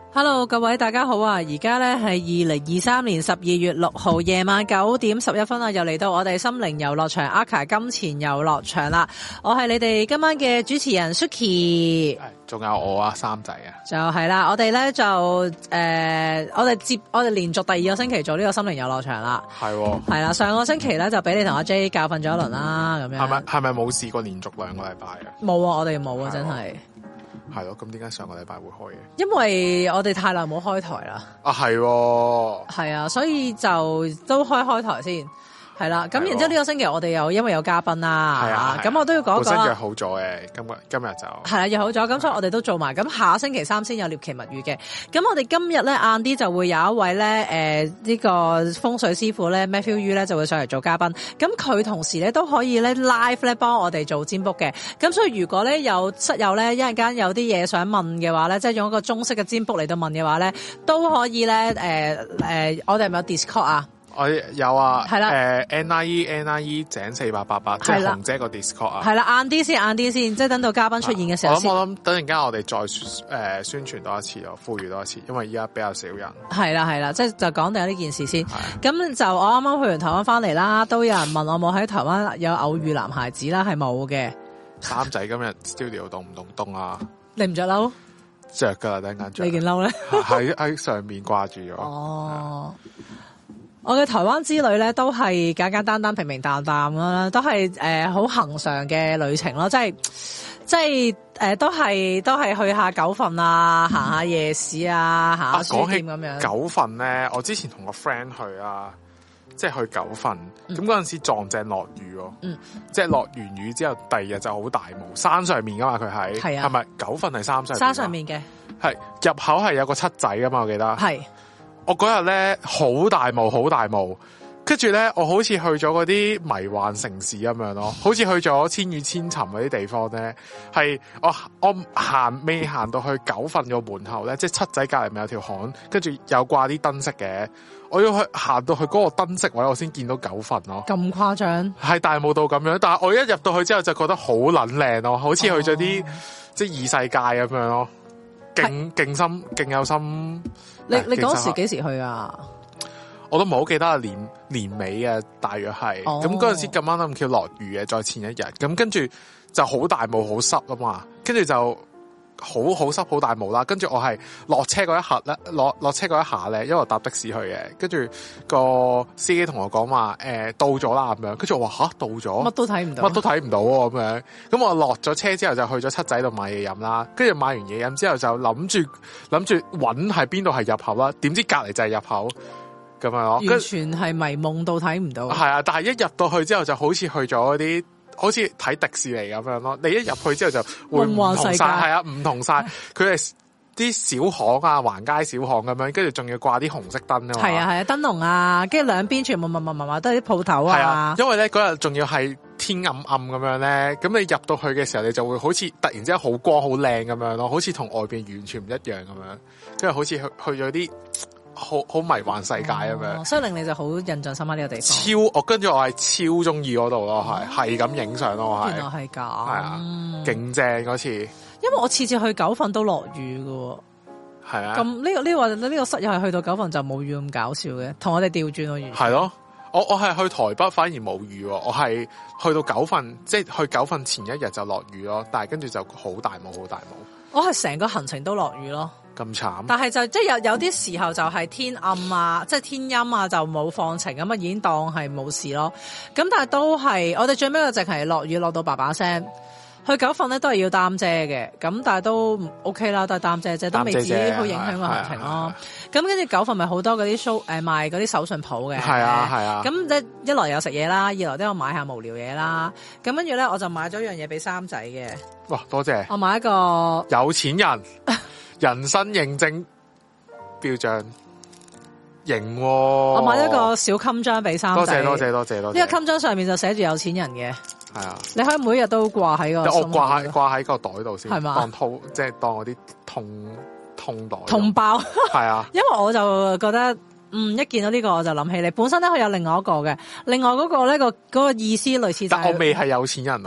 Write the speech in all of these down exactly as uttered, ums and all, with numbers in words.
Hello， 各位大家好啊！而家咧係二零二三年十二月六號夜晚九點十一分啊，又嚟到我哋心靈遊樂場 Aka 金錢遊樂場啦！我係你哋今晚嘅主持人 Suki， 仲有我啊三仔啊， 就係啦，我哋咧就誒、呃，我哋接我哋連續第二個星期做呢個心靈遊樂場啦，係喎， 係啦，上個星期咧就俾你同阿 J 教訓咗一輪啦，咁樣係咪係咪冇試過連續兩個禮拜啊？ 冇啊，我哋冇啊，真係。 係咯，咁點解上個禮拜會開嘅？ 因為我哋太耐冇開台啦。 啊，係喎， 係啊，所以就都開開台先。係啦，咁然之後呢個星期我哋又因為有嘉賓啦，係啊，咁我都要講一講。本身約好咗嘅，今日今日就係啦，約好咗，咁所以我哋都做埋。咁下星期三先有獵奇物語嘅。咁我哋今日咧晏啲就會有一位咧誒呢、呃這個風水師傅咧 Matthew Yu 咧就會上嚟做嘉賓。咁佢同時咧都可以咧 live 咧幫我哋做占卜嘅。咁所以如果咧有室友咧一陣間有啲嘢想問嘅話咧，即係用一個中式嘅占卜嚟到問嘅話咧，都可以咧誒誒，我哋係咪有 Discord 啊？ 我有啊， 係啦， 誒 N I E N I E 井四八八八，即係紅姐個 Discord 啊， 係啦，晏啲先，晏啲先，即係等到嘉賓出現嘅時候先。 我諗我諗，等陣間我哋再誒、呃、宣傳多一次咯，呼籲多一次，因為依家比較少人。係啦係啦，即係就講定呢件事先。咁就我啱啱去完台灣翻嚟啦，都有人問我冇喺台灣有偶遇男孩子啦，係冇嘅。 三仔今日 studio 凍唔凍凍啊？ 你唔着褸？ 着噶啦，等陣間着。 你件褸咧？ 喺喺上面掛住咗。 哦。我嘅台灣之旅咧，都係簡簡單單、平平淡淡啦，都係誒好恆常嘅旅程咯，即係即係誒、呃、都係都係去下九份啊，行下夜市啊，行下書店咁樣。 九份咧，我之前同個 friend 去啊，即係去九份，咁嗰陣時撞正落雨喎，嗯，即係落完雨之後，第二日就好大霧，山上面噶嘛，佢喺係啊，係咪九份係山上面？山上面嘅係入口係有個七仔噶嘛，我記得係。我嗰日咧好大霧，好大霧，跟住咧我好似去咗嗰啲迷幻城市咁樣咯，好似去咗千與千尋嗰啲地方咧，係我我行未行到去九份個門口咧，即係七仔隔籬咪有條巷，跟住有掛啲燈飾嘅，我要去行到去嗰個燈飾位，我先見到九份咯。咁誇張？係大霧到咁樣，但係我一入到去之後就覺得好撚靚咯，好似去咗啲、哦、即係異世界咁樣咯。勁勁心勁有心，你你嗰時幾時去啊？我都唔好記得啊，年年尾啊，大約係咁嗰陣時咁啱咁巧落雨嘅，再前一日咁跟住就好大霧好濕啊嘛，跟住就好好濕好大霧啦，跟住我係落車嗰一刻咧，落落車嗰一下咧，因為我搭的士去嘅，跟住個司機同我講話誒到咗啦咁樣，跟住我話吓到咗，乜都睇唔到，乜都睇唔到喎咁樣，咁我落咗車之後就去咗七仔度買嘢飲啦，跟住買完嘢飲之後就諗住諗住搵係邊度係入口啦，點知隔籬就係入口咁樣咯，完全係迷夢到睇唔到，係啊，但係一入到去之後就好似去咗嗰啲。好似睇迪士尼咁樣咯，你一入去之後就會唔同晒，係啊，唔同晒。佢係啲小巷啊，橫街小巷咁樣，跟住仲要掛啲紅色燈啊嘛。係啊係啊，燈籠啊，跟住兩邊全部密密麻麻都係啲鋪頭啊。係啊，因為咧嗰日仲要係天暗暗咁樣咧，咁你入到去嘅時候，你就會好似突然之間好光好靚咁樣咯，好似同外邊完全唔一樣咁樣，跟住好似去去咗啲。好好迷幻世界咁樣、哦，所以令你就好印象深刻呢個地方。超我跟住我係超中意嗰度咯，係係咁影相咯，我係。原來係咁，係啊，勁正嗰次。因為我次次去九份都落雨㗎，係啊。咁呢、這個呢、這個呢、這個室友係去到九份就冇雨咁搞笑嘅，同我哋調轉咯，完全。係咯，我我係去台北反而冇雨，我係去到九份，即係去九份前一日就落雨咯，但係跟住就好大霧，好大霧。我係成個行程都落雨咯。咁慘，但係就即係有有啲時候就係天暗啊，即係天陰啊，就冇放晴咁啊，已經當係冇事咯。咁但係都係我哋最尾個淨係落雨落到爸爸聲。去九份咧都係要擔遮嘅，咁但係都 OK 啦，都係擔遮啫，都未至於好影響個行程咯。咁跟住九份咪好多嗰啲 show 誒賣嗰啲手信鋪嘅，係啊係啊。咁即一來有食嘢啦，二來都有買下無聊嘢啦。咁跟住咧我就買咗一樣嘢俾三仔嘅。哇，多謝！我買一個有錢人人生認證標章。型、哦，我買一個小襟章俾三仔。多謝多謝多謝多謝。呢個襟章上面就寫住有錢人嘅。係啊，你可以每日都掛喺個。我掛喺掛喺個袋度先，係嘛？當套即係當嗰啲痛痛袋。痛包。係啊。因為我就覺得，嗯，一見到呢個我就諗起你。本身咧佢有另外一個嘅，另外嗰個咧個嗰個意思類似就係。但我未係有錢人喎。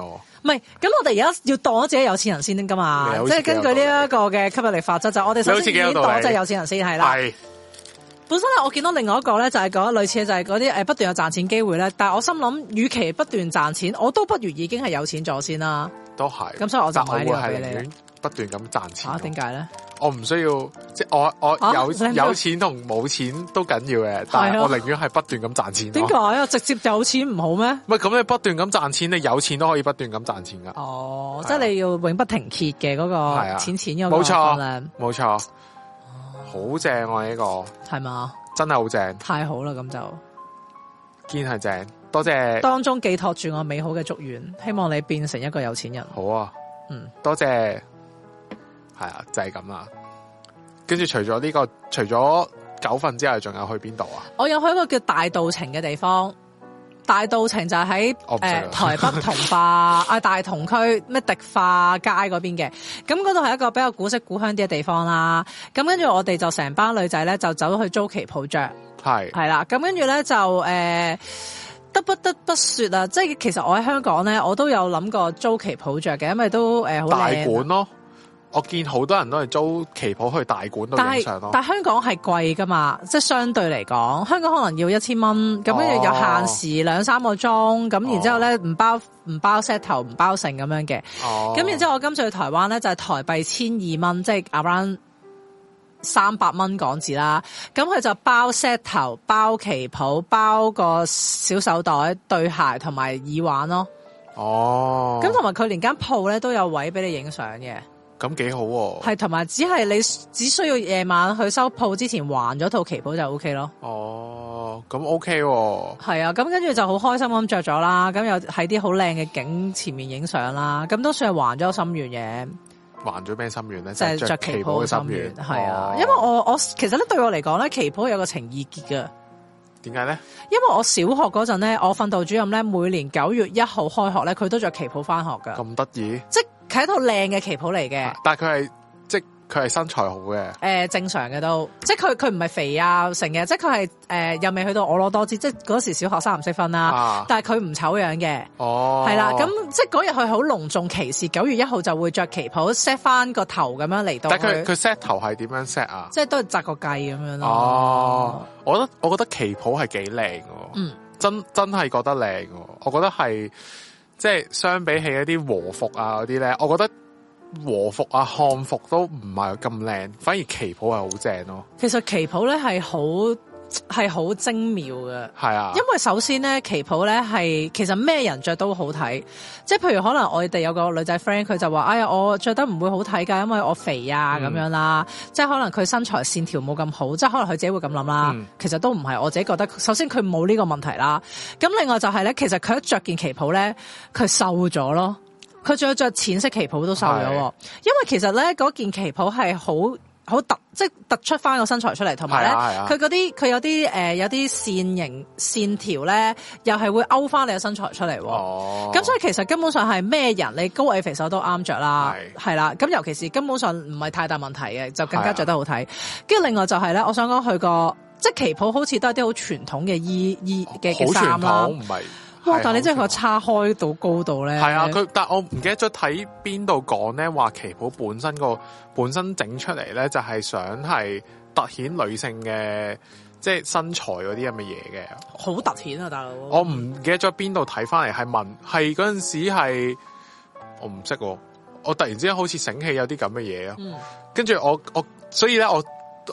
唔係，咁我哋而家要當咗自己有錢人先噶嘛，即係根據呢一個嘅吸引力法則，就我哋首先已經當咗有錢人先係啦。係。本身咧，我見到另外一個咧，就係講類似嘅，就係嗰啲誒不斷有賺錢機會咧。但係我心諗，與其不斷賺錢，我都不如已經係有錢咗先啦。 都係。咁所以我就買呢個俾你。 不斷咁賺錢。 嚇？點解咧？ 我唔需要，即係我我有、啊、有錢同冇錢都緊要嘅，但係我寧願係不斷咁賺錢。點解啊？直接有錢唔好咩？唔係咁，你不斷咁賺錢，你有錢都可以不斷咁賺錢噶。哦，即係你要永不停歇嘅嗰個錢錢嗰個。冇錯，冇錯。好正啊！呢個係嘛？真係好正，太好啦！咁就堅係正，多謝當中寄託住我美好嘅祝願，希望你變成一個有錢人。好啊，嗯，多謝，係啊，就係咁啦。跟住除咗呢個，除咗九份之外，仲有去邊度啊？我有去一個叫大稻埕嘅地方。大稻埕就喺誒、呃、台北同化啊大同區咩迪化街嗰邊嘅，咁嗰度係一個比較古色古香啲嘅地方啦。咁跟住我哋就成班女仔咧就走去租旗袍着，係係啦。咁跟住咧就誒、呃、得不得不說啊，即係其實我喺香港咧，我都有諗過租旗袍着嘅，因為都誒好、呃、大館咯。我見好多人都係租旗袍去大館度影相咯，但係香港係貴噶嘛，即係相對嚟講，香港可能要一千蚊，咁跟住有限時兩三個鐘，咁、哦、然之後咧唔包唔包 set 頭唔包成咁樣嘅，咁、哦、然之後我今次去台灣咧就係、是、台幣千二蚊，即係 around 三百蚊港紙啦，咁佢就包 set 頭、包旗袍、包個小手袋、對鞋同埋耳環咯。哦，咁同埋佢連間鋪咧都有位俾你影相嘅。咁幾好喎，係同埋只係你只需要夜晚去收鋪之前還咗套旗袍就 O K 咯。哦，咁 O K 喎。係啊，咁跟住就好開心咁着咗啦，咁又喺啲好靚嘅景前面影相啦，咁都算係還咗心願嘅。還咗咩心願咧？就係着旗袍嘅心願。係啊，因為我我其實咧對我嚟講咧，旗袍有個情意結㗎。點解咧？因為我小學嗰陣咧，我訓導主任咧每年九月一號開學咧，佢都着旗袍翻學噶。咁得意？即係佢係一套靚嘅旗袍嚟嘅。但係佢係即係佢係身材好嘅。誒、呃，正常嘅都，即係佢佢唔係肥啊成嘅，即係佢係誒又未去到婀娜多姿，即係嗰時小學生唔識分啦。啊、但係佢唔醜樣嘅。哦。係啦，咁即係嗰日佢好隆重其事，九月一號就會着旗袍 set 翻個頭咁樣嚟到。但係佢佢 set 頭係點樣 set 啊？即係都係紮個髻咁樣咯。哦。我覺得我覺得旗袍係幾靚嘅，嗯，真真係覺得靚嘅。我覺得係即係相比起一啲和服啊嗰啲咧，我覺得和服啊漢服都唔係咁靚，反而旗袍係好正咯。其實旗袍咧係好係好精妙嘅，係啊，因為首先咧旗袍咧係其實咩人着都好睇，即係譬如可能我哋有個女仔 friend 佢就話，哎呀我着得唔會好睇噶，因為我肥啊咁、嗯、樣啦，即係可能佢身材線條冇咁好，即係可能佢自己會咁諗啦。嗯、其實都唔係，我自己覺得，首先佢冇呢個問題啦。咁另外就係咧，其實佢一着件旗袍咧，佢瘦咗咯，佢仲要着淺色旗袍都瘦咗，因為其實咧嗰件旗袍係好。好突，即係突出翻個身材出嚟，同埋咧，佢嗰啲佢有啲誒、呃、有啲線形線條咧，又係會勾翻你個身材出嚟。哦，咁所以其實根本上係咩人，你高矮肥瘦都啱着啦，係啦。咁尤其是根本上唔係太大問題嘅，就更加着得好睇。跟住另外就係咧，我想講佢個即係旗袍，好似都係啲好傳統嘅衣衣嘅嘅衫啦。唔係。哇！但係你真係佢叉開到高度咧，係啊！佢但係我唔記得咗睇邊度講咧，話旗袍本身個本身整出嚟咧，就係想係凸顯女性嘅即係身材嗰啲咁嘅嘢嘅，好凸顯啊！大佬，我唔記得咗邊度睇翻嚟，係問係嗰陣時係我唔識，我突然之間好似醒起有啲咁嘅嘢啊！嗯、跟住我我所以咧我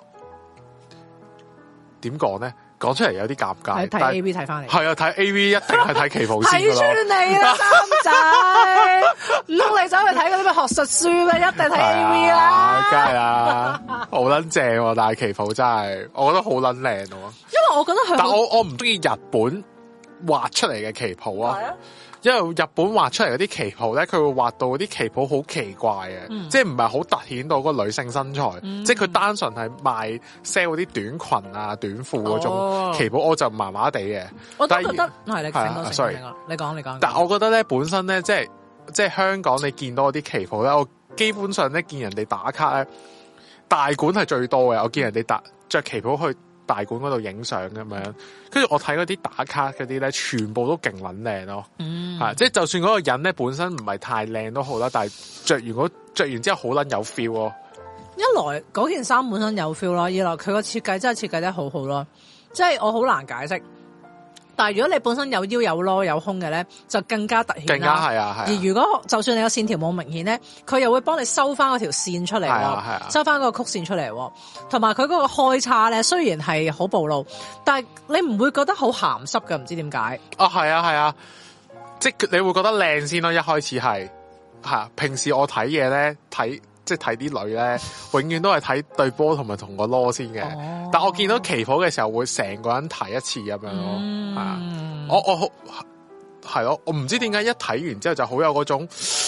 點講咧？講出嚟有啲尷尬，睇 A V 睇翻嚟，係啊，睇 A V 一定係睇旗袍先㗎咯。睇穿你啦，三仔，唔通你走去睇嗰啲咩學術書咩？一定睇 A V 啦，梗係啦，好撚正喎！但係旗袍真係，我覺得好撚靚喎。因為我覺得佢，但我我唔中意日本畫出嚟嘅旗袍啊。因為日本畫出嚟嗰啲旗袍咧，佢會畫到嗰啲旗袍好奇怪嘅，嗯、即係唔係好凸顯到嗰個女性身材，嗯、即係佢單純係賣 sell 嗰啲短裙啊、短褲嗰種旗袍，哦、我就麻麻地嘅。我都覺得係你講多，sorry，你講你講。但係我覺得咧，本身咧，即係即係香港你見到嗰啲旗袍咧，我基本上咧見人哋打卡咧，大館係最多嘅。我見人哋打着旗袍去大館嗰度影相咁樣，跟住我睇嗰啲打卡嗰啲咧，全部都勁撚靚咯， 嗯， 係即係就算嗰個人咧本身唔係太靚都好啦，但係着完嗰着完之後好撚有 feel 咯。 一來嗰件衫本身有 feel 啦，二來佢個設計真係設計得好好咯，即係我好難解釋。但係如果你本身有腰有攞有胸嘅咧，就更加突顯啦。 更加係啊係啊。 而如果就算你個線條冇明顯咧，佢又會幫你收翻嗰條線出嚟，係啊係啊， 收翻嗰個曲線出嚟，同埋佢嗰個開叉咧，雖然係好暴露，但係你唔會覺得好鹹濕㗎，唔知點解。 啊係啊係啊，即係你會覺得靚先咯，一開始係係啊。平時我睇嘢咧睇。即係睇啲女咧，永遠都係睇對波同埋同個囉先嘅。哦、但我見到旗袍嘅時候，會成個人睇一次咁樣咯。係啊、嗯，我我好係咯，我唔知點解一睇完之後就好有嗰種，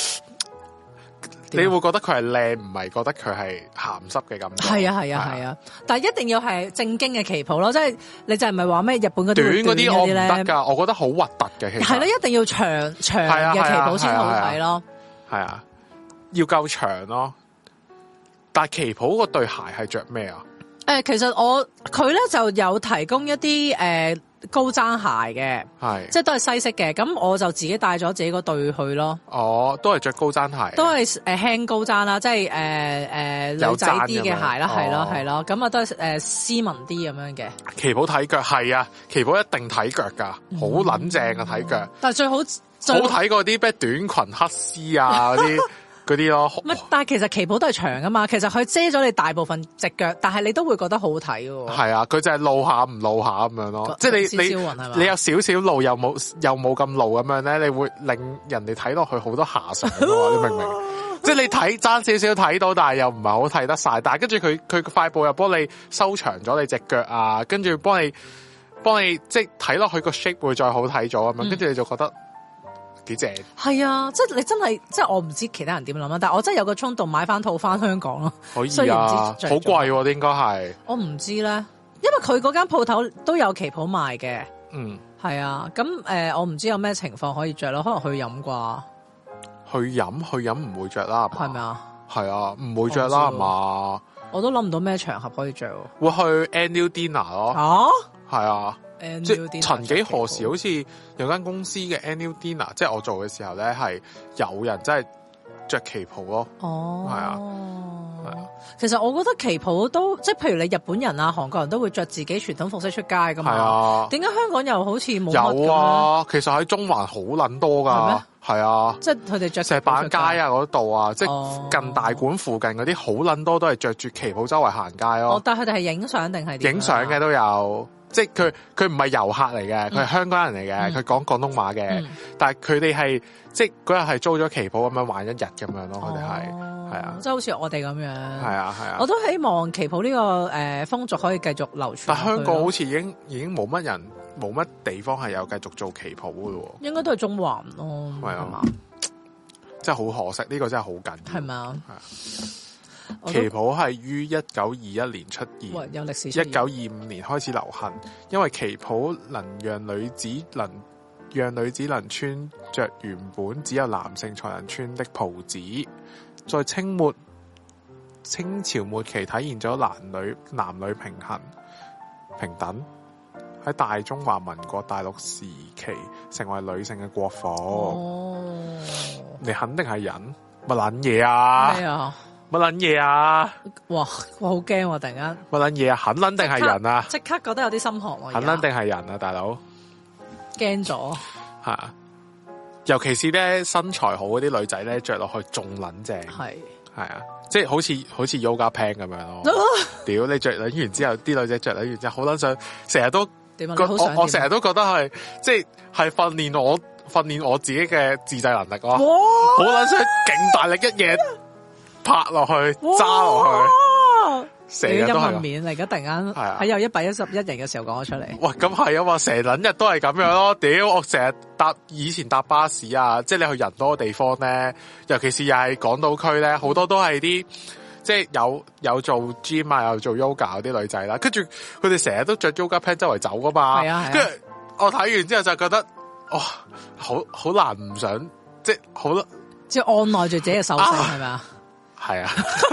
你會覺得佢係靚，唔係覺得佢係鹹濕嘅感覺。係啊係啊係啊，但係一定要係正經嘅旗袍咯，即係你就係唔係話咩日本嗰啲短嗰啲我唔得㗎，我覺得好核突嘅。其實係咯，一定要長長嘅旗袍先好睇咯。係啊，要夠長咯。但係旗袍嗰對鞋係着咩啊？誒、呃，其實我佢咧就有提供一啲誒、呃、高踭鞋嘅，係即係都係西式嘅。咁我就自己帶咗自己嗰對去咯。哦，都係着高踭鞋，都係誒輕高踭啦，即係誒誒女仔啲嘅鞋啦，係咯係咯。咁啊都係誒、呃、斯文啲咁樣嘅。旗袍睇腳係啊，旗袍一定睇腳噶，好撚正啊睇腳。但係最好最好睇過啲咩短裙黑絲啊嗰啲。嗰啲咯，但係其實旗袍都係長噶嘛，其實佢遮咗你大部分隻腳，但係你都會覺得好睇喎。係啊，佢就係露下唔露下咁樣咯，即係你你你有少少露又冇又冇咁露咁樣咧，你會令人哋睇落去好多遐想噶嘛，你明唔明？即係你睇爭少少睇到，但係又唔係好睇得晒，但係跟住佢佢快步又幫你收長咗你隻腳啊，跟住幫你幫你即係睇落去個 shape 會再好睇咗咁樣，跟住你就覺得。幾正係啊！即係你真係，即係我唔知其他人點諗啦，但係我真係有個衝動買翻套翻香港咯。可以啊，好貴喎，應該係。我唔知咧，因為佢嗰間鋪頭都有旗袍賣嘅。嗯，係啊。咁誒、呃，我唔知有咩情況可以着咯，可能去飲啩。去飲去飲唔會着啦，係咪啊？係啊，唔會着啦，係嘛？我都諗唔到咩場合可以着。會去 annual dinner 咯。啊？係啊。即係曾幾何時，好似有間公司嘅 annual dinner，即係我做嘅時候咧，係有人真係着旗袍咯。哦，係啊，係啊。其實我覺得旗袍都即係，譬如你日本人啊、韓國人都會着自己傳統服飾出街噶嘛。係啊。點解香港又好似冇乜？有啊，其實喺中環好撚多噶。係咩？係啊。即係佢哋着石板街啊嗰度啊，即係近大館附近嗰啲好撚多都係着住旗袍周圍行街咯。哦，但係佢哋係影相定係點？影相嘅都有。即係佢佢唔係遊客嚟嘅，佢係香港人嚟嘅，佢講廣東話嘅，嗯、但係佢哋係即係嗰日係租咗旗袍咁樣玩一日咁樣咯，佢哋係係啊，即係好似我哋咁樣，係啊係啊，我都希望旗袍呢、這個誒、呃、風俗可以繼續流傳。但香港好似已經已經冇乜人冇乜地方係有繼續做旗袍嘅咯，應該都係中環咯，係啊，真係好可惜，呢、這個真係好緊要，係咪啊？係啊。旗袍係於一九二一年出現，有歷史。一九二五年開始流行，因為旗袍能讓女子能讓女子能穿着原本只有男性才能穿的袍子，在清末清朝末期體現咗男女男女平衡平等。喺大中華民國大陸時期，成為女性嘅國服。哦，你肯定係人乜撚嘢啊？咩啊？乜撚嘢啊！哇，我好驚喎！突然間乜撚嘢啊？肯撚定係人啊！即刻覺得有啲心寒喎！肯撚定係人啊，大佬驚咗係啊！尤其是咧身材好嗰啲女仔咧，着落去仲撚正係係啊！即係好似好似 yoga pant 咁樣咯。屌你着撚完之後，啲女仔着撚完之後好撚想，成日都點啊？我我成日都覺得係即係係訓練我訓練我自己嘅自制能力咯。好撚想勁大力一嘢。拍落去，揸落去，成日都係面嚟。而家突然間喺有一百一十一人嘅時候講咗出嚟。喂，咁係啊嘛，成撚日都係咁樣咯。屌，我成日搭以前搭巴士啊，即係你去人多嘅地方咧，尤其是又係港島區咧，好多都係啲即係有有做 gym 啊，有做 yoga 嗰啲女仔啦。跟住佢哋成日都着 yoga pant 周圍走噶嘛。係啊，跟住我睇完之後就覺得，哇，好好難唔想，即係好，即係按耐住自己嘅手勢係咪啊？係啊，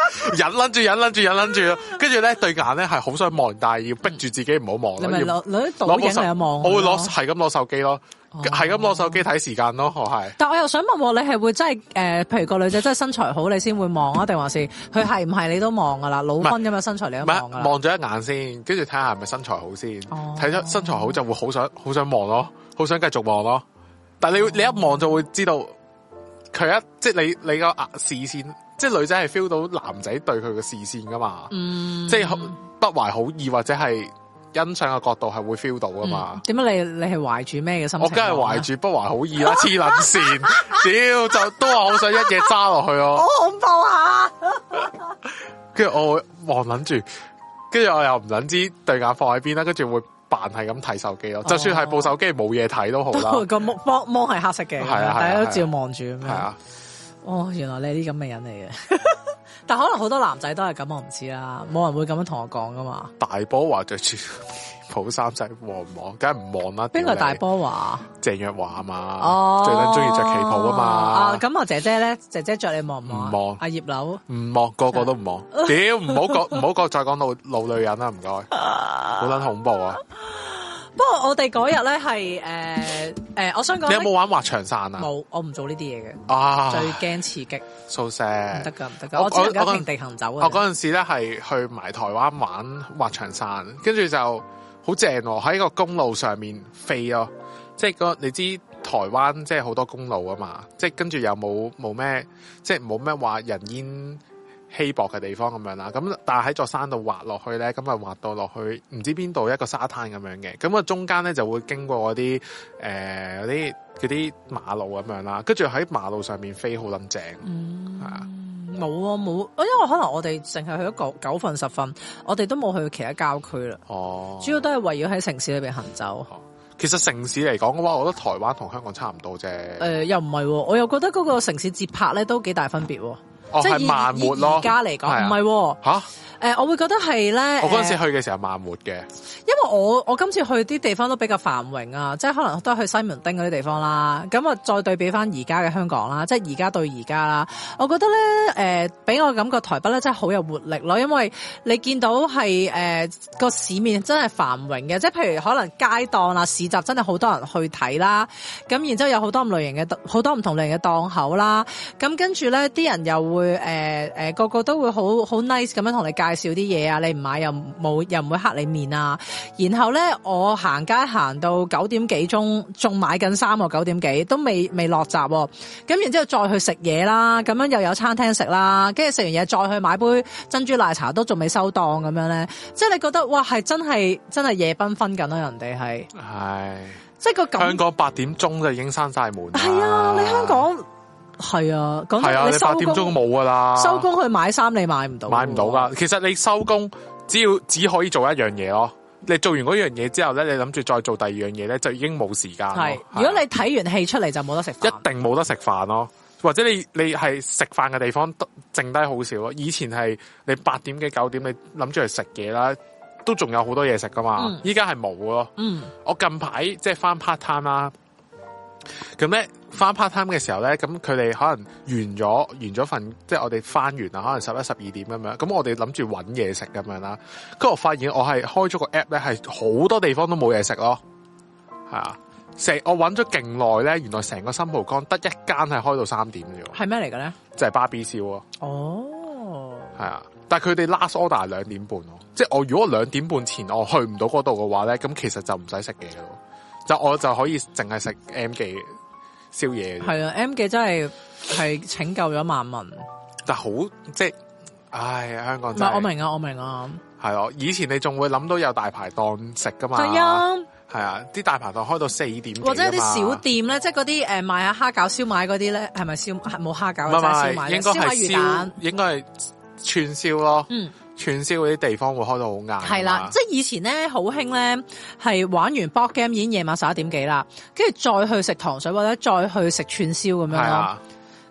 忍撚住，忍撚住，忍撚住，跟住咧對眼咧係好想望，但係要逼住自己唔好望。 你咪攞攞啲倒影嚟望。 我會攞係咁攞手機咯。係咁攞手機睇時間咯，我係。 但我又想問喎，你係會真係誒、呃，譬如個女仔真係身材好，你先會望啊？定還是佢係唔係你都望噶啦？老婚咁嘅身材你都望噶啦？ 望咗一眼先，跟住睇下係咪身材好先。睇咗、哦、身材好就會好想好想望咯，好想繼續望咯。但係你、哦、你一望就會知道佢一即係你你個視線，即係女仔係 feel 到男仔對佢嘅視線噶嘛？嗯，即係不懷好意或者係。欣賞嘅角度係會 feel 到噶嘛？點解、嗯、你你係懷住咩嘅心情？我梗係懷住不懷好意啦，黐撚線！屌就都話好想一嘢揸落去咯，好恐怖啊！跟住我會望撚住，跟住我又唔撚知對眼放喺邊啦，跟住會扮係咁睇手機咯。哦、就算係部手機冇嘢睇都好啦。個幕幕幕係黑色嘅，係啊，大家都照望住咁樣。係啊，哦，原來你係啲咁嘅人嚟嘅。但可能好多男仔都係咁，我唔知啦，冇人會咁樣同我講噶嘛。大波華着住普衫仔望唔望？梗係唔望啦。邊個大波華？鄭若驊啊嘛。哦，最緊中意着旗袍啊嘛。啊，咁我姐姐咧，姐姐着你望唔望？唔望。阿葉柳唔望，個個都唔望。屌，唔好講，唔好講，再講老老女人啦，唔該。好撚恐怖啊！不過我哋嗰日咧係誒誒，我想講，你有冇玩滑翔傘啊？冇，我唔做呢啲嘢嘅。啊，最驚刺激。So sad，唔得噶，唔得噶，我只能夠平地行走。我嗰陣時咧係去埋台灣玩滑翔傘，跟住就好正喎，喺個公路上面飛咯。即係嗰你知台灣即係好多公路啊嘛，即係跟住又冇冇咩，即係冇咩話人煙稀薄嘅地方咁樣啦，咁但係喺座山度滑落去咧，咁啊滑到落去唔知邊度一個沙灘咁樣嘅，咁啊中間咧就會經過嗰啲誒嗰啲嗰啲馬路咁樣啦，跟住喺馬路上面飛好撚正，係啊，冇啊冇，因為可能我哋淨係去咗九九份十份，我哋都冇去其他郊區啦，哦，主要都係圍繞喺城市裏邊行走。哦，其實城市嚟講嘅話，我覺得台灣同香港差唔多啫。誒、呃，又唔係，我又覺得嗰個城市節拍咧都幾大分別。哦，即係慢活咯。而家嚟講，唔係吓。誒、呃，我會覺得係咧。我嗰陣時去嘅時候慢活嘅，因為我我今次去啲地方都比較繁榮啊，即係可能都係去西門町嗰啲地方啦。咁啊，再對比翻而家嘅香港啦，即係而家對而家啦，我覺得咧，誒、呃，俾我感覺台北咧真係好有活力咯，因為你見到係誒個市面真係繁榮嘅，即係譬如可能街檔啊、市集真係好多人去睇啦。咁然之後有好多唔類型嘅好多唔同類型嘅檔口啦。咁跟住咧，啲人又會誒誒、呃呃、個個都會好好 nice 咁樣同你介紹啲嘢啊，你唔買又冇又唔會黑你面啊。然後咧，我行街行到九點幾鐘，仲買緊衫喎，九點幾都未未落閘喎。咁然之後再去食嘢啦，咁樣又有餐廳食啦，跟住食完嘢再去買杯珍珠奶茶都仲未收檔咁樣咧，即係你覺得哇係真係真係夜繽紛緊咯，人哋係係即係個感香港八點鐘就已經閂晒門。係啊，你香港。係啊，講真，啊、你八點鐘冇噶啦，收工去買衫你買唔到，買唔到噶。其實你收工只要只可以做一樣嘢咯，你做完嗰樣嘢之後咧，你諗住再做第二樣嘢咧，就已經冇時間。係，如果你睇完戲出嚟就冇得食飯，一定冇得食飯咯。或者你你係食飯嘅地方剩低好少咯。以前係你八點幾九點你諗住去食嘢啦，都仲有好多嘢食噶嘛。依家係冇咯。嗯，我近排即係翻 part time 啦。咁咧翻 part time 嘅時候咧，咁佢哋可能完咗完咗份，即係我哋翻完啦，可能十一十二點咁樣。咁我哋諗住搵嘢食咁樣啦。跟住我發現我係開咗個 app 咧，係好多地方都冇嘢食咯。係啊，成我搵咗勁耐咧，原來成個新蒲崗得一間係開到三點嘅啫。係咩嚟嘅咧？就係巴比燒咯。哦，係啊，但係佢哋 last order 係兩點半咯。即係我如果兩點半前我去唔到嗰度嘅話咧，咁其實就唔使食嘢咯。就我就可以淨係食 M 記宵夜。係啊 ，M 記真係係拯救咗萬民。但好即係，唉，香港真係。唔係，我明啊，我明啊。係咯，以前你仲會諗到有大排檔食噶嘛？係啊，係啊，啲大排檔開到四點幾。或者啲小店咧，即係嗰啲誒賣下蝦餃、燒賣嗰啲咧，係咪燒冇蝦餃？唔係燒賣，應該係燒魚蛋，應該係串燒咯。嗯。串燒嗰啲地方會開到好晏，係啦，即係以前咧好興咧，係玩完 board game 已經夜晚十一點幾啦，跟住再去食糖水或者再去食串燒咁樣咯。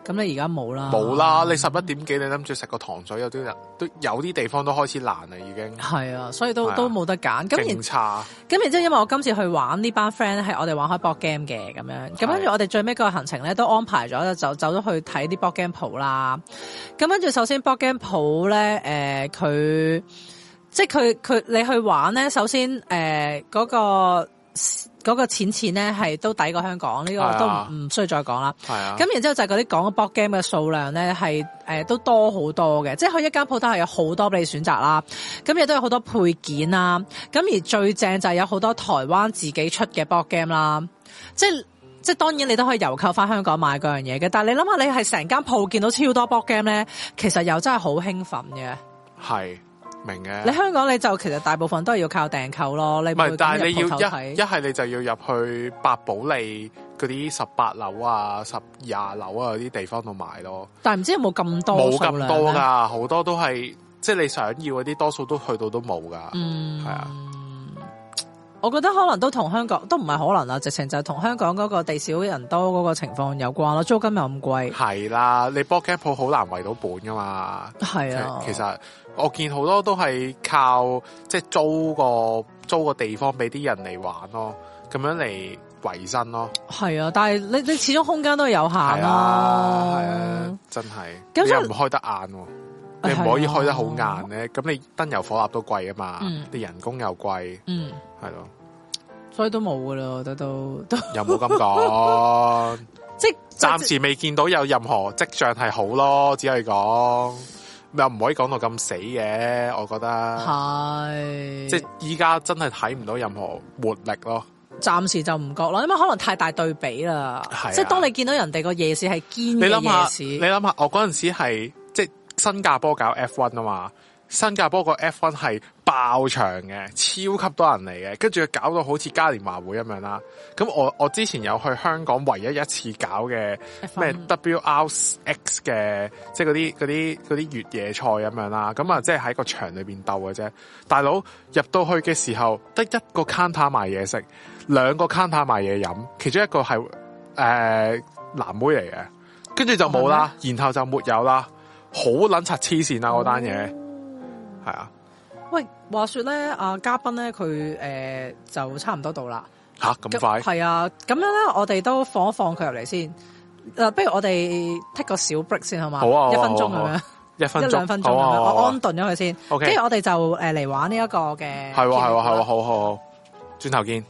咁你而家冇啦， 冇啦！你十一點幾，你諗住食個糖水，有啲人都有啲地方都開始爛啦，已經係啊，所以都、啊、都冇得揀。 咁然差， 咁然之後，因為我今次去玩呢班 friend 咧，係我哋玩開 board game 嘅咁樣。咁跟住我哋最尾個行程咧，都安排咗就走咗去睇啲 board game 鋪啦。咁跟住首先 board game 鋪咧，誒、呃、佢即係佢佢你去玩咧，首先誒嗰、呃那個。嗰個錢錢咧係都抵過香港，呢、這個都唔需要再講啦。係啊，咁然之後就係嗰啲講嘅 board game 嘅數量咧係誒都多好多嘅，即係佢一間鋪頭係有好多俾你選擇啦。咁亦都有好多配件啦。咁而最正就係有好多台灣自己出嘅 board game 啦。即係即係當然你都可以郵購翻香港買嗰樣嘢嘅，但係你諗下，你係成間鋪見到超多 board game 咧，其實又真係好興奮嘅。係。明嘅，你香港你就其實大部分都係要靠訂購咯，你唔係，但係你要一一係你就要入去百寶利嗰啲十八樓啊、十廿樓啊嗰啲地方度買咯。但係唔知有冇咁多？冇咁多噶，好多都係即係你想要嗰啲，多數都去到都冇噶。嗯，係啊。我覺得可能都同香港都唔係可能啦，直情就係同香港嗰個地少人多嗰個情況有關咯，租金又咁貴。係啦，你 board game 鋪好難圍到本噶嘛。係啊，其實我見好多都係靠即係租個租個地方俾啲人嚟玩咯，咁樣嚟維生咯。係啊，但係你你始終空間都係有限啦。係啊，係啊，真係。咁你又唔開得晏喎。你唔可以開得好晏咧，咁、啊、你燈油火蠟都貴啊嘛，嗯、你人工又貴，嗯，係咯，所以都冇噶啦，我覺得都都又冇咁講，即係暫時未見到有任何跡象係好咯，只可以講又唔可以講到咁死嘅，我覺得係，即係依家真係睇唔到任何活力咯，暫時就唔覺咯，因為可能太大對比啦，啊、即係當你見到人哋個夜市係堅嘅夜市，你諗下，我嗰陣時係即係。新加坡搞 F 一 啊嘛，新加坡個 F 一 係爆場嘅，超級多人嚟嘅，跟住搞到好似嘉年華會咁樣啦。咁我我之前有去香港唯一一次搞嘅咩 W R X 嘅，即係嗰啲嗰啲嗰啲越野賽咁樣啦。咁啊，即係喺個場裏邊鬥嘅啫。大佬入到去嘅時候，得一個 counter 賣嘢食，兩個 counter 賣嘢飲，其中一個係誒、呃、藍妹嚟嘅，跟住就冇啦，然後就沒有啦。好撚柒黐線啊！嗰單嘢係啊，喂，話說咧，啊嘉賓咧佢誒就差唔多到啦。吓咁快？係啊，咁樣咧，我哋都放一放佢入嚟先。誒，不如我哋 take 個小 break 先好嘛？好啊，一分鐘咁樣，一分鐘一兩分鐘咁樣，我安頓咗佢先。OK，跟住我哋就誒嚟玩呢一個嘅。係喎係喎係喎，好好好，轉頭見。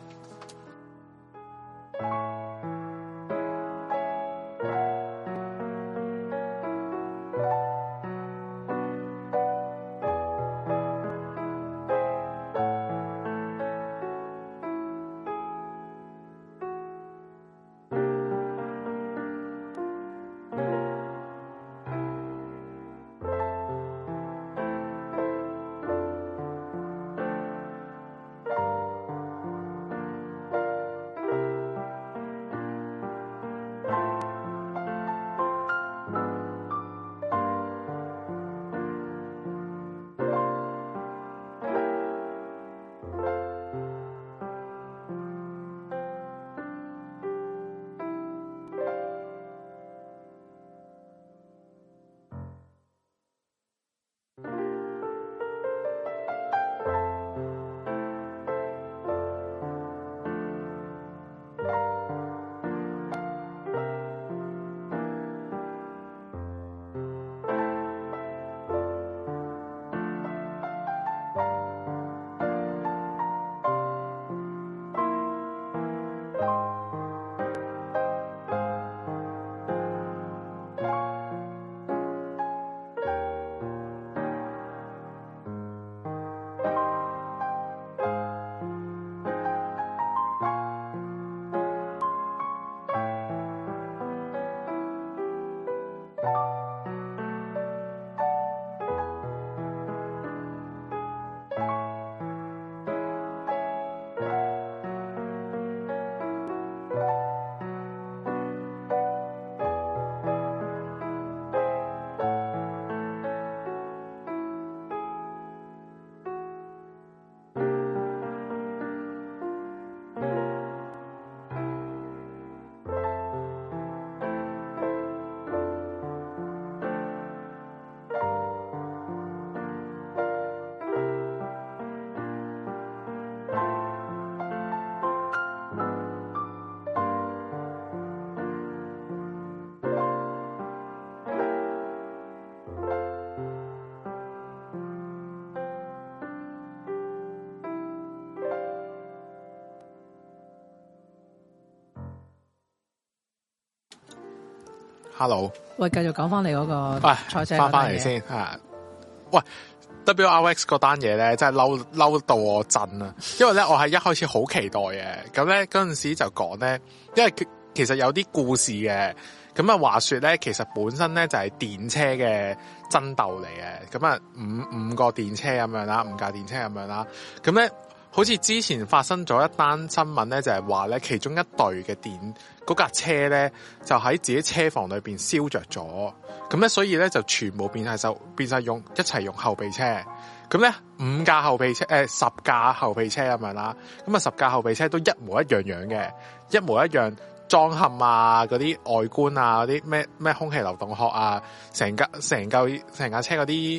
，hello， 喂，繼續講翻你嗰個賽車翻翻嚟先啊！喂 ，W R X 嗰單嘢咧，真係嬲嬲到我震啊！因為咧，我係一開始好期待嘅，咁咧嗰陣時就講咧，因為其實有啲故事嘅，咁啊話說咧，其實本身咧就係電車嘅爭鬥嚟嘅，咁啊五五個電車咁樣啦，五架電車咁樣啦，咁咧。好似之前發生咗一單新聞咧，就係話咧，其中一隊嘅電嗰架車咧，就喺自己車房裏邊燒着咗，咁咧所以咧就全部變晒就變晒用一齊用後備車，咁咧五架後備車誒、呃、十架後備車咁樣啦，咁啊十架後備車都一模一樣樣嘅，一模一樣裝嵌啊，嗰啲外觀啊，嗰啲咩咩空氣流動殼啊，成架成嚿成架車嗰啲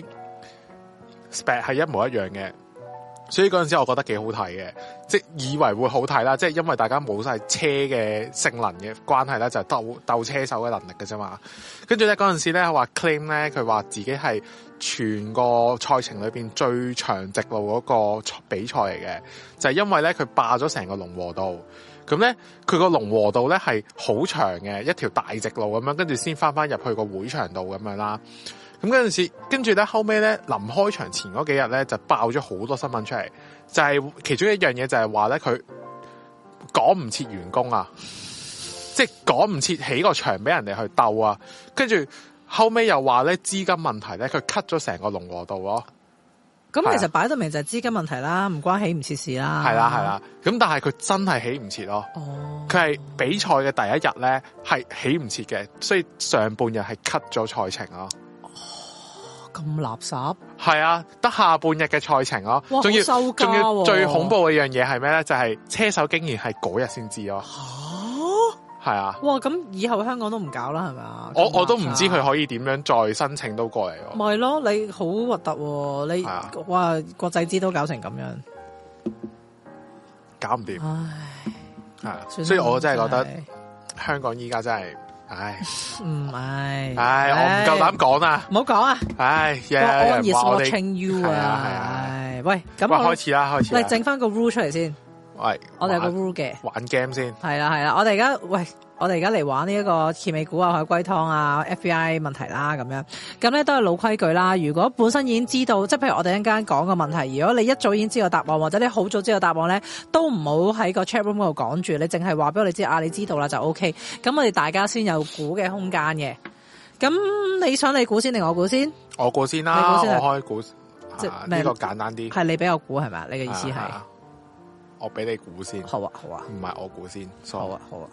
spec 係一模一樣嘅。所以嗰陣時我覺得幾好睇嘅，即係以為會好睇啦，即係因為大家冇晒車嘅性能嘅關係咧，就係鬥鬥車手嘅能力嘅啫嘛。跟住咧嗰陣時咧話 claim 咧，佢話自己係全個賽程裏邊最長直路嗰個比賽嚟嘅，就係因為咧佢霸咗成個龍和道，咁咧佢個龍和道咧係好長嘅一條大直路咁樣，跟住先翻翻入去個會場度咁樣啦。咁嗰陣時，跟住咧後尾咧臨開場前嗰幾日咧就爆咗好多新聞出嚟，就係、是、其中一樣嘢就係話咧佢趕唔切員工啊，即係趕唔切起個場俾人哋去鬥啊，跟住後尾又話咧資金問題咧，佢 cut 咗成個龍和道咯。 咁其實擺到明就係資金問題啦，唔關起唔切事啦。 係啦係啦，咁但係佢真係起唔切咯。哦，佢係比賽嘅第一日咧係起唔切嘅，所以上半日係 cut 咗賽程咯。 咁垃圾係啊，得下半日嘅賽程咯，仲要收仲要最恐怖嘅樣嘢係咩咧？就係、是、車手竟然係嗰日先知咯。吓，係啊！ 哇，咁以後香港都唔搞啦，係咪啊？ 我我都唔知佢可以點樣再申請到過嚟咯。 咪咯，你好核突，你、啊、哇國際資都搞成咁樣， 搞唔掂。 唉， 係啊，所以我真係覺得香港依家真係。唉， 唔係， 唉，我唔夠膽講啊， 唔好講啊， 唉，有人話我哋 watching you 啊，係啊，喂，咁我開始啦，開始， 嚟整翻個 rule 出嚟先， 喂， 我哋有個 rule 嘅， 玩 game 先， 係啦係啦，我哋而家喂。我哋而家嚟玩呢一個揭尾故啊、海龜湯啊、F B I 問題啦咁樣，咁咧都係老規矩啦。如果本身已經知道，即係譬如我哋一陣間講個問題，如果你一早已經知道答案，或者你好早知道答案咧，都唔好喺個 chat room 嗰度講住，你淨係話俾我哋知啊，你知道啦就 O K。咁我哋大家先有估嘅空間嘅。咁你想你估先定我估先？ 我估先啦，你估先，我開估，即係呢個簡單啲。 係你俾我估係咪？你嘅意思係？ 我俾你估先。 好啊，好啊。 唔係我估先。 好啊，好啊。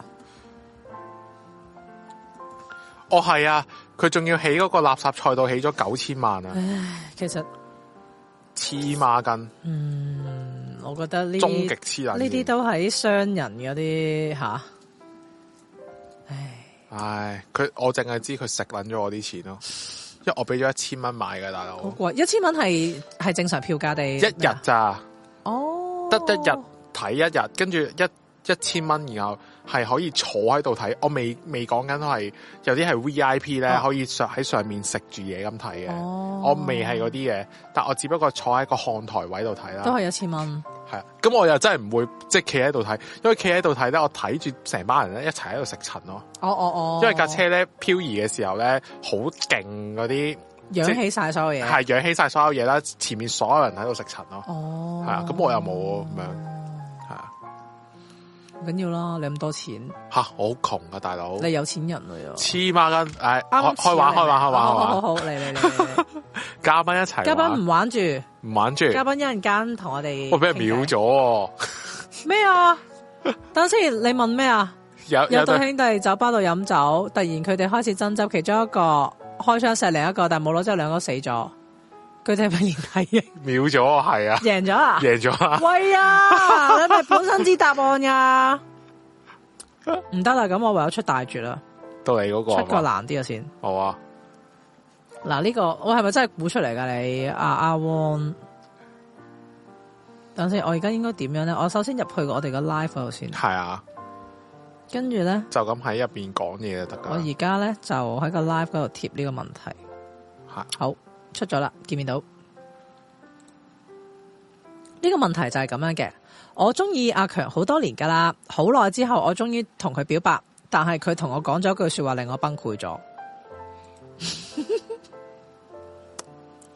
哦，係啊，佢仲要起嗰個垃圾賽道起咗九千萬啊！ 唉，其實黐孖筋。 嗯，我覺得呢終極黐撚， 呢啲都係商人嗰啲吓。唉， 唉，佢我淨係知佢食撚咗我啲錢咯，因為我俾咗一千蚊買嘅大佬。 好貴，一千蚊係係正常票價地一日咋？ 哦， 得一日睇一日，跟住一一千蚊，然後。係可以坐喺度睇，我未未講緊係有啲係 V I P 咧，可以上喺上面食住嘢咁睇嘅。我未係嗰啲嘅，但我只不過坐喺個看台位度睇啦。 都係一千蚊。係啊， 咁我又真係唔會即係企喺度睇，因為企喺度睇咧，我睇住成班人咧一齊喺度食塵咯。 哦哦哦。因為架車咧漂移嘅時候咧，好勁嗰啲， 揚起晒所有嘢。係揚起晒所有嘢啦，前面所有人喺度食塵咯。 哦。 係啊，咁我又冇咁樣。 唔緊要啦，你咁多錢吓，我好窮啊，大佬！ 你有錢人嚟啊！ 黐孖筋，誒，開玩開玩開玩， 好好好，嚟嚟嚟， 嘉賓一齊， 嘉賓唔玩住， 唔玩住， 嘉賓一陣間同我哋， 我俾人秒咗， 咩啊？等先，你問咩啊？ 有有對兄弟酒吧度飲酒，突然佢哋開始爭執，其中一個開槍射另一個，但係冇攞之後兩個死咗。佢哋係咪連體嘅？ 秒咗，係啊！ 贏咗啊！ 贏咗啊！ 喂啊！你咪本身知答案呀？唔得啦，咁我唯有出大絕啦。 到你嗰個出個難啲嘅先。 好啊！ 嗱，呢個我係咪真係估出嚟噶？你阿阿 Won，等先，我而家應該點樣咧？我首先入去我哋個 live 嗰度先。 係啊。 跟住咧， 就咁喺入邊講嘢就得噶。 我而家咧就喺個 live 嗰度貼呢個問題。 係。 好。出咗啦，見唔見到？呢個問題就係咁樣嘅。我中意阿強好多年噶啦，好耐之後我終於同佢表白，但係佢同我講咗句說話令我崩潰咗。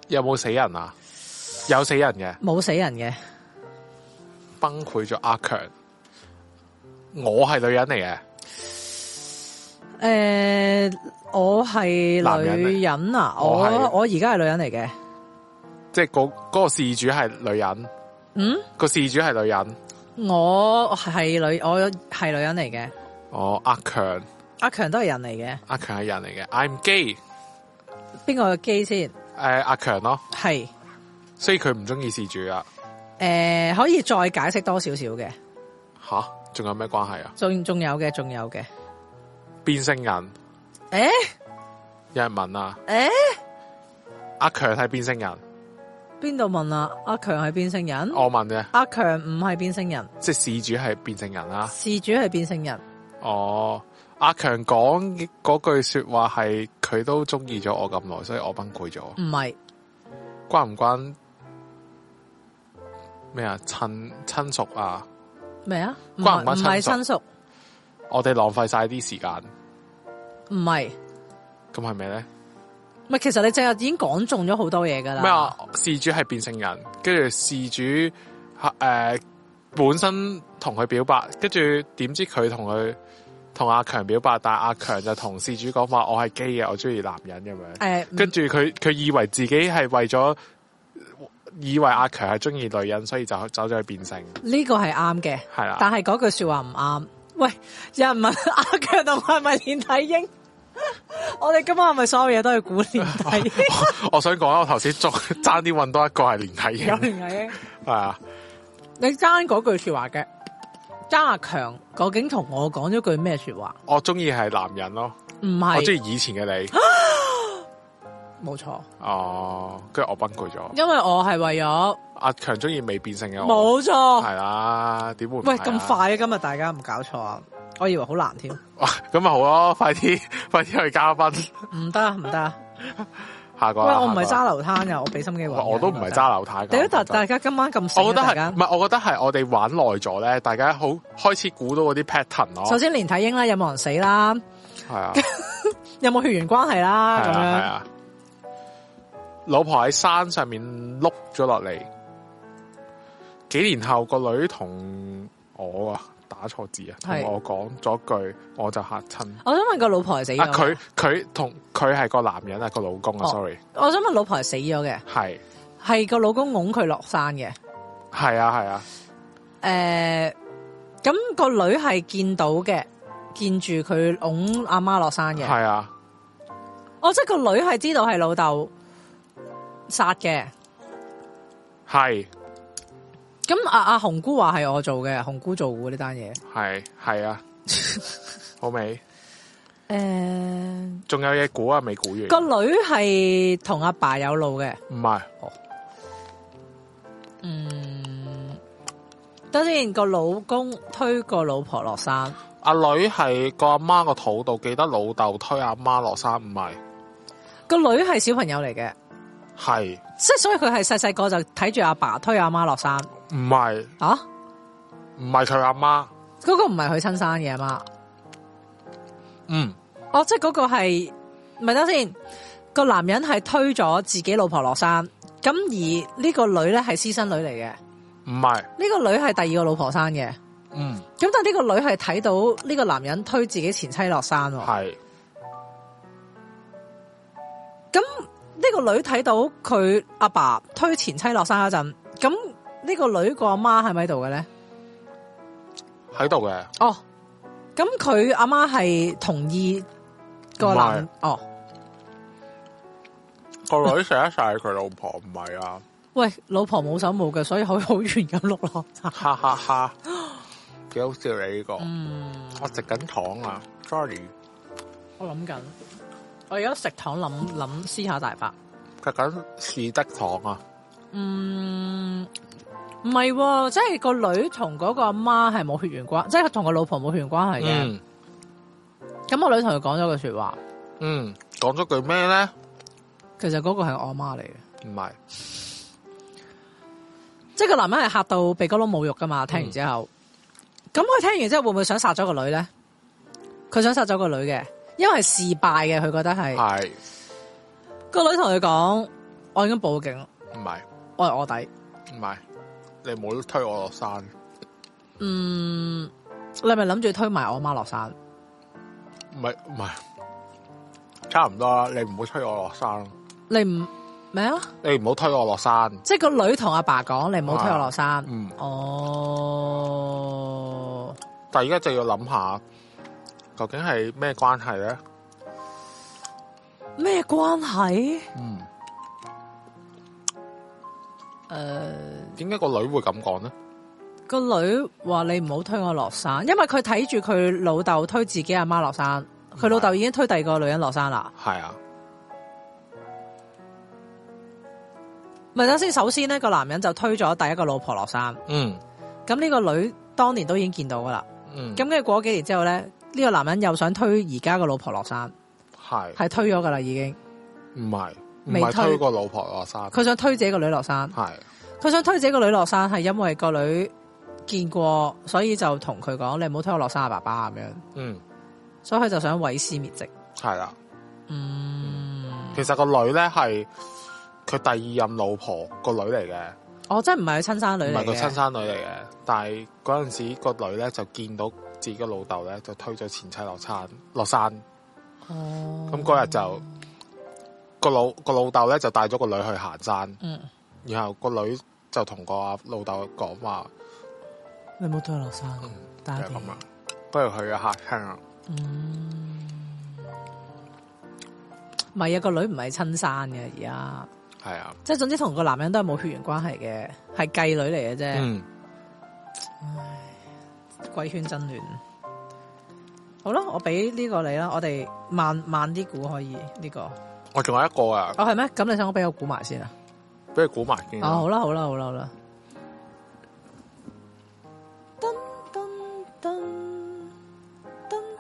有冇死人啊？有死人嘅， 冇死人嘅， 崩潰咗阿強。我係女人嚟嘅。 誒、呃，我係女人啊！我我而家係女人嚟嘅， 即係嗰嗰個事主係女人。 嗯，個事主係女人。 我係女，我係女人嚟嘅。 哦，阿強， 阿強都係人嚟嘅。 阿強係人嚟嘅。I'm gay。 邊個係 gay 先？誒、 呃，阿強咯。 係。 所以佢唔中意事主啊。 誒、呃，可以再解釋多少少嘅。 吓，仲有咩關係啊？ 仲仲有嘅，仲有嘅。 變性人。 誒、欸， 有人問啊。誒、 欸， 阿強係變性人。 邊度問啊？阿強係變性人？ 我問嘅。 阿強唔係變性人。 即係事主係變性人啦。 事主係變性人。 哦，阿強講嗰句說話係佢都中意咗我咁耐，所以我崩潰咗。 唔係。 關唔關咩啊？親親屬啊？ 咩啊？ 關唔關親屬？唔係親屬。 我哋浪費晒啲時間。 唔係。 咁係咩咧？ 唔係，其實你淨係已經講中咗好多嘢噶啦。 咩啊？事主係變性人，跟住事主誒、呃、本身同佢表白，跟住點知佢同佢同阿強表白，但係阿強就同事主講話我係 gay 嘅，我中意男人咁樣。誒、呃，跟住佢佢以為自己係為咗以為阿強係中意女人，所以就走咗去變性。呢個係啱嘅，係啦。但係嗰句說話唔啱。喂，有人問阿強同係咪連體嬰？我哋今晚係咪所有嘢都係估連體嬰？我，我想講，我頭先仲爭啲搵多一個係連體嬰。有連體嬰係啊？你爭嗰句說話嘅，爭阿強究竟同我講咗句咩說話？我中意係男人咯，唔係我中意以前嘅你。冇錯。哦，跟住我崩潰咗，因為我係為咗阿強中意未變性嘅我。冇錯，係啦，點會？喂，咁快啊！今日大家唔搞錯啊！我以為好難添。哇，咁咪好咯，快啲，快啲去嘉賓。唔得，唔得。下個。喂，我唔係揸流灘噶，我俾心機玩。我都唔係揸流灘。點解大家今晚咁？我覺得係，唔係，我覺得係我哋玩耐咗咧，大家好開始估到嗰啲 pattern 咯。首先連體嬰啦，有冇人死啦？係啊。有冇血緣關係啦？咁樣。係啊。老婆喺山上面碌咗落嚟，幾年後個女同我啊打錯字啊，同我講咗句，我就嚇親。我想問個老婆係死咗？啊，佢佢同佢係個男人啊，個老公啊、哦、，sorry。我想問老婆係死咗嘅，係係個老公拱佢落山嘅，係啊係啊。誒、啊，咁、呃個女係見到嘅，見住佢拱阿媽落山嘅，係啊。哦，即係個女係知道係老豆殺嘅，係。咁阿阿紅姑話係我做嘅，紅姑做嘅呢單嘢，係係啊，好未？誒、呃，仲有嘢估啊，未估完。個女係同阿爸有路嘅，唔係。哦，嗯，等先，個老公推個老婆落山，阿女係個阿媽個肚度，記得老豆推阿媽落山，唔係。個女係小朋友嚟嘅。係，即係所以佢係細細個就睇住阿爸推阿媽落山。唔係啊，唔係佢阿媽，嗰個唔係佢親生嘅阿媽。嗯，哦，即係嗰個係，咪等先，個男人係推咗自己老婆落山，咁而呢個女咧係私生女嚟嘅。唔係，呢個女係第二個老婆生嘅。嗯，咁但係呢個女係睇到呢個男人推自己前妻落山。係，咁。呢個女睇到佢阿爸推前妻落山嗰陣，咁呢個女個阿媽係咪喺度嘅咧？喺度嘅。哦，咁佢阿媽係同意個男哦，個女錫一晒佢老婆，唔係啊？喂，老婆冇手冇腳，所以可以好遠咁碌落山。哈哈哈，幾好笑你呢個。嗯，我食緊糖啊 ，sorry。我諗緊。我而家食糖諗諗思考大法，食緊士的糖啊。嗯，唔係，即係個女同嗰個阿媽係冇血緣關，即係同個老婆冇血緣關係嘅。咁、嗯、我女同佢講咗句說話。嗯，講咗句咩咧？其實嗰個係我阿媽嚟嘅。唔係，即係個男人係嚇到鼻哥窿冇肉噶嘛？聽完之後，咁、嗯、佢聽完之後會唔會想殺咗個女咧？佢想殺咗個女嘅。因為係事敗嘅，佢覺得係。係個女同佢講： 我已經報警。 唔係， 我係卧底。 唔係，你唔好推我落山。 嗯，你係咪諗住推埋我媽落山？ 唔係唔係，差唔多啦。你唔好推我落山。 你唔咩啊？ 你唔好推我落山。 即係個女同阿爸講，你唔好推我落山。 嗯。 哦。 但係而家就要諗下，究竟係咩關係咧？ 咩關係？ 嗯。 誒、呃， 點解個女會咁講呢？ 個女話你唔好推我落山，因為佢睇住佢老豆推自己阿媽落山，佢老豆已經推第二個女人落山啦。係啊，咪等先。首先呢個男人就推咗第一個老婆落山。嗯，咁呢個女當年都已經見到噶啦。嗯，咁跟住過咗幾年之後咧，呢、這個男人又想推而家個老婆落山，係係推咗噶啦，已經唔係。未推，推個老婆落山，佢想推自己個女落山。係，佢想推自己個女落山，係因為個女見過，所以就同佢講：你唔好推我落山啊，爸爸咁樣。嗯，所以佢就想毀屍滅跡。係啦，嗯，其實個女咧係佢第二任老婆個女嚟嘅。哦，即係唔係佢親生女嚟嘅，唔係佢親生女嚟嘅。但係嗰陣時個女咧就見到自己個老豆咧就推咗前妻落山落山。哦，咁嗰日就。個老個老豆咧就帶咗個女去行山，嗯，然後個女就同個阿老豆講話：你冇推我落山，就係咁啊！不如去嘅客廳啊，嗯，唔係啊，個女唔係親生嘅，而家係啊，即係總之同個男人都係冇血緣關係嘅，係繼女嚟嘅啫。嗯，唉，貴圈真亂。好啦，我俾呢個你啦，我哋慢慢啲估可以呢、這個。我仲有一個啊！哦，係咩？咁你想我俾我估埋先啊？俾你估埋先。哦，好啦，好啦，好啦，好啦。噔噔噔噔噔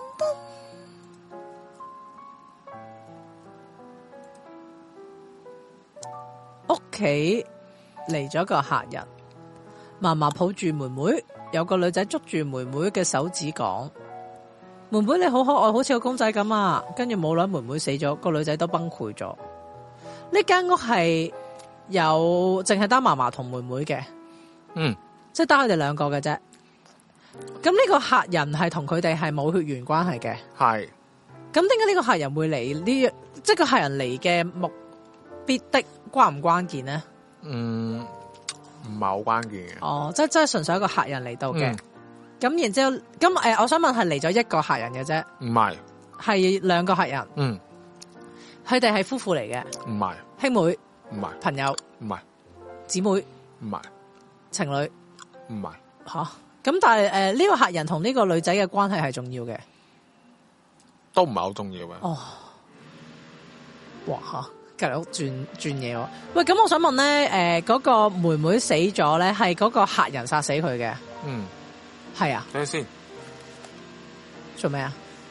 噔噔。屋企嚟咗個客人，嫲嫲抱住妹妹，有個女仔捉住妹妹嘅手指講。妹妹你好可愛，好似個公仔咁啊！跟住冇耐妹妹死咗，個女仔都崩潰咗。呢間屋係有淨係得嫲嫲同妹妹嘅，嗯，即係得佢哋兩個嘅啫。咁呢個客人係同佢哋係冇血緣關係嘅，係。咁點解呢個客人會嚟呢？即係個客人嚟嘅目必的關唔關鍵呢？嗯，唔係好關鍵嘅。哦，即係即係純粹一個客人嚟到嘅。嗯咁然之後，咁誒、呃，我想問係嚟咗一個客人嘅啫，唔係，係兩個客人，嗯，佢哋係夫婦嚟嘅，唔係，兄妹，唔係，朋友，唔係，姊妹，唔係，情侶，唔係，吓，咁但係誒呢個客人同呢個女仔嘅關係係重要嘅，都唔係好重要嘅，哦，哇吓，隔籬屋轉轉嘢喎，喂，咁我想問咧，誒、呃、嗰、那個妹妹死咗咧，係嗰個客人殺死佢嘅，嗯。係啊，等先，做咩啊？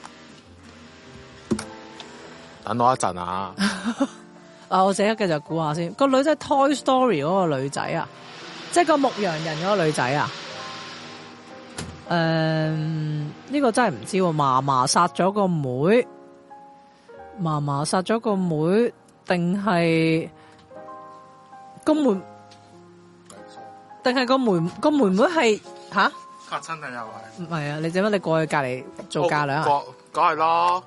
等我一陣啊！啊，我自己繼續估下先。個女仔 Toy Story 嗰個女仔啊，即係個牧羊人嗰個女仔啊。誒、嗯，呢、這個真係唔知。嫲嫲殺咗個妹，嫲嫲殺咗個妹，定係個妹？定係個妹？個妹妹係吓？嚇親你又係？唔係啊！你點解你過去隔籬做嫁娘啊？梗係啦，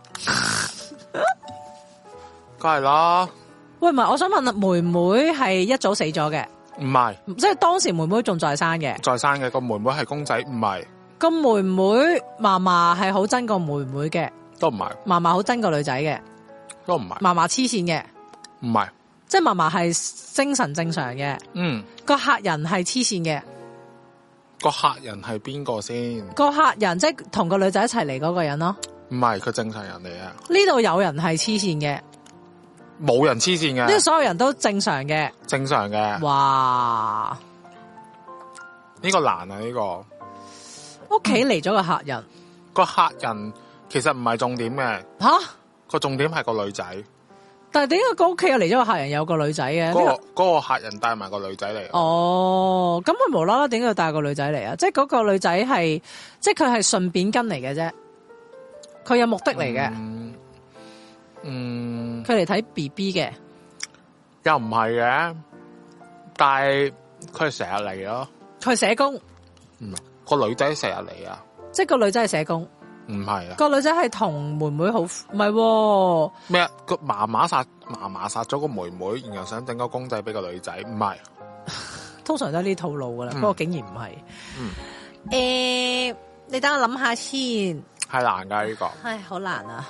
梗係啦。喂，唔係，我想問啊，妹妹係一早死咗嘅？唔係，即係當時妹妹仲在生嘅。在生嘅個妹妹係公仔，唔係。個妹妹嫲嫲係好憎個妹妹嘅，都唔係。嫲嫲好憎個女仔嘅，都唔係。嫲嫲黐線嘅，唔係。即係嫲嫲係精神正常嘅。嗯。個客人係黐線嘅。個客人係邊個先？個客人即係同個女仔一齊嚟嗰個人咯。唔係，佢正常人嚟啊。呢度有人係黐線嘅，冇人黐線嘅。呢度所有人都正常嘅，正常嘅。哇！呢個難啊！呢個屋企嚟咗個客人，個客人其實唔係重點嘅。吓？個重點係個女仔。但係點解個屋企又嚟咗個客人有個女仔嘅？嗰、嗰個、嗰個客人帶埋個女仔嚟。哦，咁佢無啦啦點解要帶個女仔嚟啊？即係嗰個女仔係，即係佢係順便跟嚟嘅啫。佢有目的嚟嘅。嗯，佢嚟睇 B B 嘅。 又唔係嘅，但係佢係成日嚟咯。 佢係社工， 唔係個女仔成日嚟啊！ 即係個女仔係社工， 唔係啊！ 個女仔係同妹妹好，唔係咩啊？個媽媽殺媽媽殺咗個妹妹，然後想整個公仔俾個女仔，唔係。 通常都係呢套路噶啦，不過竟然唔係。 嗯， 誒，你等我諗下先。 係難噶呢個。 唉，好難啊！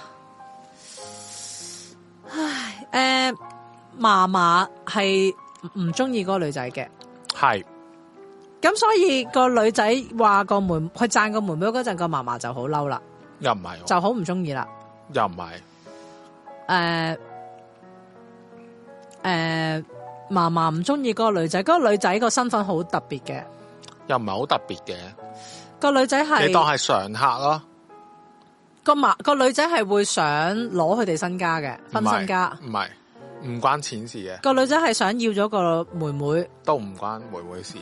唉，誒，嫲嫲係唔中意嗰個女仔嘅。 係。 咁所以個女仔話個妹，佢讚個妹妹嗰陣，個嫲嫲就好嬲啦。 又唔係。 就好唔中意啦。 又唔係。 誒誒。嫲嫲唔中意嗰個女仔，嗰、嗰個女仔個身份好特別嘅， 又唔係好特別嘅。 個女仔係你當係常客咯。 個嫲個女仔係會想攞佢哋身家嘅，分身家。 唔係，唔關錢事嘅。 個女仔係想要咗個妹妹， 都唔關妹妹事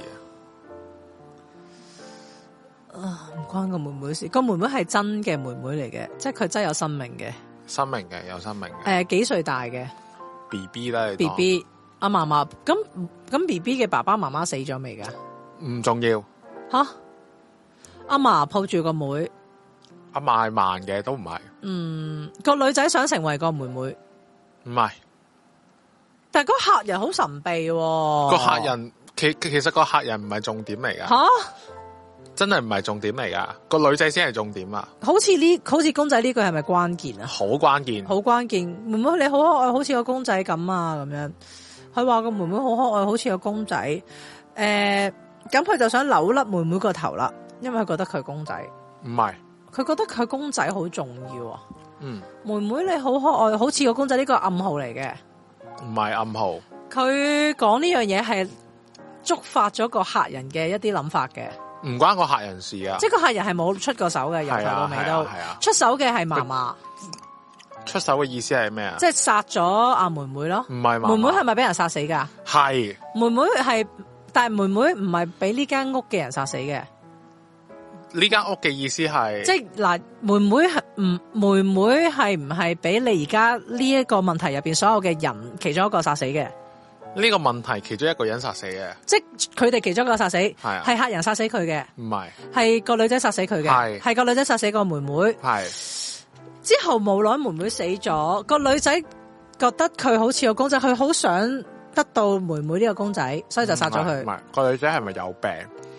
嘅。 啊，唔關個妹妹事。個妹妹係真嘅妹妹嚟嘅，即係佢真係有生命嘅。 生命嘅，有生命嘅。誒、 呃，幾歲大嘅 B B 咧 ？B B。阿嫲嫲咁咁 B B 嘅爸爸媽媽死咗未噶？ 唔重要。 吓，阿嫲抱住個妹， 阿嫲係慢嘅，都唔係。 嗯，個女仔想成為個妹妹， 唔係。 但係個客人好神秘喎。 個客人其其實個客人唔係重點嚟噶。吓，真係唔係重點嚟噶，個女仔先係重點啊！ 好似呢，好似公仔呢句係咪關鍵啊？ 好關鍵， 好關鍵。妹妹你好可愛，好似個公仔咁啊，咁樣。佢話個妹妹好可愛，好似個公仔。誒、呃，咁佢就想扭甩妹妹個頭啦，因為佢覺得佢公仔。 唔係，佢覺得佢公仔好重要啊。 嗯， 妹妹你好可愛，好似個公仔，呢個暗號嚟嘅。 唔係暗號。佢講呢樣嘢係觸發咗個客人嘅一啲諗法嘅。 唔關個客人事啊。即係個客人係冇出過手嘅，由頭到尾都。係啊。出手嘅係嫲嫲。 出手嘅意思係咩啊？ 即係殺咗阿妹妹咯。唔係妹妹係咪俾人殺死噶？係妹妹係，但係妹妹唔係俾呢間屋嘅人殺死嘅。 呢間屋嘅意思係即係嗱，妹妹係唔妹妹係唔係俾你而家呢一個問題入邊所有嘅人其中一個殺死嘅？ 呢個問題其中一個人殺死嘅。即係佢哋其中一個殺死，係啊， 係客人殺死佢嘅。唔係，係個女仔殺死佢嘅。係係個女仔殺死個妹妹。係。之後無奈妹妹死咗，個女仔覺得佢好似個公仔，佢好想得到妹妹呢個公仔，所以就殺咗佢。唔係，個女仔係咪有病？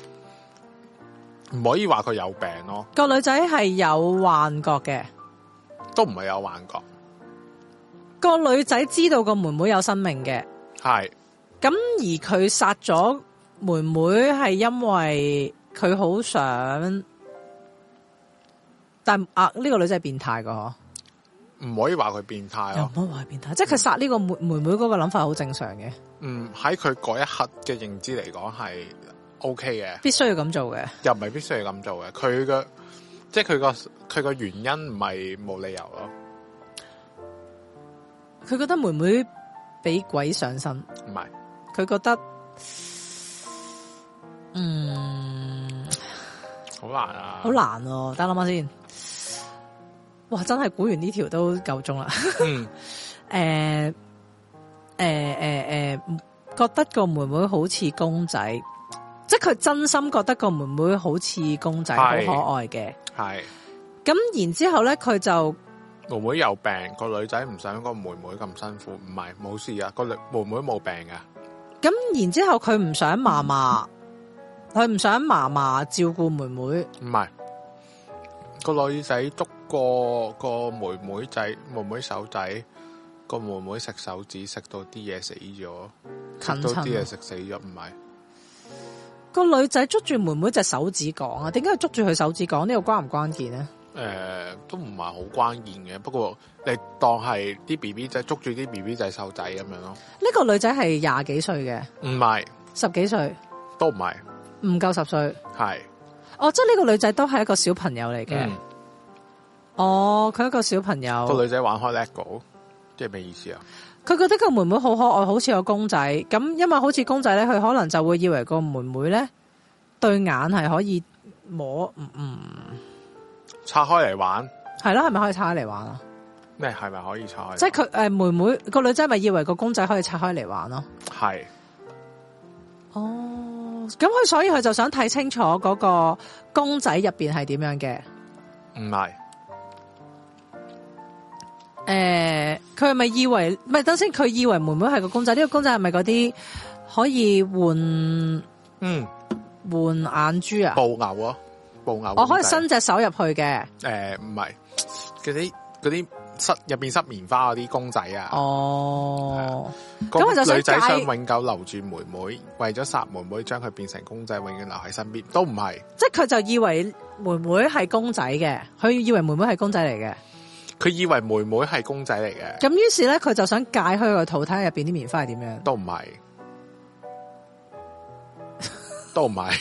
唔可以話佢有病咯。個女仔係有幻覺嘅，都唔係有幻覺。個女仔知道個妹妹有生命嘅，係。咁而佢殺咗妹妹係因為佢好想。但啊，呢、這個女仔係變態噶，唔可以話佢變態咯。又唔可以話佢變態，即係佢殺呢個妹妹妹嗰個諗法好正常嘅。嗯，喺佢嗰一刻嘅認知嚟講係 O K 嘅，必須要咁做嘅，又唔係必須要咁做嘅。佢嘅即係佢個佢個原因唔係冇理由咯。佢覺得妹妹俾鬼上身，唔係，佢覺得嗯好難啊，好難哦、啊。等諗下先。哇！真係估完呢條都夠鐘啦。嗯。誒誒誒誒，覺得個妹妹好似公仔，即係佢真心覺得個妹妹好似公仔，好可愛嘅。係。咁然之後咧，佢就妹妹有病，個女仔唔想個妹妹咁辛苦，唔係冇事啊，個女妹妹冇病噶。咁然之後佢唔想嫲嫲，佢唔想嫲嫲照顧妹妹。唔係。個女仔捉個個妹妹仔妹妹手仔，個妹妹食手指食到啲嘢死咗，食到啲嘢食死咗，唔係個女仔捉住妹妹隻手指講啊？點解要捉住佢手指講？呢個關唔關鍵咧？誒、呃，都唔係好關鍵嘅，不過你當係啲 B B 仔捉住啲 B B 仔手仔咁樣咯。呢個女仔係廿幾歲嘅，唔係十幾歲，都唔係，唔夠十歲，係。哦，即係呢個女仔都係一個小朋友嚟嘅。嗯、哦，佢一個小朋友。個女仔玩開 LEGO，即係咩意思啊？佢覺得個妹妹好可愛，好似個公仔。咁因為好似公仔咧，佢可能就會以為個妹妹咧對眼係可以摸，嗯嗯，拆開嚟玩。係咯，係咪可以拆開嚟玩啊？ 咩係咪可以拆開？ 即係佢誒妹妹個女仔咪以為個公仔可以拆開嚟玩咯。 係。 哦，咁佢所以佢就想睇清楚嗰個公仔入邊係點樣嘅。 唔係。 誒，佢係咪以為唔係？等先，佢以為妹妹係個公仔，呢、這個公仔係咪嗰啲可以換嗯換眼珠啊？ 布偶啊，布偶。 我可以伸隻手入去嘅。 誒，唔係嗰啲嗰啲塞入邊塞棉花嗰啲公仔啊。 哦， 咁佢就女仔想永久留住妹妹，為咗殺妹妹，將佢變成公仔，永遠留喺身邊，都唔係。 即係佢就以為妹妹係公仔嘅，佢以為妹妹係公仔嚟嘅。 佢以為妹妹係公仔嚟嘅， 咁於是咧，佢就想解開個肚，睇下入邊啲棉花係點樣。 都唔係，都唔係，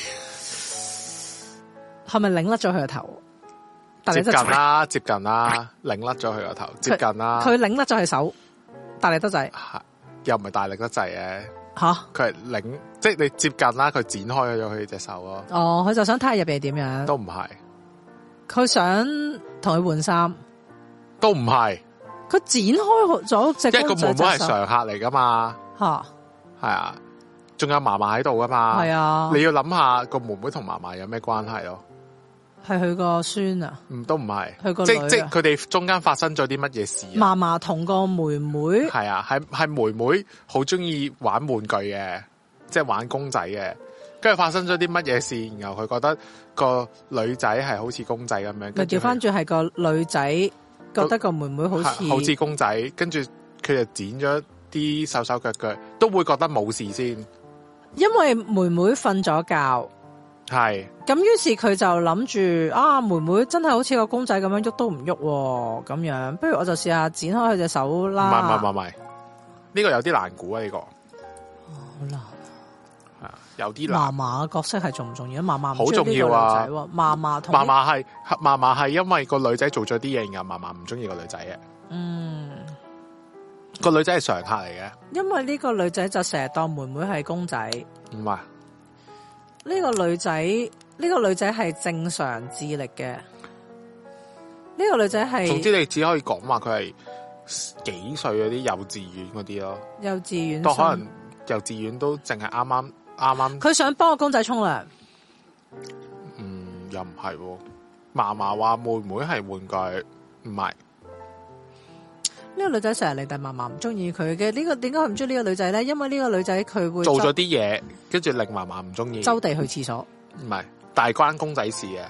係咪擰甩咗佢個頭？ 接近啦，接近啦，擰甩咗佢個頭，接近啦。 佢擰甩咗佢手，大力得滯， 又唔係大力得滯嘅。 吓， 佢係擰，即係你接近啦，佢展開咗佢隻手咯。 哦，佢就想睇下入邊係點樣。 都唔係， 佢想同佢換衫。 都唔係， 佢展開咗隻公仔隻手。 因為個妹妹係常客嚟噶嘛， 吓， 係啊，仲有嫲嫲喺度噶嘛， 係啊， 你要諗下個妹妹同嫲嫲有咩關係咯？ 係佢個孫啊？ 唔，都唔係， 佢個即即佢哋中間發生咗啲乜嘢事？ 嫲嫲同個妹妹係啊，係係妹妹好中意玩玩具嘅，即係玩公仔嘅，跟住發生咗啲乜嘢事，然後佢覺得個女仔係好似公仔咁樣，咪調翻轉係個女仔。覺得個妹妹好似好似公仔，跟住佢就剪咗啲手手腳腳，都會覺得冇事先。 因為妹妹瞓咗覺， 係咁於是佢就諗住啊，妹妹真係好似個公仔咁樣喐都唔喐咁樣，不如我就試下剪開佢隻手啦。 唔係唔係唔係，呢個有啲難估啊！呢個好難啊，有啲難。 嫲嫲嘅角色係重唔重要？嫲嫲好重要啊！ 嫲嫲同嫲嫲係嫲嫲係因為個女仔做咗啲嘢，然後嫲嫲唔中意個女仔嘅。 嗯， 個女仔係常客嚟嘅。因為呢個女仔就成日當妹妹係公仔。 唔係， 呢個女仔呢個女仔係正常智力嘅。呢個女仔係， 總之你只可以講話佢係幾歲嗰啲幼稚園嗰啲咯。 幼稚園都可能。幼稚園都淨係啱啱啱啱，佢想幫個公仔沖涼。 嗯，又唔係，嫲嫲話妹妹係玩具，唔係。 呢個女仔成日嚟，但嫲嫲唔中意佢嘅。呢個點解佢唔中意呢個女仔咧？因為呢個女仔佢會做咗啲嘢，跟住令嫲嫲唔中意。 周地去廁所， 唔係，但係關公仔事嘅。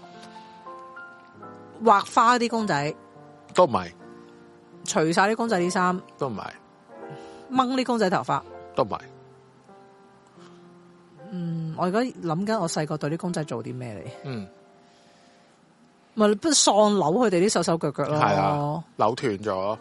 畫花啲公仔都唔係， 除晒啲公仔啲衫都唔係， 掹啲公仔頭髮。 都唔係， 嗯，我而家諗緊我細個對啲公仔做啲咩嚟？ 嗯， 咪不喪扭佢哋啲手手腳腳咯， 係啊，扭斷咗。哦，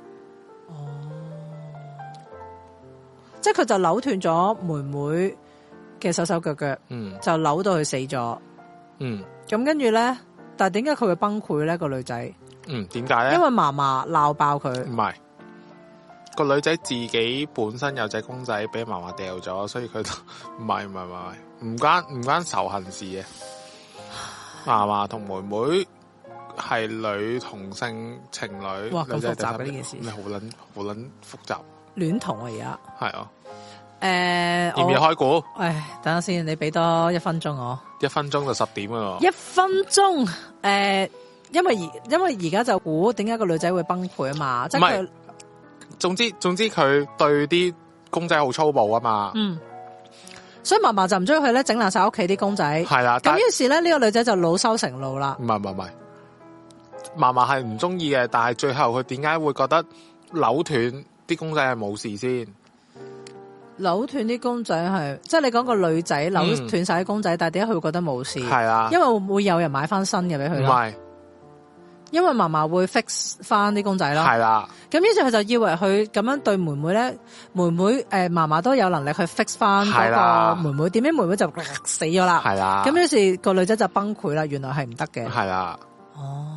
即係佢就扭斷咗妹妹嘅手手腳腳， 嗯，就扭到佢死咗， 嗯， 咁跟住咧，但係點解佢會崩潰咧？個女仔， 嗯，點解咧？ 因為嫲嫲鬧爆佢， 唔係。個女仔自己本身有隻公仔俾嫲嫲掉咗，所以佢都唔係唔係唔係唔關唔關仇恨事嘅。嫲嫲同妹妹係女同性情侶， 哇咁複雜嘅呢件事， 咩好撚好撚複雜？ 戀童啊而家係啊， 誒， 要唔要開估？ 唉，等下先，你俾多一分鐘我， 一分鐘就十點啊！ 一分鐘，誒、呃，因為而因為而家就估點解個女仔會崩潰啊嘛，即係佢。 總之總之佢對啲公仔好粗暴啊嘛，嗯， 所以嫲嫲就唔中意佢咧整爛晒屋企啲公仔，係啦。咁於是咧呢、這個女仔就惱羞成怒啦。 唔係唔係唔係，嫲嫲係唔中意嘅，但係最後佢點解會覺得扭斷啲公仔係冇事先？ 扭斷啲公仔係，即係你講個女仔扭斷晒啲公仔，嗯、但係點解佢會覺得冇事？係啊，因為會有人買翻新嘅俾佢。唔係。因為嫲嫲會 fix 翻啲公仔啦，係啦。咁於是佢就以為佢咁樣對妹妹咧，妹妹誒嫲嫲都有能力去 fix 翻嗰個妹妹，點知妹妹就死咗啦，係啦。咁於是個女仔就崩潰啦，原來係唔得嘅，係啦。哦，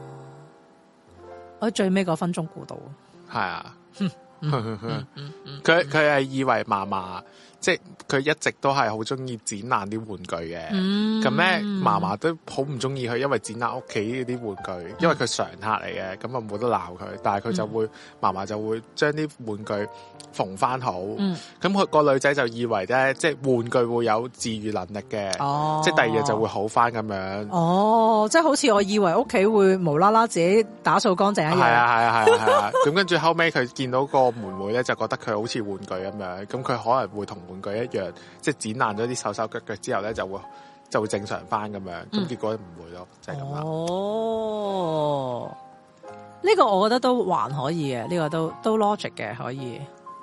我最尾嗰分鐘估到， 係啊。佢佢係以為嫲嫲即係佢一直都係好中意剪爛啲玩具嘅。咁咧嫲嫲都好唔中意佢，因為剪爛屋企啲玩具，因為佢常客嚟嘅，咁啊冇得鬧佢。但係佢就會嫲嫲、嗯、就會將啲玩具縫翻好。咁佢、嗯、個女仔就以為咧，即係玩具會有治愈能力嘅，哦、即係第二日就會好翻咁樣。哦， 即係好似我以為屋企會無啦啦自己打掃乾淨一樣。 係啊係啊係啊係啊！咁跟住後尾佢見到個妹妹咧，就覺得佢好似玩具咁樣，咁佢可能會同玩具一樣，即係剪爛咗啲手手腳腳之後咧，就會就會正常翻咁樣。咁、嗯、結果唔會咯，就係咁啦。 哦，呢、這個我覺得都還可以嘅，呢、這個都都 logic 嘅，可以。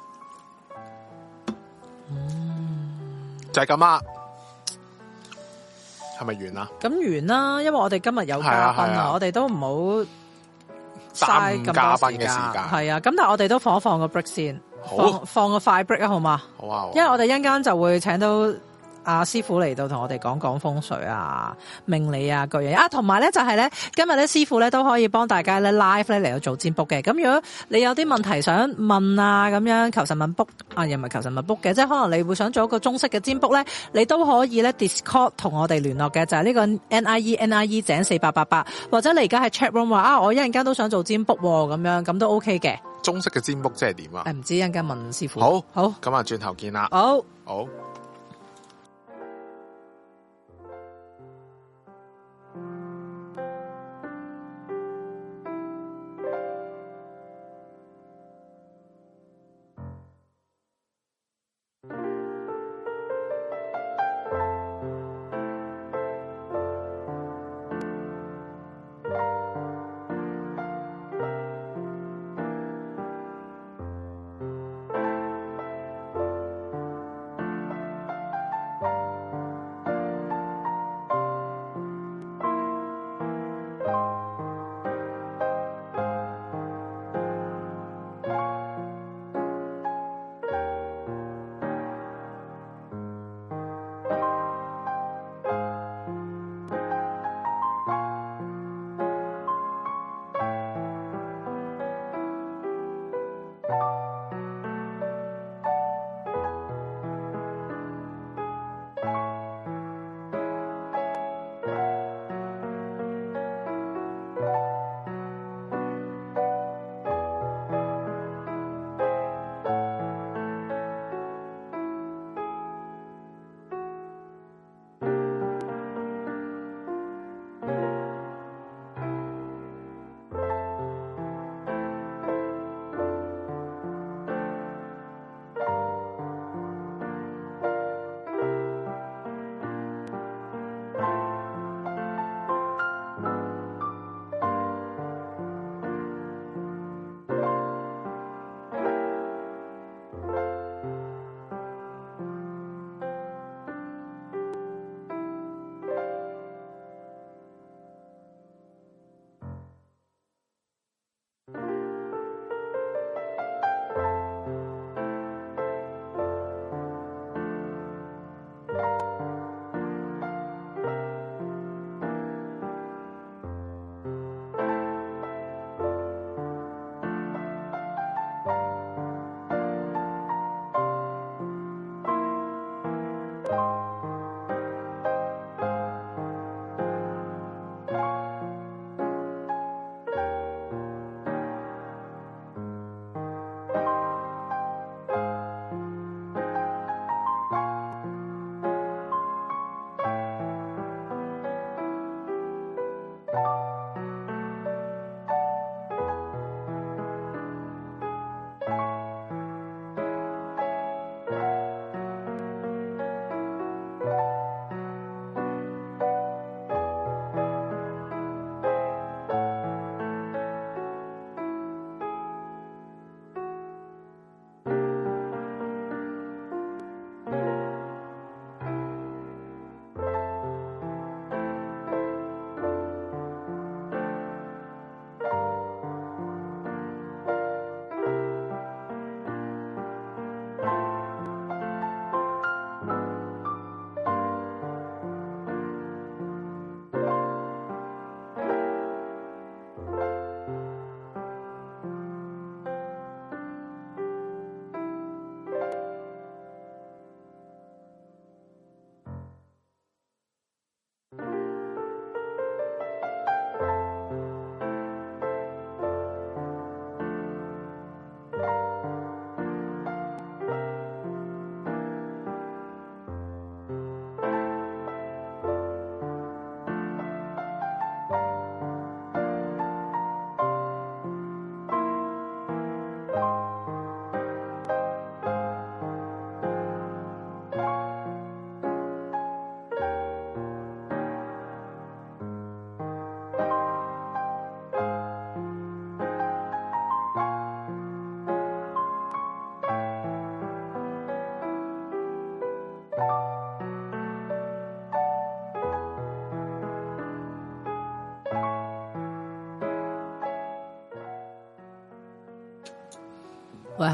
嗯，就係咁啦。係咪完啦？咁完啦，因為我哋今日有嘉賓啊，我哋都唔好嘥咁多時間。係啊，咁但係我哋都放一放個 break 先， 好放放個快 break 啊，好嘛？ 好啊， 因為我哋一陣間就會請到阿師傅嚟到同我哋講講風水啊、命理啊各樣啊，同埋咧就係咧今日咧師傅咧都可以幫大家咧 live 咧嚟到做占卜嘅。咁如果你有啲問題想問啊，咁樣求神問卜啊，又唔係求神問卜嘅，即係可能你會想做一個中式嘅占卜咧，你都可以咧 Discord 同我哋聯絡嘅，就係呢個 N I E N I E 井四八八八，或者你而家喺 chat room 話啊，我一陣間都想做占卜咁樣，咁都 OK 嘅。 中式嘅占卜即係點啊？ 誒，唔知一陣間問師傅。 好， 好， 咁啊，轉頭見啦。 好， 好。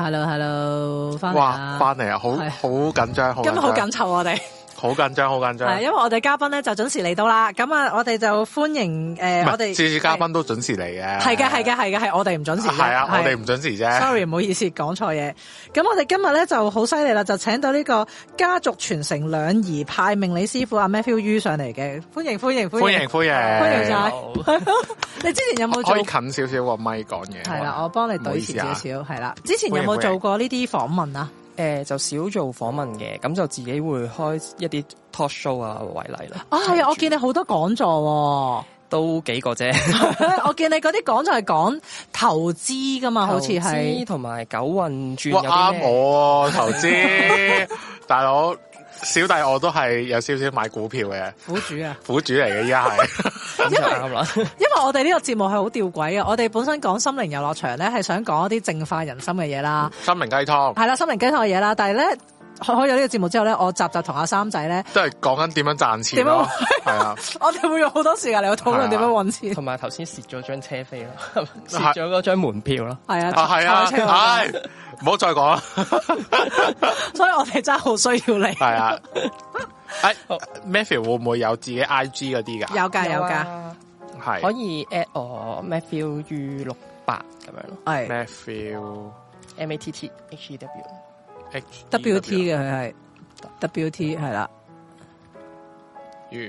Hello，Hello，翻嚟哇，翻嚟啊，好好緊張，好今日好緊湊我哋。 好緊張，好緊張。 係，因為我哋嘉賓咧就準時嚟到啦。咁啊，我哋就歡迎誒、呃，我哋次次嘉賓都準時嚟嘅。 係嘅，係嘅，係嘅，係我哋唔準時。 係啊，我哋唔準時啫。 Sorry， 唔好意思，講錯嘢。咁我哋今日咧就好犀利啦，就請到呢個家族傳承兩儀派命理師傅阿 Matthew Yu 上嚟嘅，歡迎歡迎歡迎歡迎歡迎歡迎晒。你之前有冇做？ 可以近少少個咪講嘢。 係啦，我幫你對前少少。係啦，之前有冇做過呢啲訪問啊？ 誒、呃，就少做訪問嘅，咁就自己會開一啲 talk show 啊為例啦。 啊，係啊，我見你好多講座， 都幾個啫。 我見你嗰啲講座係講投資噶嘛，好似係同埋九運轉有啲咩？啱我投資，大佬。小弟我都係有少少買股票嘅苦主啊， 苦主嚟嘅依家係， 咁就啱啦。 因為我哋呢個節目係好吊詭嘅，我哋本身講心靈遊樂場咧係想講一啲淨化人心嘅嘢啦， 心靈雞湯係啦，心靈雞湯嘅嘢啦，但係咧開咗呢個節目之後咧，我集集同阿三仔咧都係講緊點樣賺錢咯，係啊， 我哋會用好多時間嚟去討論點樣搵錢， 同埋頭先蝕咗張車飛咯，蝕咗嗰張門票咯， 係啊， 係啊，係。唔好再講啦， 所以我哋真係好需要你。係啊，誒，Matthew 會唔會有自己 I G 嗰啲噶？ 有噶有噶， 係可以 at 我 Matthew Yu 六八咁樣咯， 係 Matthew M A T T H E W W T 嘅佢係 W T 係啦 ，U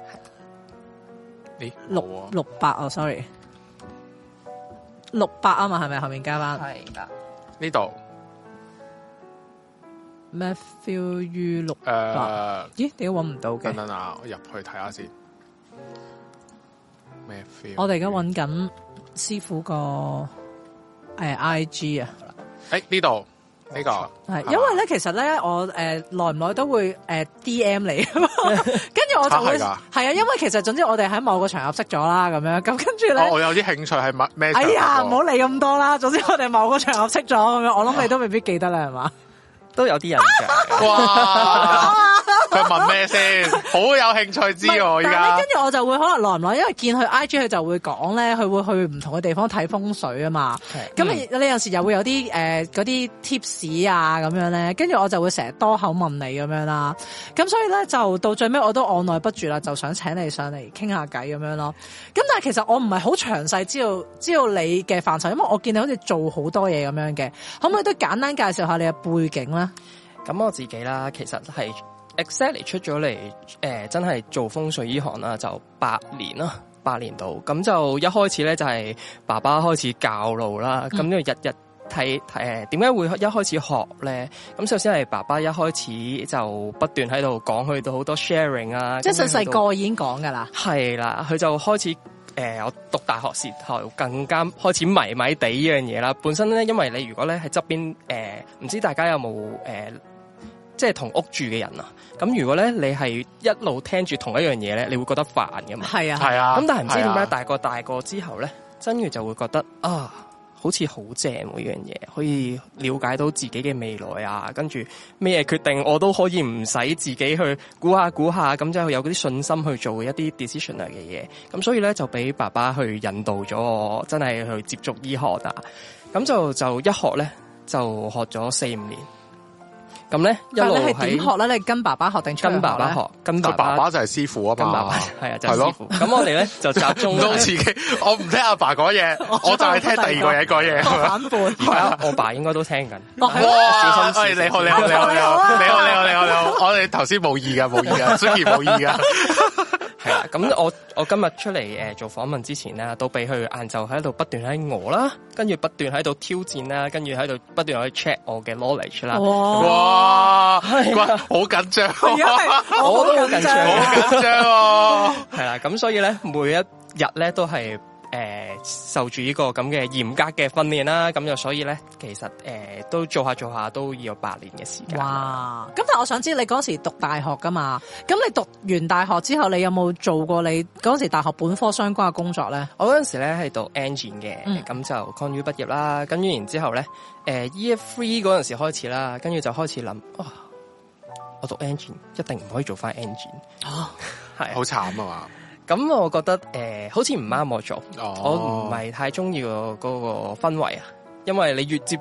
咦六六八哦 ，sorry 六八啊嘛，係咪後面加翻？ 係啦。 呢度 Matthew Yu 六八，咦？點解搵唔到嘅？ 等等啊，我入去睇下先。Matthew， 我哋而家搵緊師傅個誒 I G 啊。 誒呢度呢個係，因為咧其實咧我誒耐唔耐都會誒 D M 你，跟住我就會係啊，因為其實總之我哋喺某個場合識咗啦，咁樣咁跟住咧， 我有啲興趣係乜咩？ 哎呀，唔好理咁多啦，總之我哋某個場合識咗咁樣，我諗你都未必記得啦，係嘛？ 都有啲人嘅。 哇！佢問咩先？好有興趣知喎，而家。 跟住我就會可能耐唔耐，因為見佢 I G 佢就會講咧，佢會去唔同嘅地方睇風水啊嘛。咁你有陣時又會有啲誒嗰啲 tips 啊咁樣咧，跟住我就會成日多口問你咁樣啦。咁所以咧就到最尾我都按捺不住啦，就想請你上嚟傾下偈咁樣咯。咁但係其實我唔係好詳細知道知道你嘅範疇，因為我見你好似做好多嘢咁樣嘅，可唔可以都簡單介紹下你嘅背景咧？ 咁我自己啦，其實係 exactly 出咗嚟，誒、呃，真係做風水呢行啦，就八年啦，八年度。咁就一開始咧就係爸爸開始教路啦，咁就日日睇誒，點解會一開始學咧？咁首先係爸爸一開始就不斷喺度講，去到好多 sharing 啊， 即係細細個已經講噶啦。 係啦，佢就開始誒、呃，我讀大學時候更加開始迷迷地呢樣嘢啦。本身咧，因為你如果咧喺側邊誒，唔知大家有冇誒？呃即係同屋住嘅人啊，咁如果咧你係一路聽住同一樣嘢咧，你會覺得煩噶嘛？係啊，係啊。咁但係唔知點解大個大個之後咧，真嘅就會覺得啊，好似好正呢樣嘢，可以了解到自己嘅未來啊，跟住咩決定我都可以唔使自己去估下估下，咁就有嗰啲信心去做一啲 decision 嘅嘢。咁所以咧就俾爸爸去引導咗我，真係去接觸醫學啊。咁就就一學咧就學咗四五年。咁咧一路係點學咧？你跟爸爸學定跟爸爸學？跟爸爸， 爸爸就係師傅啊嘛。 跟爸爸係啊，就係師傅。咁我哋咧就集中唔自己，我唔聽阿爸講嘢，我就係聽第二個人講嘢。 反叛係啊，我爸應該都聽緊。 哇！ 小心， 你好，你好，你好，你好，你好，你好，你好，你好。我哋頭先冇意噶，冇意噶 Suki 冇意噶。 係啦，咁我我今日出嚟誒做訪問之前咧，都俾佢晏晝喺度不斷喺餓啦，跟住不斷喺度挑戰啦，跟住喺度不斷去 check 我嘅 knowledge 啦。 哇！哇！好緊張， 我都好緊張， 好緊張。 係啦，咁所以咧，每一日咧都係。誒、呃，受住呢個咁嘅嚴格嘅訓練啦，咁就所以咧，其實誒、呃、都做下做下都要有八年嘅時間。 哇！咁但係我想知你嗰時讀大學噶嘛？咁你讀完大學之後，你有冇做過你嗰時大學本科相關嘅工作咧？ 我嗰陣時咧係讀 engine 嘅，咁、嗯、就 Con U 畢業啦。跟住然之後咧，誒、呃、Year Three 嗰陣時開始啦，跟住就開始諗，哇！我讀 engine 一定唔可以做翻 engine， 啊，係好慘啊嘛！ 咁我覺得誒、呃，好似唔啱我做， 哦、 我唔係太中意個嗰個氛圍啊，因為你越接觸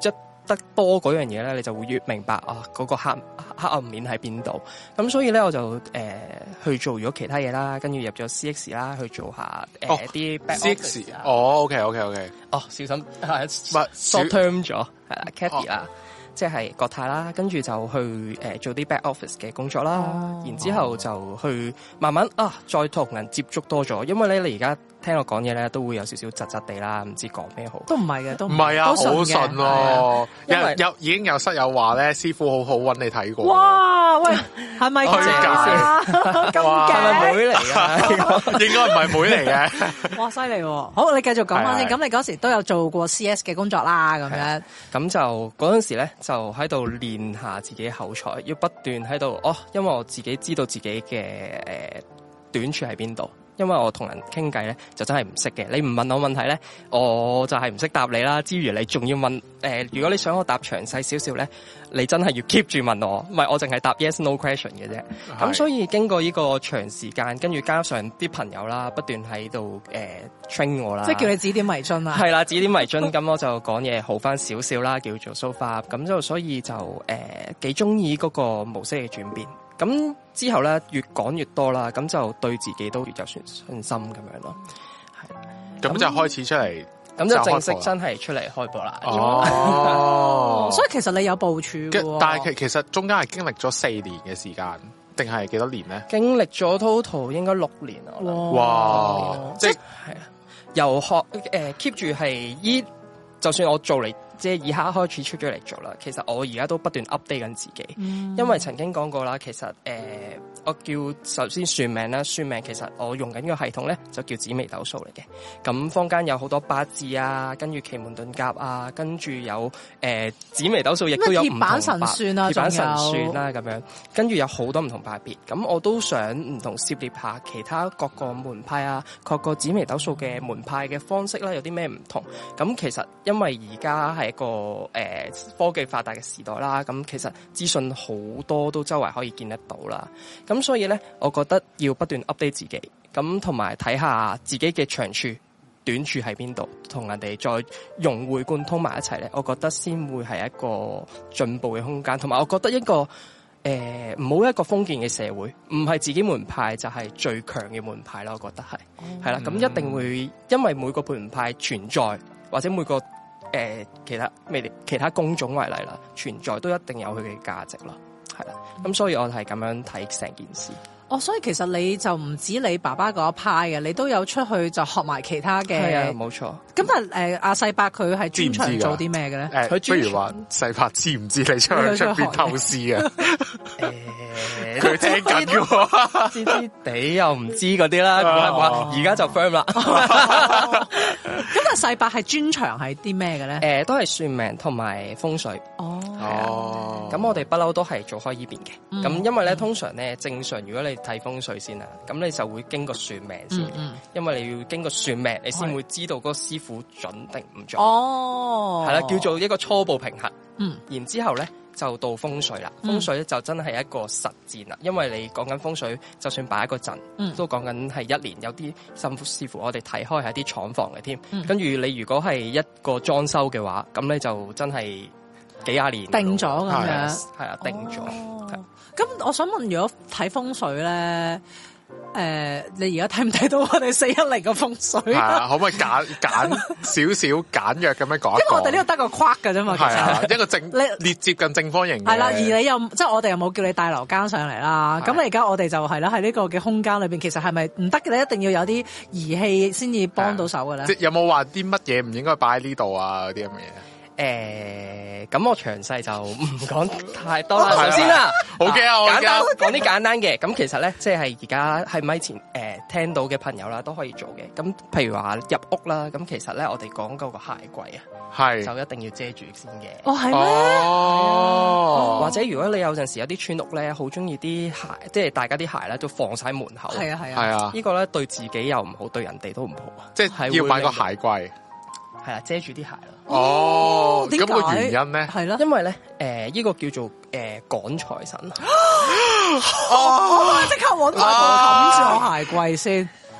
得多嗰樣嘢咧，你就會越明白啊嗰、嗰個黑黑暗面喺邊度。咁所以咧，我就誒、呃、去做咗其他嘢啦，跟住入咗 C X 啦，去做下誒啲 back office 啊。 哦 ，OK OK OK。 哦，小心係 short term 咗，係啦 Cathy 啦。即係國泰啦，跟住就去誒、呃、做啲 back office 嘅工作啦，哦、然之後就去慢慢啊，再同人接觸多咗，因為咧你而家聽我講嘢咧都會有少少窒窒地啦，唔知講咩好。 都唔係嘅，都唔係啊，好順喎。 因為有已經有室友話咧，師傅好好揾你睇過。 哇，喂，係咪㗎？咁勁，係咪妹嚟㗎？ 應該唔係妹嚟嘅。 哇，犀利喎！好，你繼續講翻先。咁你嗰時都有做過 C S 嘅工作啦，咁樣。 咁就嗰陣時咧。就喺度練下自己口才，要不斷喺度哦，因為我自己知道自己嘅誒、呃、短處喺邊度。因為我同人傾偈咧，就真係唔識嘅。你唔問我問題咧，我就係唔識答你啦。之餘你仲要問誒、呃，如果你想我答詳細少少咧，你真係要 keep 住問我，唔係我淨係答 yes no question 嘅啫。咁所以經過呢個長時間，跟住加上啲朋友啦，不斷喺度誒 train 我啦， 即係叫你指點迷津啊。 係啦，指點迷津，咁我就講嘢好翻少少啦，叫做 so far。咁就所以就誒幾中意嗰個模式嘅轉變。咁之後咧，越講越多啦，咁就對自己都越有信信心咁樣咯。係， 咁就開始出嚟， 咁就正式真係出嚟開播啦。 哦， 所以其實你有部署嘅， 但係其其實中間係經歷咗四年嘅時間，定係幾多年咧？ 經歷咗 total 應該六年啊！ 哇，即係係啊，由學誒 keep 住係依，就算我做嚟。即係以刻開始出咗嚟做啦，其實我而家都不斷 update 緊自己，嗯、因為曾經講過啦，其實誒、呃、我叫首先算命啦，算命其實我用緊個系統咧就叫紫微斗數嚟嘅，咁坊間有好多八字啊，跟住奇門遁甲啊，跟住有誒、呃、紫微斗數亦都有唔同版神算啊，鐵板神算啦咁樣，跟住有好多唔同派別，咁我都想唔同涉獵下其他各個門派啊，各個紫微斗數嘅門派嘅方式啦，有啲咩唔同，咁其實因為而家係一個誒、呃、科技發達嘅時代啦，咁其實資訊好多都周圍可以見得到啦，咁所以咧，我覺得要不斷 update 自己，咁同埋睇下自己嘅長處、短處喺邊度，同人哋再融會貫通埋一齊咧，我覺得先會係一個進步嘅空間，同埋我覺得一個誒唔好一個封建嘅社會，唔係自己門派就係最強嘅門派啦，我覺得係係啦，咁、嗯、一定會因為每個門派存在或者每個。誒、呃，其他未其他工種為例啦，存在都一定有佢嘅價值咯，係啦，咁、嗯、所以我係咁樣睇成件事。哦， 所以其實你就唔止你爸爸嗰一派嘅，你都有出去就學埋其他嘅。 係啊，冇錯。 咁但係誒，阿細伯佢係專長做啲咩嘅咧？ 誒，不如話細伯知唔知你出去出邊偷師啊？誒，佢聽緊嘅喎， 知知地又唔知嗰啲啦，而家就 firm 啦。 咁但係細伯係專長係啲咩嘅咧？ 誒、呃，都係算命同埋風水。 哦， 哦， 咁我哋不嬲都係做開依邊嘅。咁、嗯、因為咧，通常咧，正常如果你睇風水先啦，咁你就會經過算命先，嗯嗯、因為你要經過算命，你先會知道嗰個師傅準定唔準。哦，係啦，叫做一個初步評核。嗯，然之後咧就到風水啦。風水咧就真係一個實戰啦，因為你講緊風水，就算擺一個陣，嗯、都講緊係一年。有啲甚至師傅我哋睇開係啲廠房嘅添。嗯、跟住你如果係一個裝修嘅話，咁你就真係幾廿年定咗咁樣， 係啊，定咗。 咁我想問，如果睇風水咧？誒、呃，你而家睇唔睇到我哋四一零嘅風水？係啊，可唔可以簡簡少少簡約咁樣講？ 因為我哋呢度得個框㗎啫嘛， 係啊，一個正列接近正方形嘅。 係啦，而你又即係我哋又冇叫你帶樓間上嚟啦。咁你而家我哋就係啦，喺呢個嘅空間裏邊，其實係咪唔得嘅？你一定要有啲儀器先至幫到手嘅咧。 即係有冇話啲乜嘢唔應該擺喺呢度啊？嗰啲咁嘅嘢？ 誒，咁、呃、我詳細就唔講太多啦。首先啦， 好嘅啊， 簡單講啲簡單嘅。咁其實咧，即係而家喺咪前誒、呃、聽到嘅朋友啦，都可以做嘅。咁譬如話入屋啦，咁其實咧，我哋講嗰個鞋櫃啊，係就一定要遮住先嘅。 哦，係咩？ 哦， 或者如果你有陣時有啲村屋咧，好中意啲鞋，即係大家啲鞋咧都放晒喺門口。 係啊係啊， 係啊。 呢個咧對自己又唔好，對人哋都唔好啊。 即係要買個鞋櫃。 係啦，遮住啲鞋啦。 哦，咁個原因咧？ 係咯，因為咧，誒、呃，呢、這個叫做誒趕財神。 哦，即刻搵個冚住我鞋櫃先。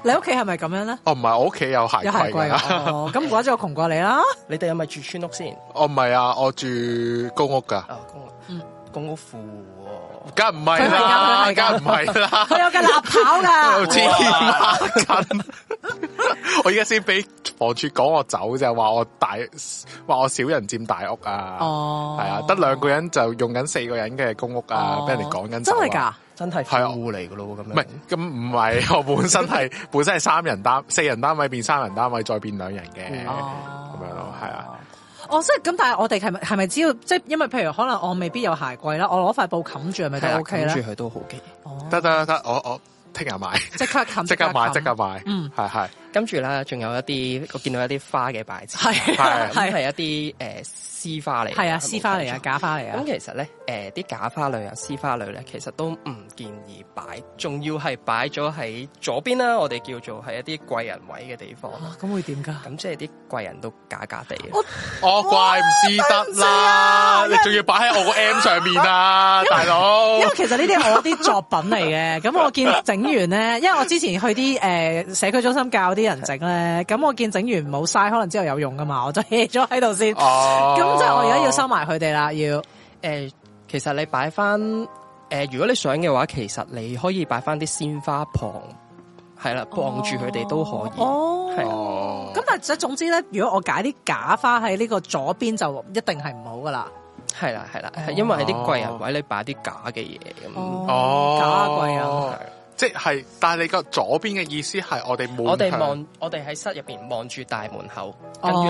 你屋企係咪咁樣咧？ 哦，唔係，我屋企有鞋櫃。有鞋櫃哦，咁唔怪之我窮過你啦。 你哋係咪住村屋先？ 哦，唔係啊，我住公屋噶。 哦，公屋，嗯，公屋富。 梗唔係啦，梗唔係啦， 佢有架立跑噶， 黐孖筋。我而家先俾房署趕我走就話我大，話我少人佔大屋啊。哦，係啊，得兩個人就用緊四個人嘅公屋啊，俾、哦、人哋趕緊走。 真係噶， 真係富戶嚟噶咯咁樣。 唔係，咁唔係，我本身係本身係三人單，四人單位變三人單位，再變兩人嘅，咁、哦、樣咯，係啊。 哦，即係咁，但係我哋係咪係咪只要即係，因為譬如可能我未必有鞋櫃啦，我攞塊布冚住係咪都 OK 咧？ 冚住佢都好嘅。 哦， 得得得，我我聽日買， 即刻冚， 即刻買，即刻買。嗯，係係。 跟住咧，仲有一啲我見到一啲花嘅擺設， 係係係一啲誒絲花嚟， 係啊，絲花嚟啊，假花嚟啊。 咁其實咧，誒啲假花類啊、絲花類咧，其實都唔建議擺，仲要係擺咗喺左邊啦。我哋叫做係一啲貴人位嘅地方。 咁會點噶？ 咁即係啲貴人都假假地嘅。 我怪唔知得啦，你仲要擺喺我個 M 上面啊，大佬。 因為其實呢啲係我啲作品嚟嘅，咁我見整完咧，因為我之前去啲誒社區中心教啲人整咧，咁我見整完冇嘥，可能之後有用噶嘛，我就 hea 咗喺度先。哦，咁即係我而家要收埋佢哋啦，要誒、 呃，其實你擺翻誒，如果你想嘅話，其實你可以擺翻啲鮮花旁，係啦，傍住佢哋都可以。哦，係啊。 咁但係總之咧，如果我解啲假花喺呢個左邊，就一定係唔好噶啦。 係啦，係啦，係因為喺啲貴人位你擺啲假嘅嘢咁。 哦， 假貴人。 即係，但係你個左邊嘅意思係我哋望， 我哋望，我哋喺室入邊望住大門口，跟住你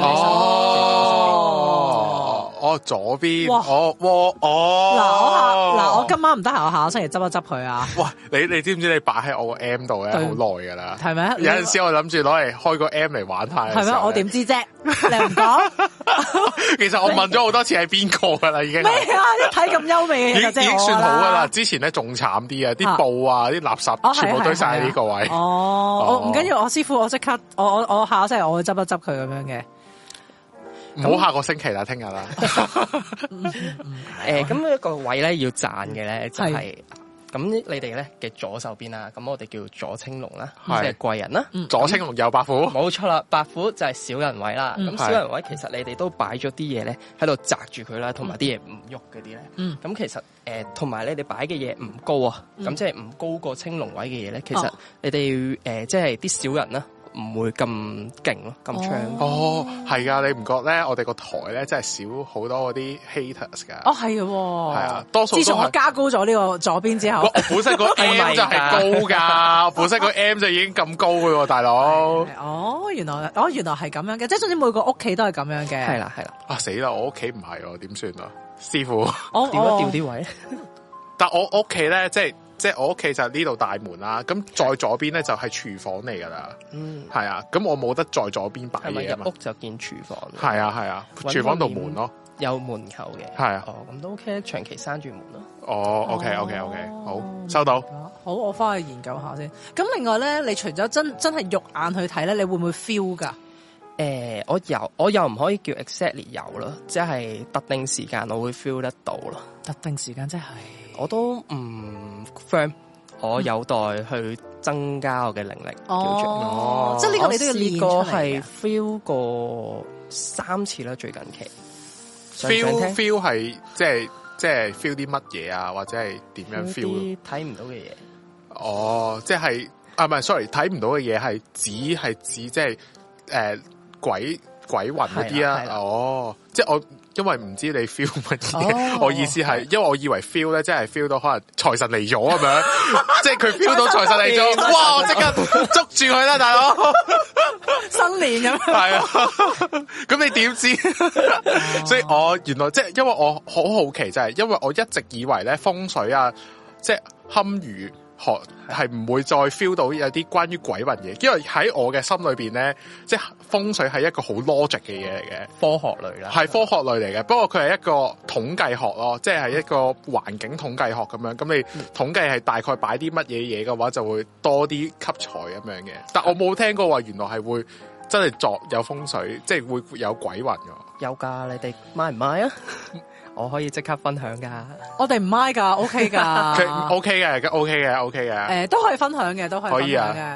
哦，哦左邊，哦，哦， 嗱我下，嗱我今晚唔得閒，我下個星期執一執佢啊！ 哇，你你知唔知你擺喺我個 M 度咧好耐噶啦？ 係咪？ 有陣時我諗住攞嚟開個 M 嚟玩下。 係咩？我點知啫？你唔講？ 其實我問咗好多次係邊個噶啦，已經咩啊？一睇咁優美嘅， 已經算好噶啦。之前咧仲慘啲啊，啲布啊，啲垃圾。全部堆晒喺呢個位。 哦，我唔緊要，我師傅，我即刻，我我我下個星期我會執一執佢咁樣嘅。 唔好下個星期啦，聽日啦。 誒，咁一個位咧要讚嘅咧就係，咁你哋咧嘅左手邊啦，咁我哋叫左青龍啦，即係貴人啦。 左青龍右白虎。 冇錯啦，白虎就係小人位啦。咁小人位其實你哋都擺咗啲嘢咧喺度擲住佢啦，同埋啲嘢唔喐嗰啲咧。咁其實誒，同埋你哋擺嘅嘢唔高啊，咁即係唔高過青龍位嘅嘢咧。其實你哋誒，即係啲小人啦。唔會咁勁咯，咁長哦，係噶，你唔覺咧？我哋個台咧真係少好多嗰啲 haters 噶。 哦，係嘅，係啊，多數都係。自從我加高咗呢個左邊之後， 我本身個 M 就係高噶，本身個 M 就已經咁高嘅喎，大佬。 哦，原來，哦，原來係咁樣嘅，即係總之每個屋企都係咁樣嘅。 係啦，係啦。 啊死啦！我屋企唔係喎，點算啊？師傅， 我調一調啲位。 但我屋企咧，即係。即係我屋企就呢度大門啦，咁再左邊咧就係廚房嚟噶啦，嗯，係啊，咁我冇得再左邊擺嘢啊嘛。 入屋就見廚房， 係啊係啊，廚房度門咯， 有門口嘅， 係啊， 哦，咁都 OK，長期閂住門咯。 哦 ，OK OK OK，好，收到。 好，我翻去研究下先。咁另外咧，你除咗真真係肉眼去睇咧，你會唔會 feel 噶？ 誒，我有，我又唔可以叫 exactly 有咯，即係特定時間我會 feel 得到咯。 特定時間即係。 我都唔 firm，我有待去增加我嘅能力。 哦，即係呢個你都要練出嚟嘅。 我試過係 feel 過三次啦，最近期。 feel feel 係即係即係 feel 啲乜嘢啊？或者係點樣 feel？啲睇唔到嘅嘢。 哦，即係啊，唔係 sorry，睇唔到嘅嘢係指係指即係誒鬼鬼魂嗰啲啊。哦，即係我。因為唔知你 feel 乜嘢，我意思係，因為我以為 feel 咧，即係 feel 到可能財神嚟咗咁樣，即係佢 feel 到財神嚟咗，哇！我即刻捉住佢啦，大佬， 新年咁， 係啊，咁你點知？所以我原來即係因為我好好奇，就係因為我一直以為咧風水啊，即係堪輿學係唔會再 feel 到有啲關於鬼魂嘢，因為喺我嘅心裏邊咧，即係風水係一個好 logic 嘅嘢嚟嘅， 科學類啦， 係科學類嚟嘅。不過佢係一個統計學咯，即係一個環境統計學咁樣。咁你統計係大概擺啲乜嘢嘢嘅話，就會多啲吸財咁樣嘅。但我冇聽過話原來係會真係作有風水，即係會有鬼魂㗎。 有㗎，你哋買唔買啊？我可以即刻分享噶， 我哋唔 mind 噶 ，OK 噶 ，OK 嘅，OK 嘅，OK 嘅，誒， 都可以分享嘅，都可以分享嘅。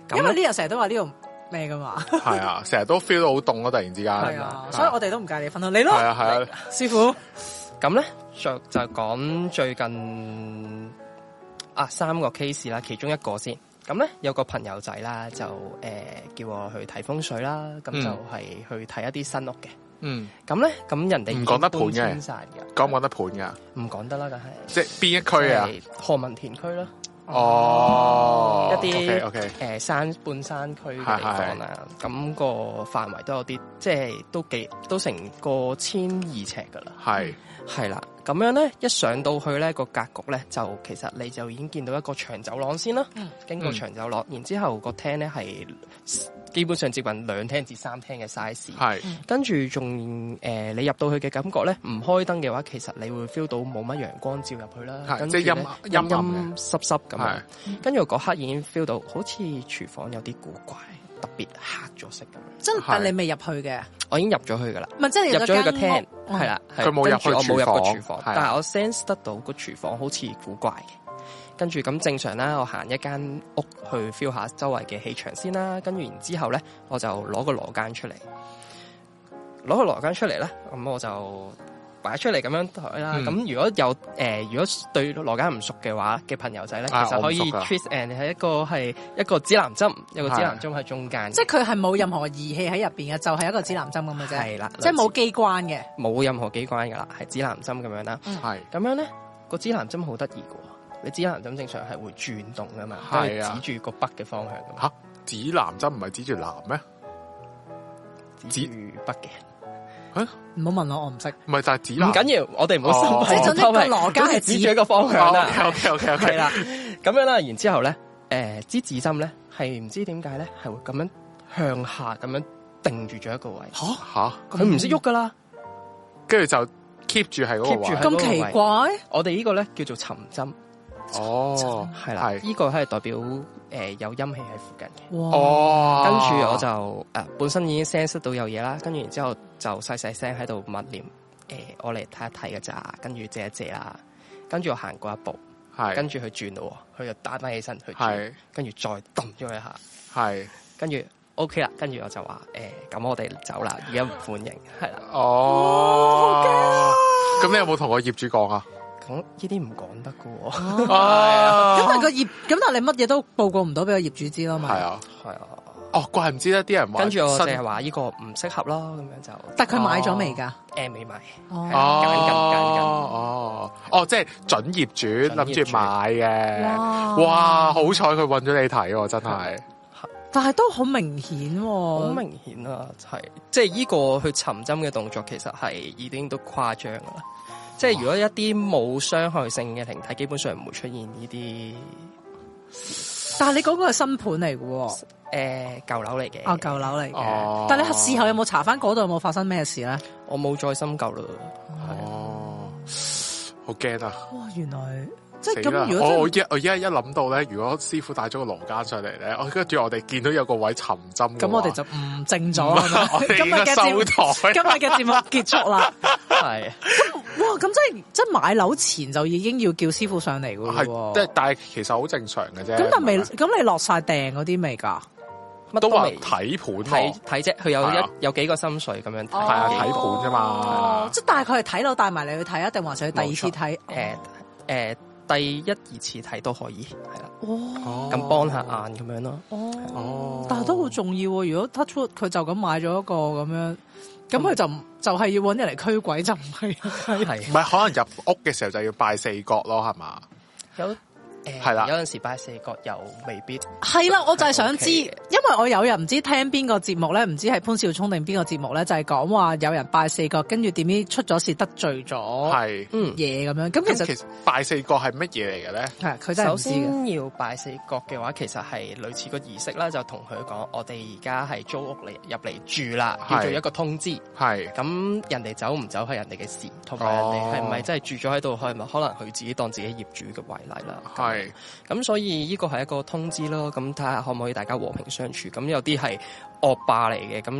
因為呢日成日都話呢度咩噶嘛。 係啊，成日都 feel 到好凍咯，突然之間。 係啊，所以我哋都唔介意分享你咯。 係啊係啊， 師傅。 咁咧就就講最近啊三個 case 啦，其中一個先。咁咧有個朋友仔啦，就誒、呃、叫我去睇風水啦，咁、嗯、就係去睇一啲新屋嘅。嗯，咁咧咁人哋唔講得盤嘅，講唔講得盤噶？ 唔講得啦，梗係。即係邊一區啊？ 何文田區啦。 哦， 一啲 OK， 誒山半山區嘅地方啦，咁個範圍都有啲，即係都幾都成個千二尺噶啦。係係啦，咁樣咧一上到去咧個格局咧，就其實你就已經見到一個長走廊先啦。嗯，經過長走廊，然之後個廳咧係基本上接近兩廳至三廳嘅 size。係，跟住仲誒你入到去嘅感覺咧，唔開燈嘅話，其實你會 feel 到冇乜陽光照入去啦。係，即係陰陰陰濕濕咁樣。跟住嗰刻已經 feel 到好似廚房有啲古怪，特別黑咗色咁樣。真係，但你未入去嘅？我已經入咗去噶啦。唔係，即係入咗去個廳，係啦。佢冇入去廚房，我冇入過廚房，但係我 sense 得到個廚房好似古怪嘅。跟住咁正常啦，我行一間屋去 feel 下周圍嘅氣場先啦。跟住然之後咧，我就攞個羅間出嚟，攞個羅間出嚟咧，咁我就擺出嚟咁樣睇啦。咁、嗯、如果有誒、呃，如果對羅間唔熟嘅話嘅朋友仔咧，啊、其實可以 twist and 係一個係一個指南針，有個指南針喺中間。即係佢係冇任何儀器喺入邊嘅，就係、是、一個指南針咁嘅啫。係啦，即係冇機關嘅，冇任何機關噶啦，係指南針咁樣啦。係咁樣咧，個指南針好得意噶。你指南針正常係會轉動噶嘛，係啊，指住個北嘅方向噶嘛。吓，指南針唔係指住南咩？指住北嘅。吓，唔好問我，我唔識。唔係，就係指南。唔緊要，我哋唔好深。即係總之個羅家係指住一個方向啦。OK OK OK OK 啦。咁樣啦，然之後咧，誒，支指針咧係唔知點解咧係會咁樣向下咁樣定住咗一個位。吓吓，佢唔識喐噶啦，跟住就 keep 住係嗰個位。咁奇怪，我哋呢個咧叫做尋針。哦，係啦，呢個係代表誒、呃、有陰氣喺附近嘅。哦，跟住我就誒、呃、本身已經 sense 到有嘢啦，跟住然之後就細細聲喺度默念誒，我嚟睇一睇嘅咋，跟住借一借啦，跟住我行過一步，係，跟住佢轉咯，佢就打翻起身去轉，跟住再揼咗佢一下，係，跟住 OK 啦，跟住我就話誒，咁、呃、我哋走啦，而家唔歡迎，係啦。哦，咁、哦、你有冇同個業主講啊？咁呢啲唔講得噶喎，咁但係個業，咁但係你乜嘢都報告唔到俾個業主知啦嘛。係啊，係啊，哦，怪唔知得啲人話，跟住我淨係話呢個唔適合咯，咁樣就。但係佢買咗未噶？誒，未買。哦，揀緊揀緊。哦，哦，即係準業主諗住買嘅。哇，好彩佢揾咗你睇喎，真係。但係都好明顯，好明顯啊，係，即係呢個去尋針嘅動作，其實係已經都誇張啦。即係如果一啲冇傷害性嘅靈體，基本上唔會出現呢啲。但係你嗰個係新盤嚟嘅喎，誒舊樓嚟嘅。哦，舊樓嚟嘅。哦。但係你事後有冇查翻嗰度有冇發生咩事咧？我冇再深究啦。哦。好驚啊！哇，原來。即係咁，如果我我一我依家一諗到咧，如果師傅帶咗個羅間上嚟咧，我跟住我哋見到有個位尋針，咁我哋就唔正咗啦。今日嘅節目，今日嘅節目結束啦。係。哇！咁即係即係買樓前就已經要叫師傅上嚟噶喎。係，即係但係其實好正常嘅啫。咁但係未，咁你落晒訂嗰啲未㗎？乜都話睇盤睇睇啫，佢有一有幾個心水咁樣睇。係啊，睇盤啫嘛。即係但係佢係睇樓帶埋你去睇啊，定還是佢第二次睇？誒誒。第一二次睇都可以，係啦，哦，咁幫下眼咁樣咯，哦，但係都好重要喎。如果 touch wood 佢就咁買咗一個咁樣，咁佢就、嗯、就係、是、要搵人嚟驅鬼，就唔係，係，唔係可能入屋嘅時候就要拜四角咯，係嘛？有。誒，係啦，有陣時拜四角又未必係啦，我就係想知，因為我有人唔知聽邊個節目咧，唔知係潘少聰定邊個節目咧，就係講話有人拜四角，跟住點知出咗事得罪咗係嘢咁樣。咁其實其實拜四角係乜嘢嚟嘅咧？係佢真係唔知嘅。首先要拜四角嘅話，其實係類似個儀式啦，就同佢講，我哋而家係租屋嚟入嚟住啦，叫做一個通知。係咁人哋走唔走係人哋嘅事，同埋人哋係唔係真係住咗喺度，係咪可能佢自己當自己業主嘅為例啦。係。咁所以呢個係一個通知咯，咁睇下可唔可以大家和平相處。咁有啲係惡霸嚟嘅，咁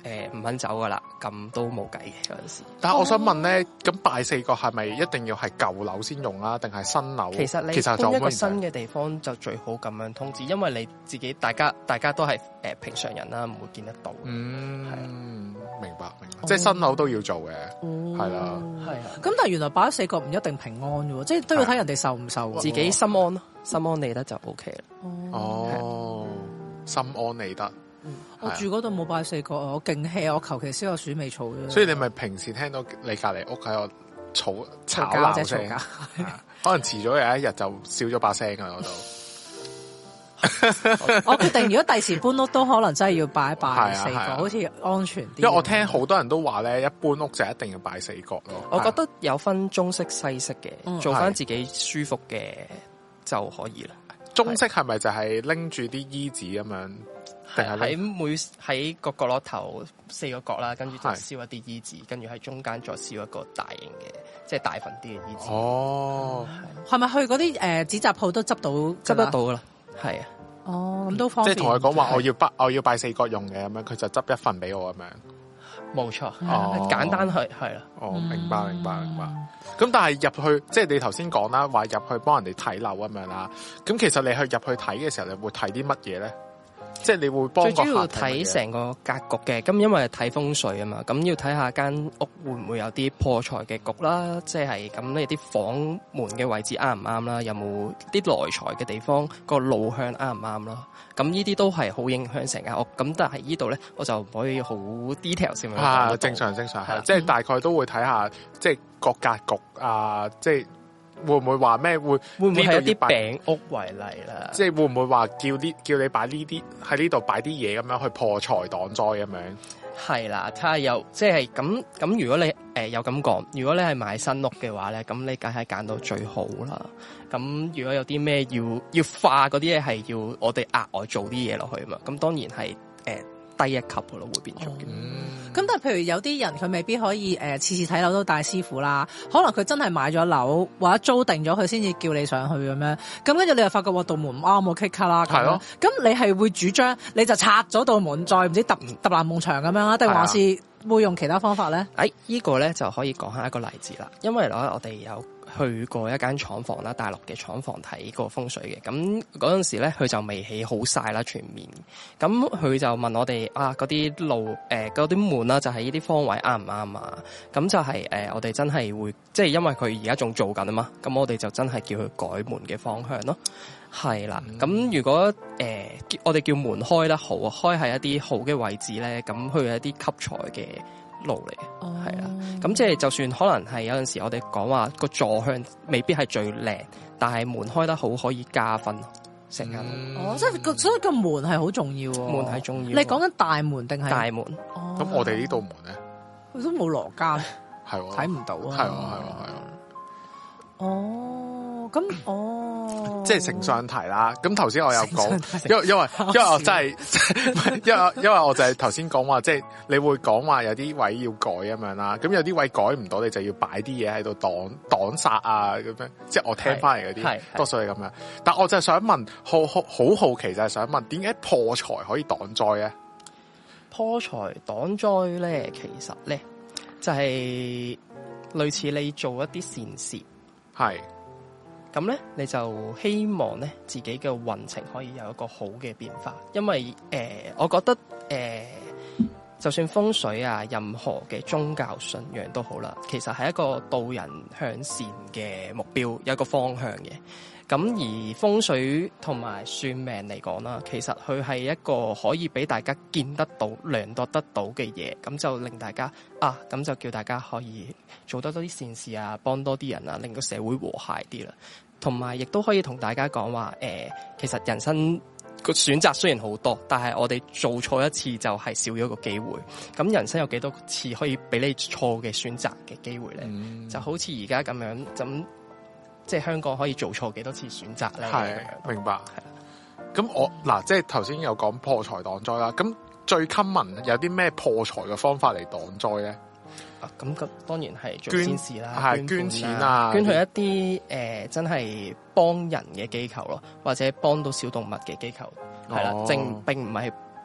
誒唔肯走噶啦，咁都冇計嘅嗰陣時。 但係我想問咧，咁拜四角係咪一定要係舊樓先用啦，定係新樓？ 其實你搬一個新嘅地方就最好咁樣通知，因為你自己大家大家都係誒平常人啦，唔會見得到。 嗯，係啊， 明白明白，即係新樓都要做嘅，係啦， 係啊。 咁但係原來擺四角唔一定平安嘅喎，即係都要睇人哋受唔受， 自己心安咯，心安理得就 O K 啦。 哦，心安理得。 我住嗰度冇擺四角啊，我勁 hea，我求其燒個鼠尾草啫。 所以你咪平時聽到你隔離屋喺度嘈吵鬧聲，可能遲咗有一日就少咗把聲喺嗰度。 我決定如果第時搬屋都可能真係要擺一擺四角， 啊啊、 好似安全啲。 因為我聽好多人都話咧，一搬屋就一定要擺四角咯。 我覺得有分中式西式嘅， 嗯、 做翻自己舒服嘅就可以啦。 中式係咪就係拎住啲衣紙咁樣？定係喺每喺個角落頭四個角啦，跟住就燒一啲衣紙，跟住喺中間再燒一個大型嘅，即係大份啲嘅衣紙。 哦， 係咪去嗰啲誒紙紮鋪都執到執得到噶啦？係啊。 哦，咁都方便。 即係同佢講話，我要拜我要拜四角用嘅咁樣，佢就執一份俾我咁樣。 冇錯， 哦， 簡單係係啦。 哦，明白明白明白。咁但係入去，即係你頭先講啦，話入去幫人哋睇樓咁樣啦。咁其實你去入去睇嘅時候，你會睇啲乜嘢咧？即係你會幫最主要睇成個格局嘅，咁因為睇風水啊嘛，咁要睇下間屋會唔會有啲破財嘅局啦，即係咁你啲房門嘅位置啱唔啱啦，有冇啲來財嘅地方個路向啱唔啱啦，咁呢啲都係好影響成間屋。咁但係呢度咧，我就唔可以好 detail 先啊，正常正常係，即係大概都會睇下，即係個格局啊，即係。會唔會話咩？會會唔會係一啲餅屋為例啦？ 即係會唔會話叫啲叫你擺呢啲喺呢度擺啲嘢咁樣去破財擋災咁樣？ 係啦，睇下有即係咁咁。如果你誒、呃、有咁講，如果你係買新屋嘅話咧，咁你梗係揀到最好啦。咁如果有啲咩要要化嗰啲嘢，係要我哋額外做啲嘢落去嘛？咁當然係誒。呃低一級嘅咯，會變咗嘅。咁、 嗯、但係譬如有啲人佢未必可以誒次次睇樓都帶師傅啦，可能佢真係買咗樓或者租定咗佢先至叫你上去咁樣。咁跟住你又發覺話道門唔啱我 kick 卡啦，係咯。咁你係會主張你就拆咗道門，再唔知揼揼爛埲牆咁樣啊？定還是會用其他方法咧？誒、 哎，依、這個咧就可以講下一個例子啦。因為咧我哋有去過一間廠房啦，大陸嘅廠房睇過風水嘅。咁嗰陣時咧，佢就未起好晒啦，全面。咁佢就問我哋啊，嗰啲路誒，嗰啲門啦，就係呢啲方位啱唔啱啊？咁就係、是、誒、呃，我哋真係會，即係因為佢而家仲做緊啊嘛。咁我哋就真係叫佢改門嘅方向咯。係啦，咁、嗯、如果誒、呃，我哋叫門開得好，開喺一啲好嘅位置咧，咁佢係一啲吸財嘅路嚟嘅，係啦、哦。咁即係就算可能係有陣時我哋講話個坐向未必係最靚，但係門開得好可以加分成間。 哦，即係個所以個門係好重要。 門係重要。 你講緊大門定係大門？ 哦，咁我哋呢道門咧， 佢都冇羅間， 係睇唔到啊。 係喎係喎係喎。 哦，咁哦， 即係承上題啦。咁頭先我有講，因為因為因為我真係，因為因為我就係頭先講話，即係你會講話有啲位要改咁樣啦。咁有啲位改唔到，你就要擺啲嘢喺度擋擋煞啊咁樣。即係我聽翻嚟嗰啲，多數係咁樣。但我就係想問，好好好好奇就係想問，點解破財可以擋災咧？ 破財擋災咧，其實咧就係類似你做一啲善事。係，咁咧你就希望咧自己嘅運程可以有一個好嘅變化，因為誒、呃，我覺得誒、呃，就算風水啊，任何嘅宗教信仰都好啦，其實係一個導人向善嘅目標，有一個方向嘅。咁而風水同埋算命嚟講啦，其實佢係一個可以俾大家見得到、量度得到嘅嘢，咁就令大家啊，咁就叫大家可以做得多啲善事啊，幫多啲人啊，令個社會和諧啲啦。同埋亦都可以同大家講話，誒、呃，其實人生個選擇雖然好多，但係我哋做錯一次就係少咗個機會。咁人生有幾多次可以俾你錯嘅選擇嘅機會咧？嗯、就好似而家咁樣咁。即係香港可以做錯幾多次選擇咧？係明白。係咁我嗱，即係頭先有講破財擋災啦。咁最 common 有啲咩破財嘅方法嚟擋災咧？ 啊，咁咁當然係做善事啦， 係捐錢啊， 捐去一啲誒、呃、真係幫人嘅機構咯，或者幫到小動物嘅機構係啦。正並唔係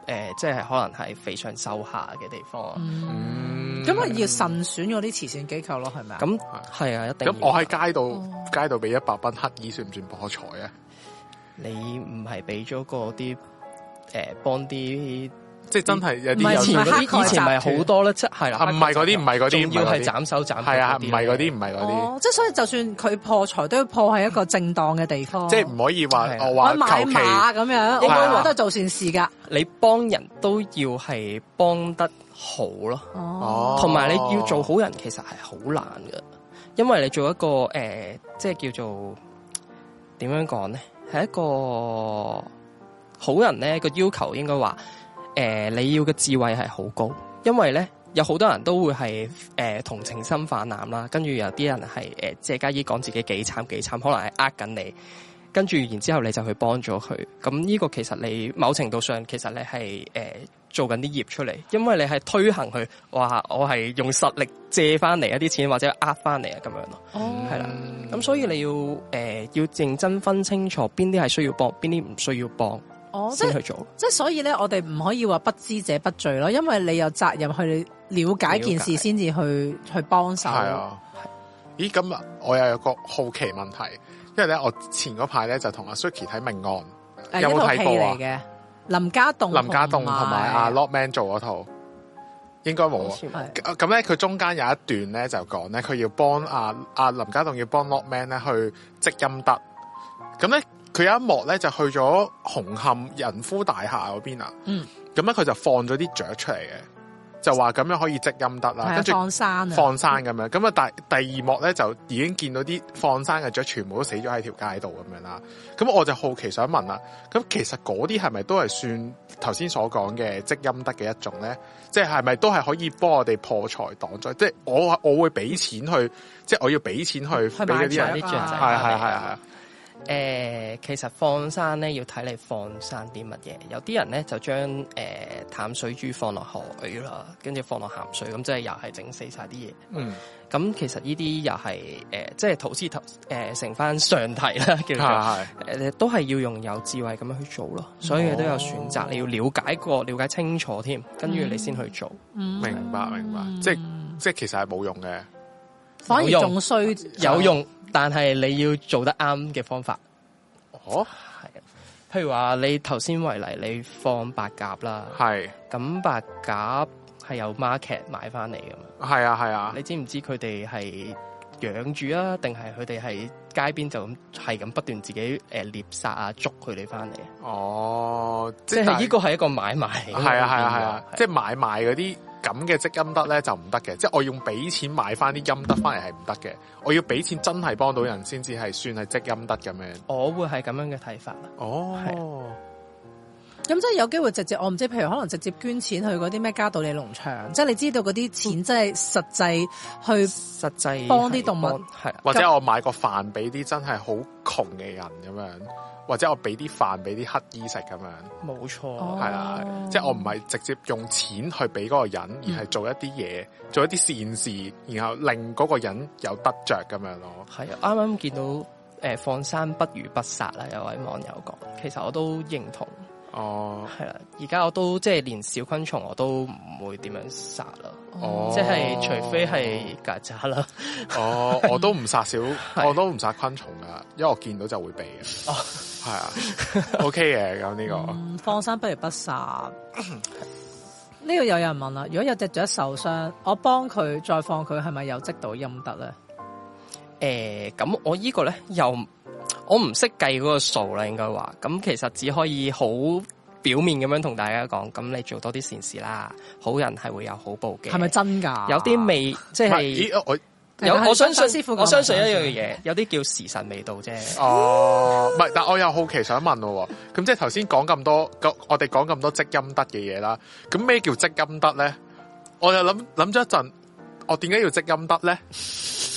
呃，即係可能係肥上瘦下嘅地方。 嗯，咁啊、嗯、要慎選嗰啲慈善機構咯，係咪啊？ 咁係啊，一定。 咁我喺街度、哦、街度俾一百蚊乞衣，算唔算破財啊？ 你唔係俾咗嗰啲誒幫啲。 即係真係有啲以前嗰啲以前咪好多咧，即係啦， 唔係嗰啲，唔係嗰啲， 要係斬手斬。 係啊，唔係嗰啲，唔係嗰啲。 即係所以，就算佢破財，都要破喺一個正當嘅地方。 即係唔可以話我話買馬咁樣，應該都係做善事噶。 你幫人都要係幫得好咯，哦，同埋你要做好人，其實係好難噶，因為你做一個誒，即係叫做點樣講咧，係一個好人咧個要求，應該話。誒、呃，你要嘅智慧係好高，因為咧有好多人都會係誒、呃、同情心泛濫啦，跟住有啲人係誒借家衣講自己幾慘幾慘，可能係呃緊你，跟住然之後你就去幫咗佢，咁呢個其實你某程度上其實你係誒、呃、做緊啲業出嚟，因為你係推行佢話我係用實力借翻嚟一啲錢或者呃翻嚟啊咁樣咯，係啦、哦，咁所以你要誒、呃、要認真分清楚邊啲係需要幫，邊啲唔需要幫。哦，先去做，即係所以咧，我哋唔可以話不知者不罪咯，因為你有責任去了解件事，先至去去幫手。係啊， 咦，咁啊，我又有個好奇問題，因為咧，我前嗰排咧就同阿 Suki 睇命案，有冇睇過啊？嘅林家棟、 林家棟同埋阿 Lockman 做嗰套，應該冇啊。咁咧，佢中間有一段咧就講咧，佢要幫阿阿林家棟要幫 Lockman 咧去積陰德，咁咧。佢有一幕咧就去咗紅磡仁孚大廈嗰邊啊，咁咧佢就放咗啲雀出嚟嘅，就話咁樣可以積陰德啦，跟住放生放生咁樣，咁啊第第二幕咧就已經見到啲放生嘅雀全部都死咗喺條街度咁樣啦，咁我就好奇想問啦，咁其實嗰啲係咪都係算頭先所講嘅積陰德嘅一種咧？即係係咪都係可以幫我哋破財擋災？即係我我會俾錢去，即係我要俾錢去俾嗰啲人， 啲雀仔， 係係係係。 誒、呃，其實放生咧要睇你放生啲乜嘢，有啲人咧就將誒、呃、淡水豬放落海啦，跟住放落鹹水，咁即係又係整死晒啲嘢。嗯，咁其實呢啲又係誒，即係頭先頭誒成翻上題啦，叫做誒、呃，都係要用有智慧咁樣去做咯。所以你都有選擇，你要了解過、了解清楚添，跟住你先去做。嗯、 明白明白，即係即係其實係冇用嘅， 反而仲衰有用。但係你要做得啱嘅方法， 哦， 係，譬如話你頭先為例，你放白鴿啦，係，咁白鴿係有 market 買翻嚟噶嘛， 係啊係啊， 你知唔知佢哋係養住啊，定係佢哋喺街邊就咁係咁不斷自己誒獵殺啊捉佢哋翻嚟？哦，即係呢個係一個買賣，係啊係啊係啊，即係買賣嗰啲。咁嘅積陰德咧就唔得嘅，即係我用俾錢買翻啲陰德翻嚟係唔得嘅，我要俾錢真係幫到人先至係算係積陰德咁樣。 我會係咁樣嘅睇法啦。哦， 咁即係有機會直接，我唔知，譬如可能直接捐錢去嗰啲咩嘉道理農場，即係你知道嗰啲錢真係實際去實際幫啲動物， 係或者我買個飯俾啲真係好窮嘅人咁樣。或者我俾啲飯俾啲乞衣食咁樣， 冇錯， 係啦，即係我唔係直接用錢去俾嗰個人，而係做一啲嘢，做一啲善事，然後令嗰個人有得着咁樣咯。 係啊，啱啱見到誒、呃、放生不如不殺啦，有位網友講，其實我都認同。哦，係啦，而家我都即係連小昆蟲我都唔會點樣殺啦。哦，即係除非係曱甴啦。哦， 我都唔殺小，我都唔殺昆蟲噶，因為我見到就會避嘅。哦，係啊，OK 嘅咁呢個、嗯。 放生不如不殺。呢個有人問啦，如果有隻雀受傷，我幫佢再放佢，係咪有積到陰德咧？ 誒、呃，咁我呢個咧又。我唔識計嗰個數啦，應該話咁其實只可以好表面咁樣同大家講，咁你做多啲善事啦，好人係會有好報嘅。 係咪真㗎？ 有啲未即係我有我相信我相信一樣嘢，有啲叫時辰未到啫。 哦，唔係，但我又好奇想問喎，咁即係頭先講咁多，我哋講咁多積陰德嘅嘢啦，咁咩叫積陰德咧？我又諗諗咗一陣，我點解要積陰德咧？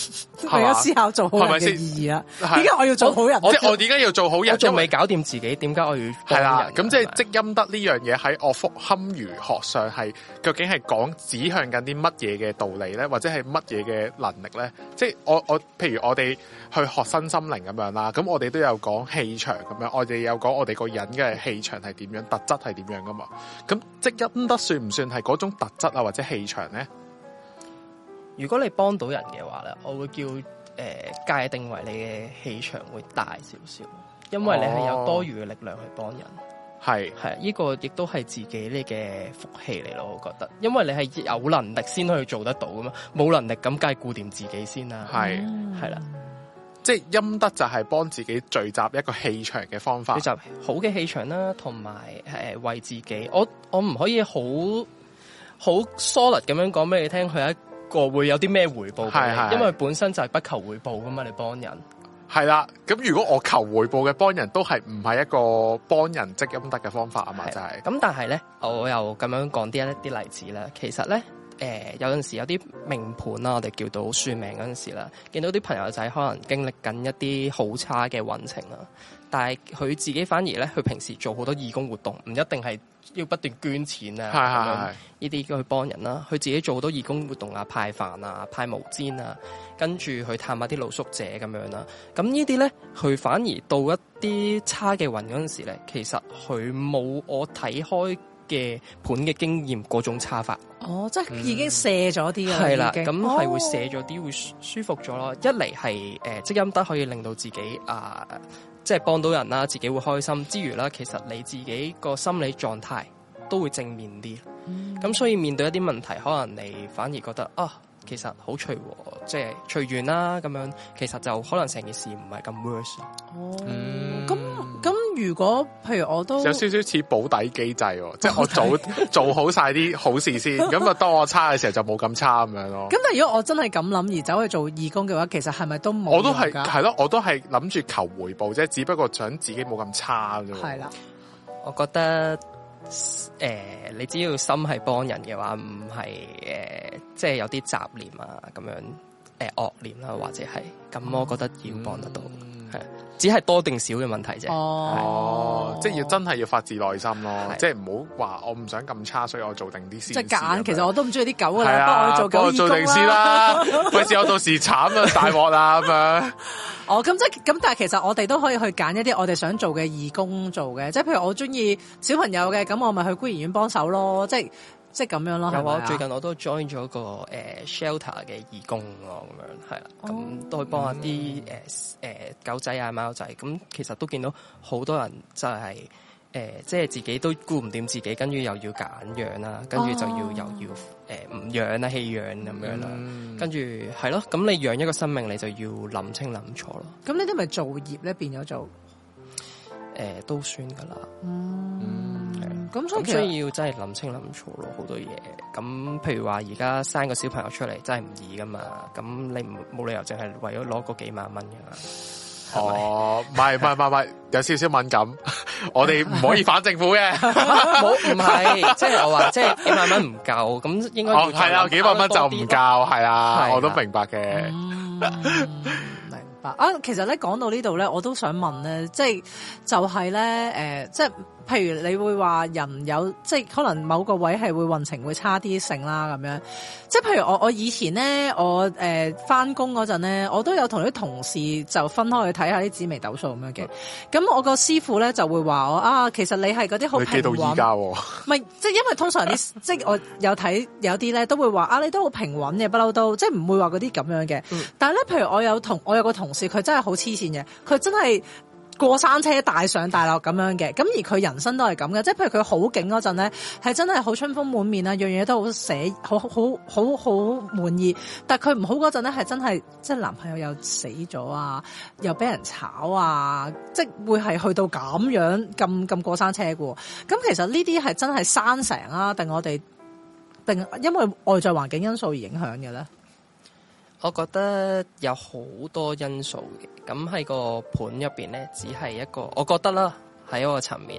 為咗思考做好人嘅意義啦。點解我要做好人？ 即係我點解要做好人？ 我仲未搞掂自己，點解我要係啦？咁即係積陰德呢樣嘢喺我福堪輿學上係究竟係講指向緊啲乜嘢嘅道理咧，或者係乜嘢嘅能力咧？即係我我譬如我哋去學身心靈咁樣啦，咁我哋都有講氣場咁樣，我哋有講我哋個人嘅氣場係點樣，特質係點樣噶嘛？咁積陰德算唔算係嗰種特質啊，或者氣場咧？ 如果你幫到人嘅話咧，我會叫誒、呃、界定為你嘅氣場會大少少，因為你係有多餘嘅力量去幫人。 係係呢個亦都係自己呢嘅福氣嚟咯，我覺得，因為你係有能力先可以做得到噶嘛，冇能力咁梗係顧掂自己先啦。 係係啦， 即係陰德就係幫自己聚集一個氣場嘅方法， 聚集好嘅氣場啦，同埋誒為自己，我我唔可以好好 solid 咁樣講俾你聽，佢一個會有啲咩回報俾你，係係因為本身就係不求回報噶嘛，你幫人。 係啦，咁如果我求回報嘅幫人都係唔係一個幫人積陰德嘅方法啊嘛，就係、是。 咁但係咧，我又咁樣講啲一啲例子啦。其實咧，誒、呃、有陣時有啲命盤啦，我哋叫到算命嗰陣時啦，見到啲朋友仔可能經歷緊一啲好差嘅運程啦，但係佢自己反而咧，佢平時做好多義工活動，唔一定係要不斷捐錢啊，咁樣呢啲去幫人啦。佢自己做好多義工活動啊，派飯啊，派毛氈啊。跟住去探下啲露宿者咁樣啦，咁呢啲咧，佢反而到一啲差嘅運嗰陣時咧，其實佢冇我睇開嘅盤嘅經驗嗰種差法。 哦，即係已經卸咗啲啦， 係啦，咁係、 哦、 會卸咗啲，會舒服咗咯。一嚟係誒積陰德可以令到自己啊、呃，即係幫到人啦，自己會開心之餘啦，其實你自己個心理狀態都會正面啲。咁、嗯、所以面對一啲問題，可能你反而覺得啊。其實好隨和，即係隨緣啦咁樣，其實就可能成件事唔係咁 worse。 哦，咁咁、嗯、如果譬如我都有少少似保底機制，即係我做做好晒啲好事先，咁啊當我差嘅時候就冇咁差咁樣咯。咁但係如果我真係咁諗而走去做義工嘅話，其實係咪都冇？ 我都係係咯，我都係諗住求回報啫，只不過想自己冇咁差啫。 係啦， 我覺得。誒、呃，你只要心係幫人嘅話，唔係誒，即係有啲雜念啊，咁樣誒惡念啦，或者係咁，我覺得要幫得到，係、嗯、只係多定少嘅問題啫。 哦，即係要真係要發自內心咯，即係唔好話我唔想咁差，所以我做定啲事。即係揀， 其實我都唔中意啲狗噶啦，幫我做狗義工做定先啦，費事我到時慘啊，大鑊啦咁樣。 哦，咁即係咁，但係其實我哋都可以去揀一啲我哋想做嘅義工做嘅，即係譬如我中意小朋友嘅，咁我咪去孤兒院幫手咯，即係即係咁樣咯。有啊， 最近我都 join 咗個誒、呃、shelter 嘅義工咯，咁樣係啦，咁、哦、都去幫下啲誒誒狗仔啊貓仔，咁其實都見到好多人就係、是。誒、呃，即係自己都顧唔掂自己，跟住又要揀養啦，跟住就要、哦、又要誒唔養啦，棄養咁樣啦，跟住係咯，咁你養一個生命，你就要諗清諗楚咯。咁呢啲咪造業咧，變咗做誒、 呃、都算噶啦。 嗯，係咁， 所以所以要真係諗清諗楚咯，好多嘢。咁譬如話而家生個小朋友出嚟真係唔易噶嘛，咁你唔冇理由淨係為咗攞嗰幾萬蚊噶嘛。 哦，唔係唔係唔係，有少少敏感，我哋唔可以反政府嘅， 冇唔係，即係我話，即係幾萬蚊唔夠，咁應該哦係啦，幾萬蚊就唔夠，係啊，我都明白嘅。 嗯明白啊，其實咧講到呢度咧，我都想問咧，即係就係咧，誒，即係譬如你會話人有，即係可能某個位係會運程會差啲性啦，咁樣。即係譬如我我以前咧，我誒翻工嗰陣咧，我都有同啲同事就分開去睇下啲紫微斗數咁樣嘅。咁、嗯、我個師傅咧就會話我啊，其實你係嗰啲好平穩。你記到依家喎？唔係，即係因為通常啲即係我有睇有啲咧都會話啊，你都好平穩嘅，不嬲都即係唔會話嗰啲咁樣嘅。嗯、但係咧，譬如我有同我有個同事，佢真係好黐線嘅，佢真係。過山車大上大落咁樣嘅，咁而佢人生都係咁嘅，即係譬如佢好勁嗰陣咧，係真係好春風滿面啊，樣嘢都好寫，好好好好滿意。但係佢唔好嗰陣咧，係真係即係男朋友又死咗啊，又俾人炒啊，即係會係去到咁樣咁咁過山車嘅。咁其實呢啲係真係生成啊，定我哋定因為外在環境因素而影響嘅咧？ 我覺得有好多因素嘅，咁喺個盤入邊咧，只係一個，我覺得啦，喺一個層面啊，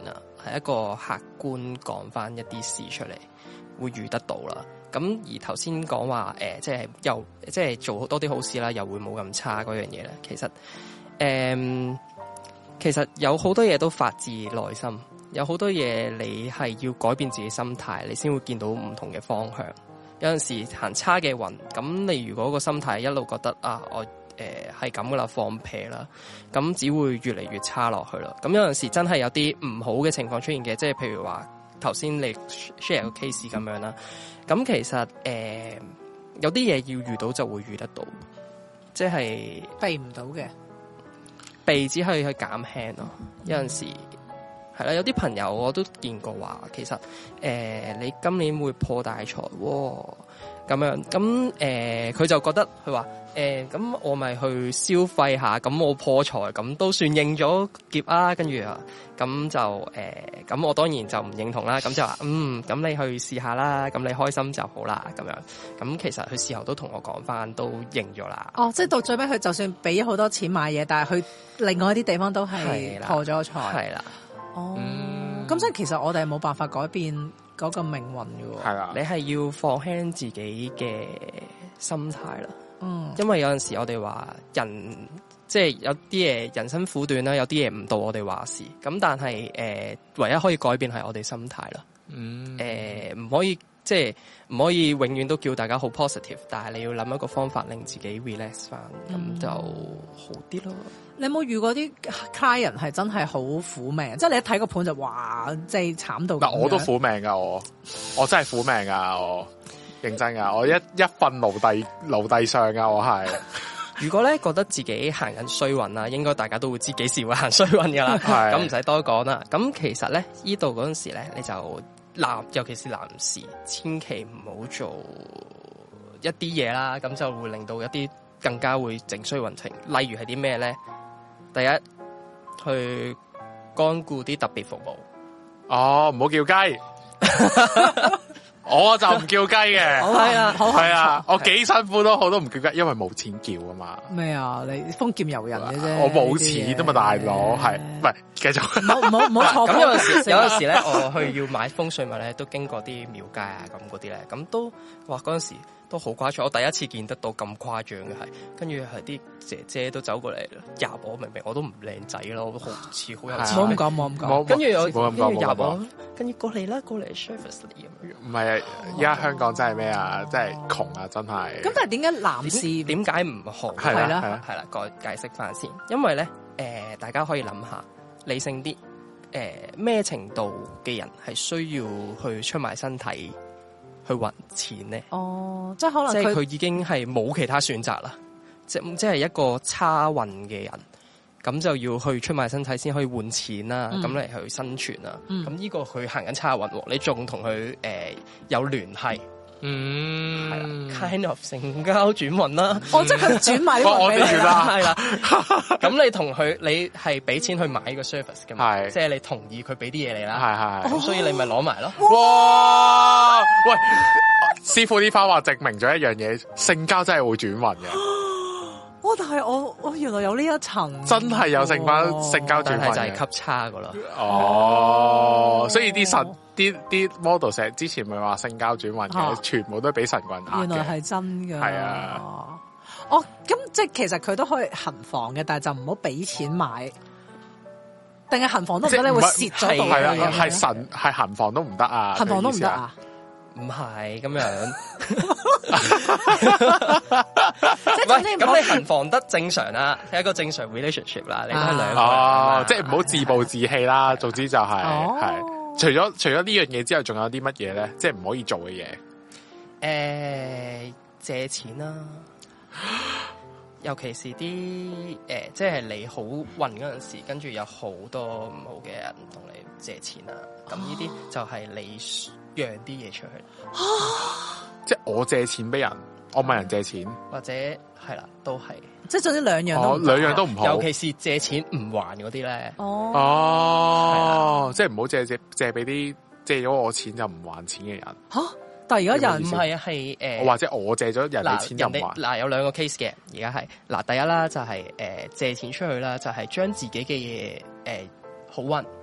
係一個客觀講翻一啲事出嚟，會遇得到啦。咁而頭先講話誒，即係又即係做多啲好事啦，又會冇咁差嗰樣嘢咧。其實誒、呃，其實有好多嘢都發自內心，有好多嘢你係要改變自己心態，你先會見到唔同嘅方向。有陣時行差嘅運，咁你如果個心態一路覺得啊，我誒係咁噶啦，放屁啦，咁只會越嚟越差落去啦。咁有陣時真係有啲唔好嘅情況出現嘅，即係譬如話頭先你 share 個 case 咁樣啦。咁其實誒、呃、有啲嘢要遇到就會遇得到，即係避唔到嘅， 避只可以去減輕咯。有陣時係啦，有啲朋友我都見過話，其實誒、呃、你今年會破大財喎，咁樣咁誒佢就覺得佢話誒咁我咪去消費下，咁我破財咁都算應咗劫啊，跟住啊咁就誒咁、呃、我當然就唔認同啦，咁就話嗯咁你去試下啦，咁你開心就好啦，咁樣咁其實佢事後都同我講翻，都認咗啦。 哦，即係到最尾佢就算俾咗好多錢買嘢，但係佢另外一啲地方都係破咗財。 係啦。 哦，咁即係其實我哋係冇辦法改變嗰個命運嘅喎。 係啦， 你係要放輕自己嘅心態啦。 嗯， 因為有陣時我哋話人即係有啲嘢人生苦短啦，有啲嘢唔到我哋話事。咁但係誒、呃，唯一可以改變係我哋心態啦。 嗯， 誒、呃，唔可以即係唔可以永遠都叫大家好 positive， 但係你要諗一個方法令自己 relax 翻，咁、嗯、就好啲咯。 你有冇遇過啲 client 係真係好苦命？即係你一睇個盤就哇，即係慘到嗱，我都苦命噶，我我真係苦命噶，我認真噶，我一一份奴隸奴隸上噶，我係。 如果咧覺得自己行緊衰運啦，應該大家都會知幾時會行衰運噶啦，咁唔使多講啦。咁其實咧呢度嗰陣時咧，你就男，尤其是男士，千祈唔好做一啲嘢啦，咁就會令到一啲更加會整衰運程。例如係啲咩咧？第一，去光顧啲特別服務。 哦，唔好叫雞。我就唔叫雞嘅， 係啊， 係啊，我幾辛苦都好都唔叫雞，因為冇錢叫啊嘛。 咩啊？你豐儉由人嘅啫， 我冇錢啊嘛，大佬係，唔係繼續。 唔好唔好唔好錯。 咁有陣時有陣時咧，我去要買風水物咧，都經過啲廟街啊咁嗰啲咧，咁都哇嗰陣時都好誇張。我第一次見得到咁誇張嘅係，跟住係啲姐姐都走過嚟入我，明明我都唔靚仔咯，我都好似好有錢。 冇咁講，冇咁講。 跟住我跟住入我，跟住過嚟啦，過嚟 service 你咁樣。 唔係啊，而家香港真係咩啊？真係窮啊，真係。 咁但係點解男士點解唔好？ 係啦，係啦， 係啦，解解釋翻先。因為咧，誒、呃，大家可以諗下，理性啲，誒、呃，咩程度嘅人係需要去出賣身體去揾錢咧？ 哦，即係可能即係佢已經係冇其他選擇啦，即即係一個差運嘅人，咁就要去出賣身體先可以換錢啦，咁嚟、嗯、去生存啦。咁呢、嗯、個佢行緊差運，你仲同佢誒有聯繫？嗯，係啦 kind of 成交轉運啦。 哦，即係佢轉賣呢個俾你啦，係啦。 咁你同佢，你係俾錢去買呢個 service 嘅嘛？ 係， 即係你同意佢俾啲嘢你啦。 係係。 咁所以你咪攞埋咯。 哇！喂，師傅呢番話證明咗一樣嘢，性交真係會轉運嘅。 哦，但係我我原來有呢一層， 真係有性交性交轉運嘅， 就係級差噶啦。 哦，所以啲神啲啲 model 成日之前咪話性交轉運嘅， 啊、 全部都俾神棍呃嘅。 原來係真㗎。係啊。 哦，咁即係其實佢都可以行房嘅，但係就唔好俾錢買。定係行房都唔得，你會蝕咗度。 係啊，係神係行房都唔得啊！ 行房都唔得啊！ 唔係咁樣， 即係咁你行房得正常啦，係一個正常 relationship 啦，你都係兩個哦，即係唔好自暴自棄啦。總之就係係，除咗除咗呢樣嘢之後，仲有啲乜嘢咧？即係唔可以做嘅嘢。 誒，借錢啦，尤其是啲誒，即係你好運嗰陣時，跟住有好多唔好嘅人同你借錢啦，咁呢啲就係你讓啲嘢出去， 即係我借錢俾人，我問人借錢， 或者係啦，都係， 即係總之兩樣都兩樣都唔好， 尤其是借錢唔還嗰啲咧。 哦， 哦，即係唔好借借借俾啲借咗我錢就唔還錢嘅人。 吓，但係而家人唔係啊，係誒， 或者我借咗人哋錢就唔還。 嗱，有兩個 case 嘅，而家係嗱，第一啦就係誒借錢出去啦，就係將自己嘅嘢誒好運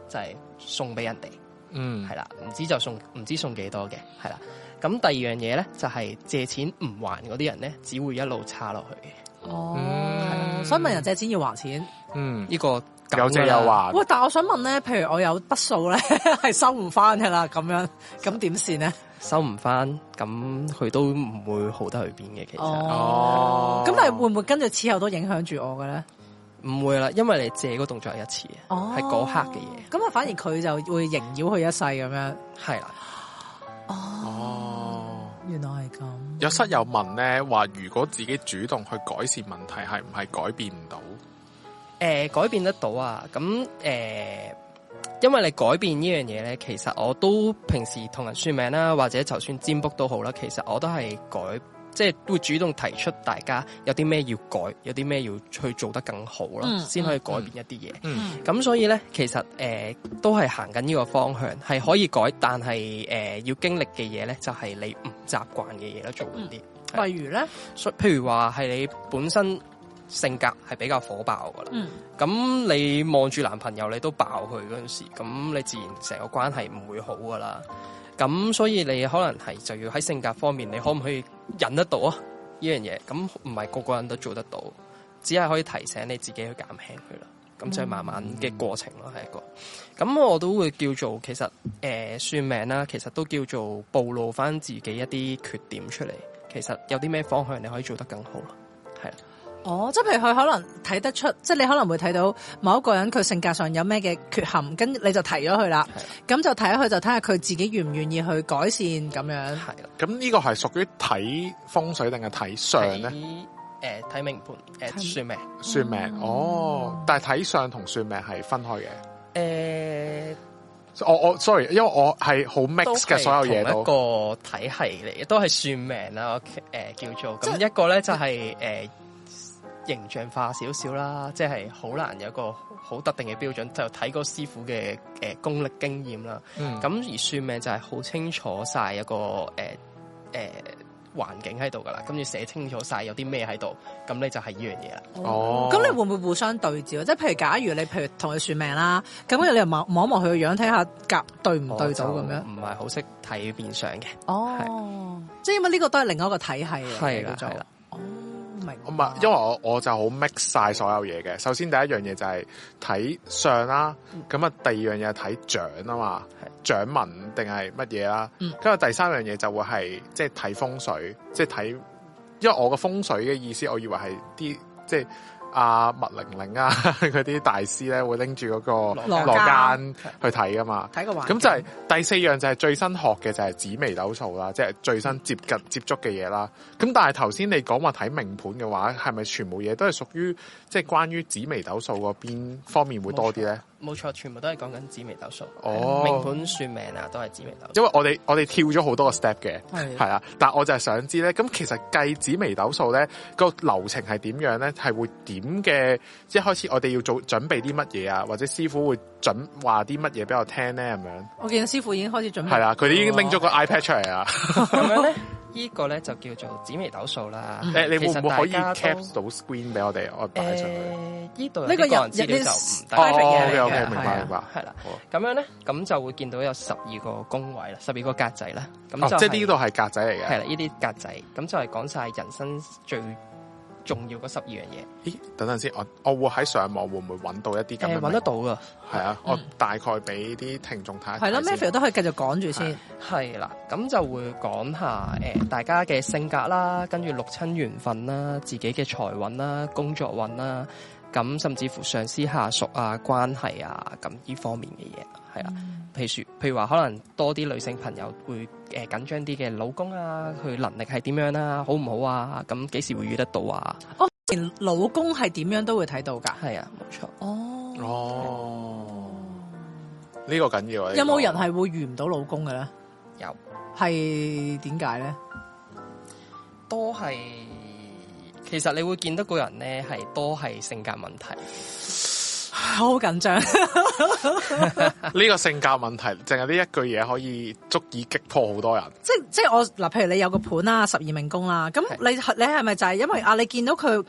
就係、是、送俾人哋， 嗯， 係啦，唔知就送，唔知送幾多嘅，係啦。咁第二樣嘢咧，就係、是、借錢唔還嗰啲人咧，只會一路差落去嘅。 哦， 嗯、 所以問人借錢要還錢， 嗯， 呢、這個有借有還。 喂，但係我想問咧，譬如我有筆數咧係收唔翻噶啦，咁樣咁點算咧？ 收唔翻，咁佢都唔會好得去邊嘅，其實。 哦， 咁但係會唔會跟住之後都影響住我嘅咧？ 唔會啦，因為你借嗰動作係一次嘅，係嗰、哦、刻嘅嘢。咁啊，反而佢就會縈繞佢一世咁樣。 係啦。 哦。哦，原來係咁。 有室友問咧，話如果自己主動去改善問題，係唔係改變唔到？誒、 呃，改變得到啊！咁誒、呃，因為你改變呢樣嘢咧，其實我都平時同人算命啦，或者就算占卜都好啦，其實我都係改，即係會主動提出大家有啲咩要改，有啲咩要去做得更好啦，先、嗯、可以改變一啲嘢。咁、嗯嗯、所以咧，其實誒、呃、都係行緊呢個方向，係可以改，但係誒、呃、要經歷嘅嘢咧，就係、是、你唔習慣嘅嘢啦，做嗰啲。 嗯、例如咧， 譬如話係你本身性格係比較火爆噶啦，咁、嗯、你望住男朋友你都爆佢嗰陣時，咁你自然成個關係唔會好噶啦。咁所以你可能係就要喺性格方面，你可唔可以忍得到啊？呢樣嘢，咁唔係個個人都做得到，只係可以提醒你自己去減輕佢啦。咁就係慢慢嘅過程咯，係、嗯、一個。咁我都會叫做其實誒、呃、算命啦，其實都叫做暴露翻自己一啲缺點出嚟。其實有啲咩方向你可以做得更好啦，係啦。 哦，即係譬如佢可能睇得出，即係你可能會睇到某一個人佢性格上有咩嘅缺陷，跟你就提咗佢啦。咁就睇下佢，就睇下佢自己願唔願意去改善咁樣。係啦。咁呢個係屬於睇風水定係睇相咧？ 誒，睇命盤，誒，算命， 算命。嗯、哦，但係睇相同算命係分開嘅。誒、 呃。 我我 sorry，因為我係好 mix 嘅所有嘢都。 同一個體系嚟嘅，都係算命啦。誒、呃，叫做咁一個咧就係、是、誒。呃形象化少少啦，即係好難有一個好特定嘅標準，就睇個師傅嘅誒、呃、功力經驗啦。咁、嗯、而算命就係好清楚晒一個誒誒環境喺度噶啦，跟住寫清楚晒有啲咩喺度，咁你就係呢樣嘢啦。 哦，咁你會唔會互相對照？即係譬如假如你譬如同佢算命啦，咁跟住你又望望一望佢個樣，睇下夾對唔對到咁樣？唔係好識睇面相嘅。 哦，即係因為呢個都係另一個體系嚟嘅。 係啦，係啦。 唔係，因為我我就好 mix 晒所有嘢嘅。首先第一樣嘢就係睇相啦，咁、嗯、啊第二樣嘢係睇掌啊嘛，掌紋定係乜嘢啦。跟、嗯、住第三樣嘢就會係即係睇風水，即係睇，因為我個風水嘅意思，我以為係啲即係阿麥玲玲啊嗰啲大師咧會拎住嗰個羅間去睇噶嘛。睇個環境。咁就係第四樣就係最新學嘅就係紫微斗數啦，即係最新接近接觸嘅嘢啦。咁但係頭先你講話睇命盤嘅話，係咪全部嘢都係屬於即係關於紫微斗數嗰邊方面會多啲咧？ 冇錯，全部都係講緊紫微斗數。 哦， 命盤算命啊，都係紫微斗數。 因為我哋我哋跳咗好多個 step 嘅，係啊。但係我就係想知咧，咁其實計紫微斗數咧個流程係點樣咧？係會點嘅？一開始我哋要做準備啲乜嘢啊？或者師傅會準話啲乜嘢俾我聽咧？咁樣。我見師傅已經開始準備。 係啦，佢哋已經拎咗個 iPad 出嚟啦。 咁樣咧？呢個咧就叫做紫微斗數啦。誒、嗯， 你會唔會可以 cap 到 screen 俾我哋？我擺上去。 呢度呢個人資料就唔得。 哦 ，OK OK，明白明白。 係啦，咁樣咧，咁就會見到有十二個宮位啦，十二個格仔啦。咁、就是哦、即係呢度係格仔嚟嘅。係啦，呢啲格仔，咁就係講晒人生最重要嗰十二樣嘢。 咦，等陣先，我我會喺上網會唔會揾到一啲咁嘅？ 揾得到噶。 係啊，我大概俾啲聽眾睇下。 係咯 Matthew 都可以繼續講住先。 係啦，咁就會講下誒、呃，大家嘅性格啦，跟住六親緣分啦，自己嘅財運啦，工作運啦，咁甚至乎上司下屬啊，關係啊，咁呢方面嘅嘢係啦。譬如譬如話，可能多啲女性朋友會誒緊張啲嘅老公啊，佢能力係點樣啊，好唔好啊？咁幾時會遇得到啊？ 哦，連老公係點樣都會睇到噶。 係啊，冇錯。 哦哦，呢、這個緊要啊！ 有冇人係會遇唔到老公嘅咧？ 有，係點解咧？ 都係，其實你會見得個人咧，係多係性格問題。 好緊張， 呢個性格問題，淨係呢一句嘢可以足以擊破好多人。 即即係我嗱，譬如你有個盤啦，十二命宮啦，咁你你係咪就係因為啊？你見到佢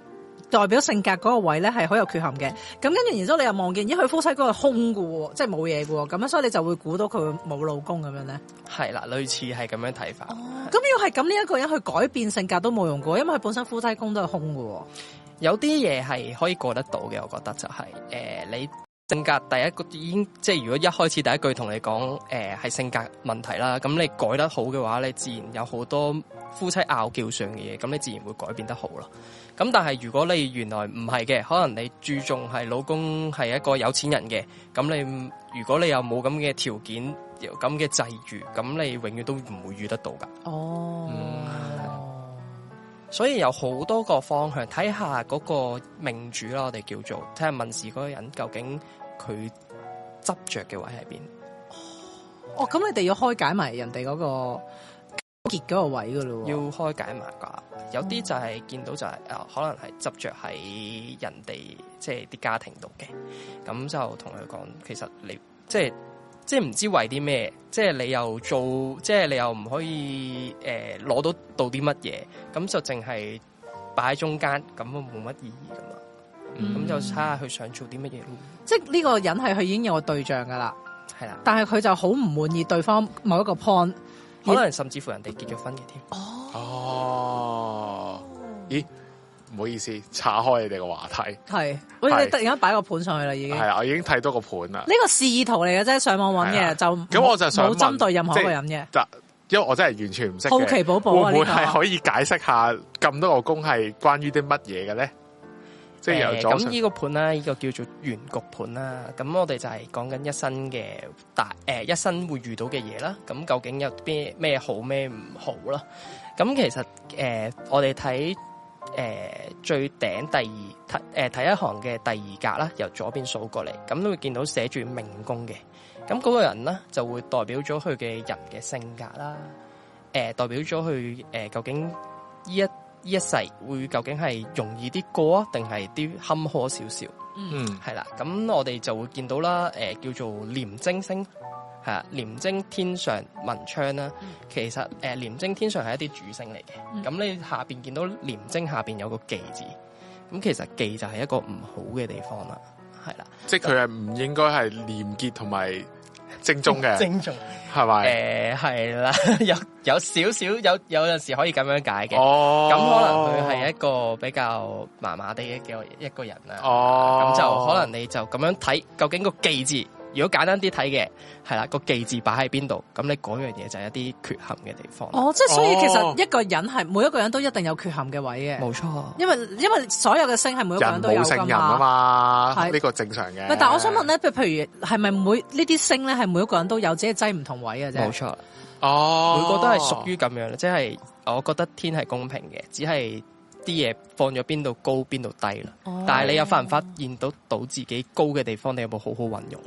代表性格嗰個位咧係好有缺陷嘅。咁跟住然之後你又望見，咦佢夫妻嗰個空㗎喎，即係冇嘢㗎喎，咁樣所以你就會估到佢冇老公咁樣咧。 係啦，類似係咁樣睇法。 哦，咁要係咁呢一個人去改變性格都冇用㗎，因為佢本身夫妻宮都係空㗎喎。 有啲嘢係可以過得到嘅，我覺得就係、是、誒、呃、你性格第一個已經即係如果一開始第一句同你講誒係性格問題啦，咁你改得好嘅話，你自然有好多夫妻拗撬上嘅嘢，咁你自然會改變得好咯。咁但係如果你原來唔係嘅，可能你注重係老公係一個有錢人嘅，咁你如果你又冇咁嘅條件，有咁嘅際遇，咁你永遠都唔會遇得到噶。哦。嗯所以有好多個方向，睇下嗰個命主啦，我哋叫做睇下問事嗰個人究竟佢執着嘅位喺邊。 哦，咁你哋要開解埋人哋嗰個結嗰個位噶咯？ 要開解埋㗎。有啲就係見到就係、是、啊、呃，可能係執着喺人哋即係啲家庭度嘅，咁就同佢講，其實你即係。即係唔知為啲咩，即係你又做，即係你又唔可以誒攞、呃、到到啲乜嘢，咁就淨係擺喺中間，咁都冇乜意義噶嘛。咁、嗯、就睇下佢想做啲乜嘢咯。即係呢個人係佢已經有個對象噶啦， 係啦， 但係佢就好唔滿意對方某一個 point， 可能甚至乎人哋結咗婚嘅添。 哦， 哦，咦？唔好意思，岔開你哋個話題。 係，我哋突然間擺個盤上去啦，已經。係啊，我已經睇到個盤啦。呢個示意圖嚟嘅啫，上網揾嘅就。 咁我就想問， 冇針對任何一個人嘅。 因為我真係完全唔識。 好奇寶寶啊！ 會唔會係可以解釋下咁多個宮係關於啲乜嘢嘅咧？即係由左上。 咁呢個盤啦，呢個叫做原局盤啦。咁我哋就係講緊一生嘅大誒，一生會遇到嘅嘢啦。咁究竟有啲咩好咩唔好啦？咁其實誒，我哋睇。誒、呃，最頂第二睇誒睇一行嘅第二格啦，由左邊數過嚟，咁都會見到寫住命宮嘅，咁嗰個人咧就會代表咗佢嘅人嘅性格啦，誒、呃、代表咗佢誒究竟呢一呢一世會究竟係容易啲過啊，定係啲坎坷少少？嗯，係啦，咁我哋就會見到啦，誒、呃、叫做廉貞星。係啊，廉貞天上文昌啦，嗯、其實誒廉貞天上係一啲主星嚟嘅，咁、嗯、你下邊見到廉貞下邊有個忌字，咁其實忌就係一個唔好嘅地方啦，係啦， 即係佢係唔應該係廉潔同埋正宗嘅， 正宗係咪？ 誒係啦，有有少少有有陣時可以咁樣解嘅， 哦， 咁可能佢係一個比較麻麻地嘅一個人啦， 哦， 咁就可能你就咁樣睇，究竟個忌字。如果簡單啲睇嘅，係啦，個忌字擺喺邊度，咁你嗰樣嘢就係一啲缺陷嘅地方。 哦，即係所以其實一個人係每一個人都一定有缺陷嘅位嘅。 冇錯， 因為因為所有嘅星係每一個人都有㗎嘛。人冇聖人啊嘛，係呢個正常嘅。 但係我想問咧，譬如譬如係咪每呢啲星咧係每一個人都有自己擠唔同位嘅啫？ 冇錯， 哦， 每個都係屬於咁樣，即係我覺得天係公平嘅，只係。啲嘢放咗邊度高邊度低啦，哦、但係你有發唔發現到到自己高嘅地方，你有冇好好運用？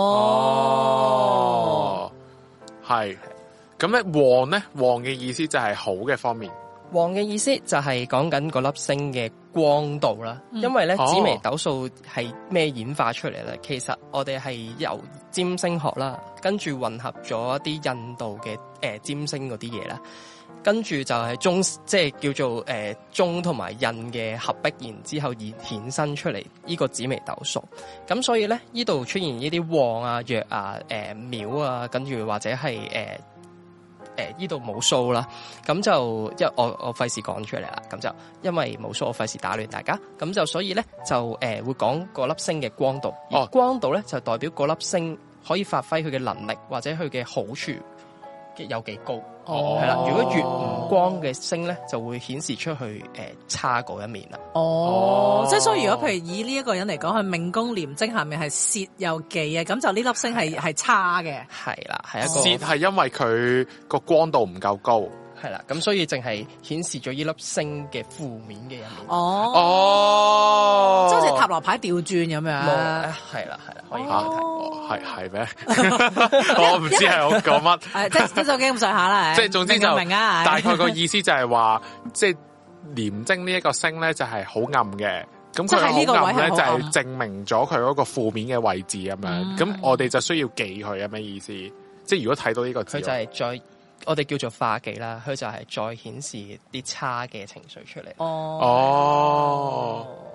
哦， 係咁咧，旺咧，旺嘅意思就係好嘅方面。 旺嘅意思就係講緊嗰粒星嘅光度啦，嗯、因為咧紫微斗數係咩演化出嚟咧？其實我哋係由占星學啦，跟住混合咗一啲印度嘅誒、呃、占星嗰啲嘢啦。跟住就係中，即係叫做誒中同埋印嘅合璧，然之後而衍生出嚟呢個紫微斗數。咁所以咧，呢度出現呢啲旺啊、弱啊、誒、呃、廟啊，跟住或者係誒誒呢度冇數啦。咁就因為我我費事講出嚟啦。咁就因為冇數，我費事打亂大家。咁就所以咧就誒、呃、會講嗰粒星嘅光度。而光度咧就代表嗰粒星可以發揮佢嘅能力或者佢嘅好處有幾高。哦，係啦，如果越唔光嘅星咧，就會顯示出去誒、呃、差嗰一面啦。 哦，哦即係所以如果譬如以呢一個人嚟講，佢命宮廉貞下面係泄又忌嘅，咁就呢粒星係係差嘅。係啦，係一個泄係因為佢個光度唔夠高。 係啦，咁所以淨係顯示咗呢粒星嘅負面嘅一面。 哦， 哦， 即係好似塔羅牌調轉咁樣。係啦，係啦，可以咁樣睇。 係係咩？我唔知係我講乜。 誒，即係即係就幾咁上下啦。 即係總之就明啊， 大概個意思就係話，即係廉貞呢一個星咧就係好暗嘅。咁佢好暗咧就係證明咗佢嗰個負面嘅位置咁樣。咁我哋就需要忌佢，係咩意思？即係如果睇到呢個字， 佢就係再。我哋叫做化忌啦，佢就係再顯示啲差嘅情緒出嚟。 哦， 哦，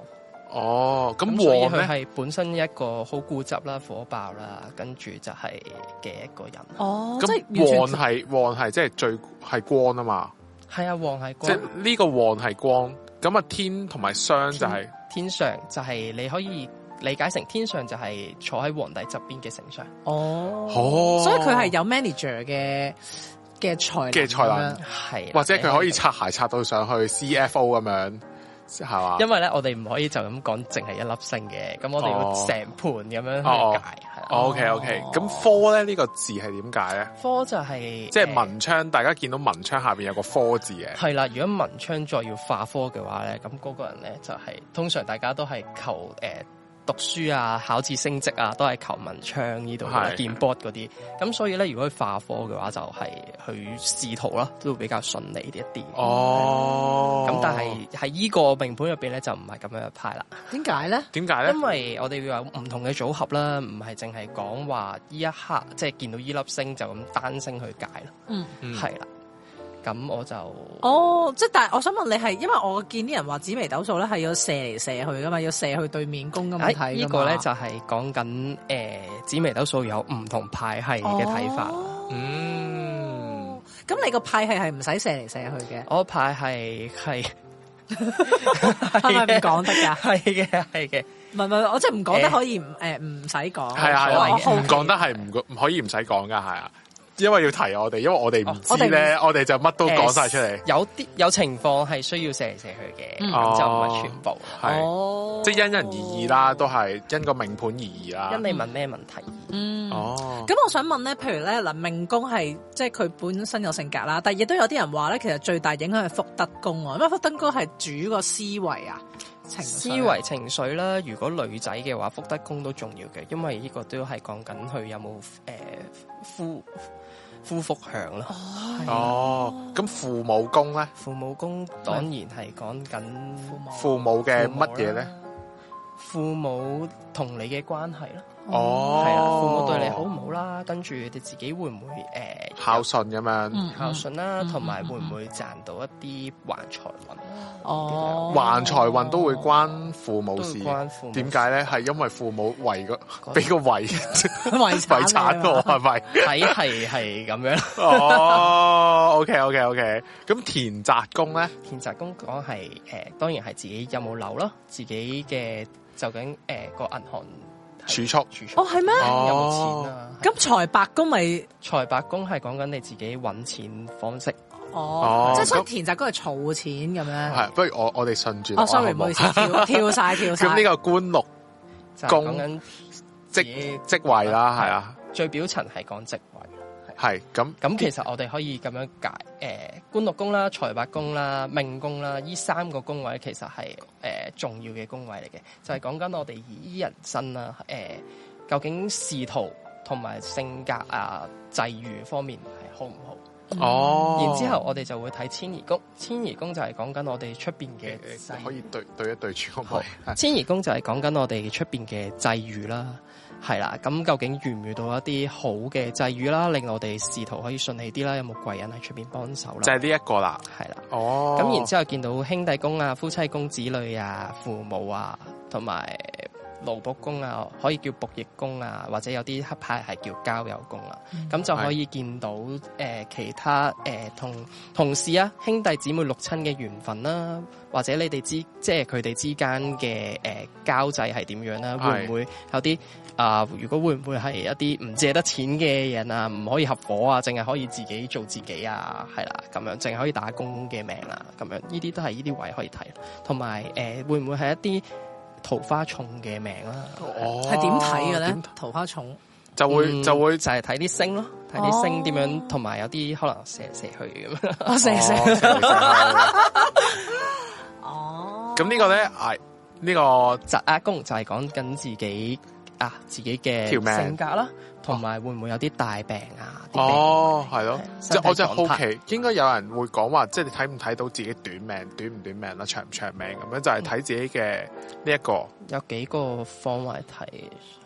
哦，咁旺咧係本身一個好固執啦、火爆啦，跟住就係嘅一個人。 哦，咁旺係旺係即係最係光啊嘛。 係啊，旺係光。即係呢個旺係光，咁啊天同埋商就係、是、 天上就係你可以理解成天上就係坐喺皇帝側邊嘅丞相。 哦，哦，所以佢係有 manager 嘅嘅才能嘅才能， 係或者佢可以擦鞋擦到上去 C F O 咁樣。係嘛？ 因為咧，我哋唔可以就咁講，淨係一粒星嘅，咁我哋要成盤咁樣去解。係 OK OK，咁科咧呢個字係點解咧？ 科就係即係文昌，大家見到文昌下邊有個科字嘅。 係啦，如果文昌再要化科嘅話咧，咁嗰個人咧就係通常大家都係求誒。讀書啊，考試升職啊，都係求文昌呢度見 board 嗰啲。咁所以咧，如果佢化科嘅話，就係去仕途啦，都會比較順利啲一啲。 哦。 咁但係喺依個命盤入邊咧，就唔係咁樣一派啦。 點解咧？ 點解咧？ 因為我哋會有唔同嘅組合啦，唔係淨係講話依一刻即係見到依粒星就咁單星去解啦。 嗯， 係啦。咁我就哦，即係但係我想問你係，因為我見啲人話紫微斗數咧係要射嚟射去噶嘛，要射去對面宮咁樣睇噶嘛。呢個咧就係講緊誒紫微斗數有唔同派系嘅睇法。 哦、 嗯， 咁你個派系係唔使射嚟射去嘅？ 我派系係係咪唔講得噶？ 係嘅，係嘅。 唔係唔係，我即係唔講得可以唔誒唔使講。 係啊，唔講得係唔唔可以唔使講噶，係啊。因為要提我哋，因為我哋唔知咧，我哋就乜都講晒出嚟。 有啲有情況係需要射嚟射去嘅，咁就唔係全部。 係，即係因人而異啦，都係因個命盤而異啦。 因你問咩問題？ 嗯， 哦。 咁我想問咧，譬如咧嗱，命宮係即係佢本身有性格啦，但係亦都有啲人話咧，其實最大影響係福德宮喎，因為福德宮係主個思維啊。 思維情緒啦，如果女仔嘅話，福德宮都重要嘅，因為呢個都係講緊佢有冇誒夫夫福享啦。 哦，咁父母宮咧？ 父母宮當然係講緊父母嘅乜嘢咧？ 父母同你嘅關係啦。 哦， 係啦，父母對你好唔好啦？跟住你自己會唔會誒孝順咁樣？ 孝順啦，同埋會唔會賺到一啲橫財運？ 哦， 橫財運都會關父母事。 關父母。 點解咧？係因為父母遺個俾個遺遺遺產我係咪？ 睇係係咁樣。 哦，OK OK OK。咁田宅宮咧？ 田宅宮講係誒，當然係自己有冇樓啦，自己嘅究竟誒個銀行。 儲蓄， 儲蓄哦，係咩？ 有冇錢啊？ 咁財帛宮咪財帛宮係講緊你自己搵錢方式。 哦，即係所以田宅宮係儲錢咁樣。 係，不如我我哋順住。 哦 ，sorry，唔好意思，跳跳晒跳晒。 咁呢個官祿宮講緊職職位啦，係啊。 最表層係講職位。 係咁咁，其實我哋可以咁樣解，誒、呃，官祿宮啦、財帛宮啦、命宮啦，呢三個宮位其實係誒、呃、重要嘅宮位嚟嘅，就係講緊我哋以人生啦，誒、呃，究竟仕途同埋性格啊、際遇方面係好唔好？ 哦、嗯， 然之後我哋就會睇遷移宮，遷移宮就係講緊我哋出邊嘅， 可以對對一對住個位。 遷移宮就係講緊我哋出邊嘅際遇啦。係啦，咁究竟遇唔遇到一啲好嘅際遇啦，令我哋仕途可以順利啲啦？有冇貴人喺出邊幫手啦？ 就係呢一個啦， 係啦。 哦， 咁然之後見到兄弟宮啊、夫妻宮、子女啊、父母啊，同埋勞僕宮啊，可以叫僕役宮啊，或者有啲黑派係叫交友宮啊。咁、嗯、就可以見到誒、呃、其他誒、呃、同同事啊、兄弟姊妹六親嘅緣分啦，或者你哋之即係佢哋之間嘅誒交際係點樣啦？會唔會有啲啊、呃？如果會唔會係一啲唔借得錢嘅人啊？唔可以合夥啊？淨係可以自己做自己啊？係啦，咁樣淨係可以打工嘅命啊？咁樣呢啲都係呢啲位可以睇，同埋誒會唔會係一啲桃花重嘅命啦？ 哦，係點睇嘅咧？桃花重就會就會就係睇啲星咯，睇啲星點樣，同埋有啲可能射射去咁。 哦，射射。 哦。咁呢個咧係呢個疾厄宮就係講緊自己啊自己嘅性格啦，同埋會唔會有啲大病啊？ 哦，係咯，即係我真係好奇，應該有人會講話，即係你睇唔睇到自己短命、短唔短命啦、長唔長命咁樣，就係睇自己嘅呢一個。 有幾個方位睇。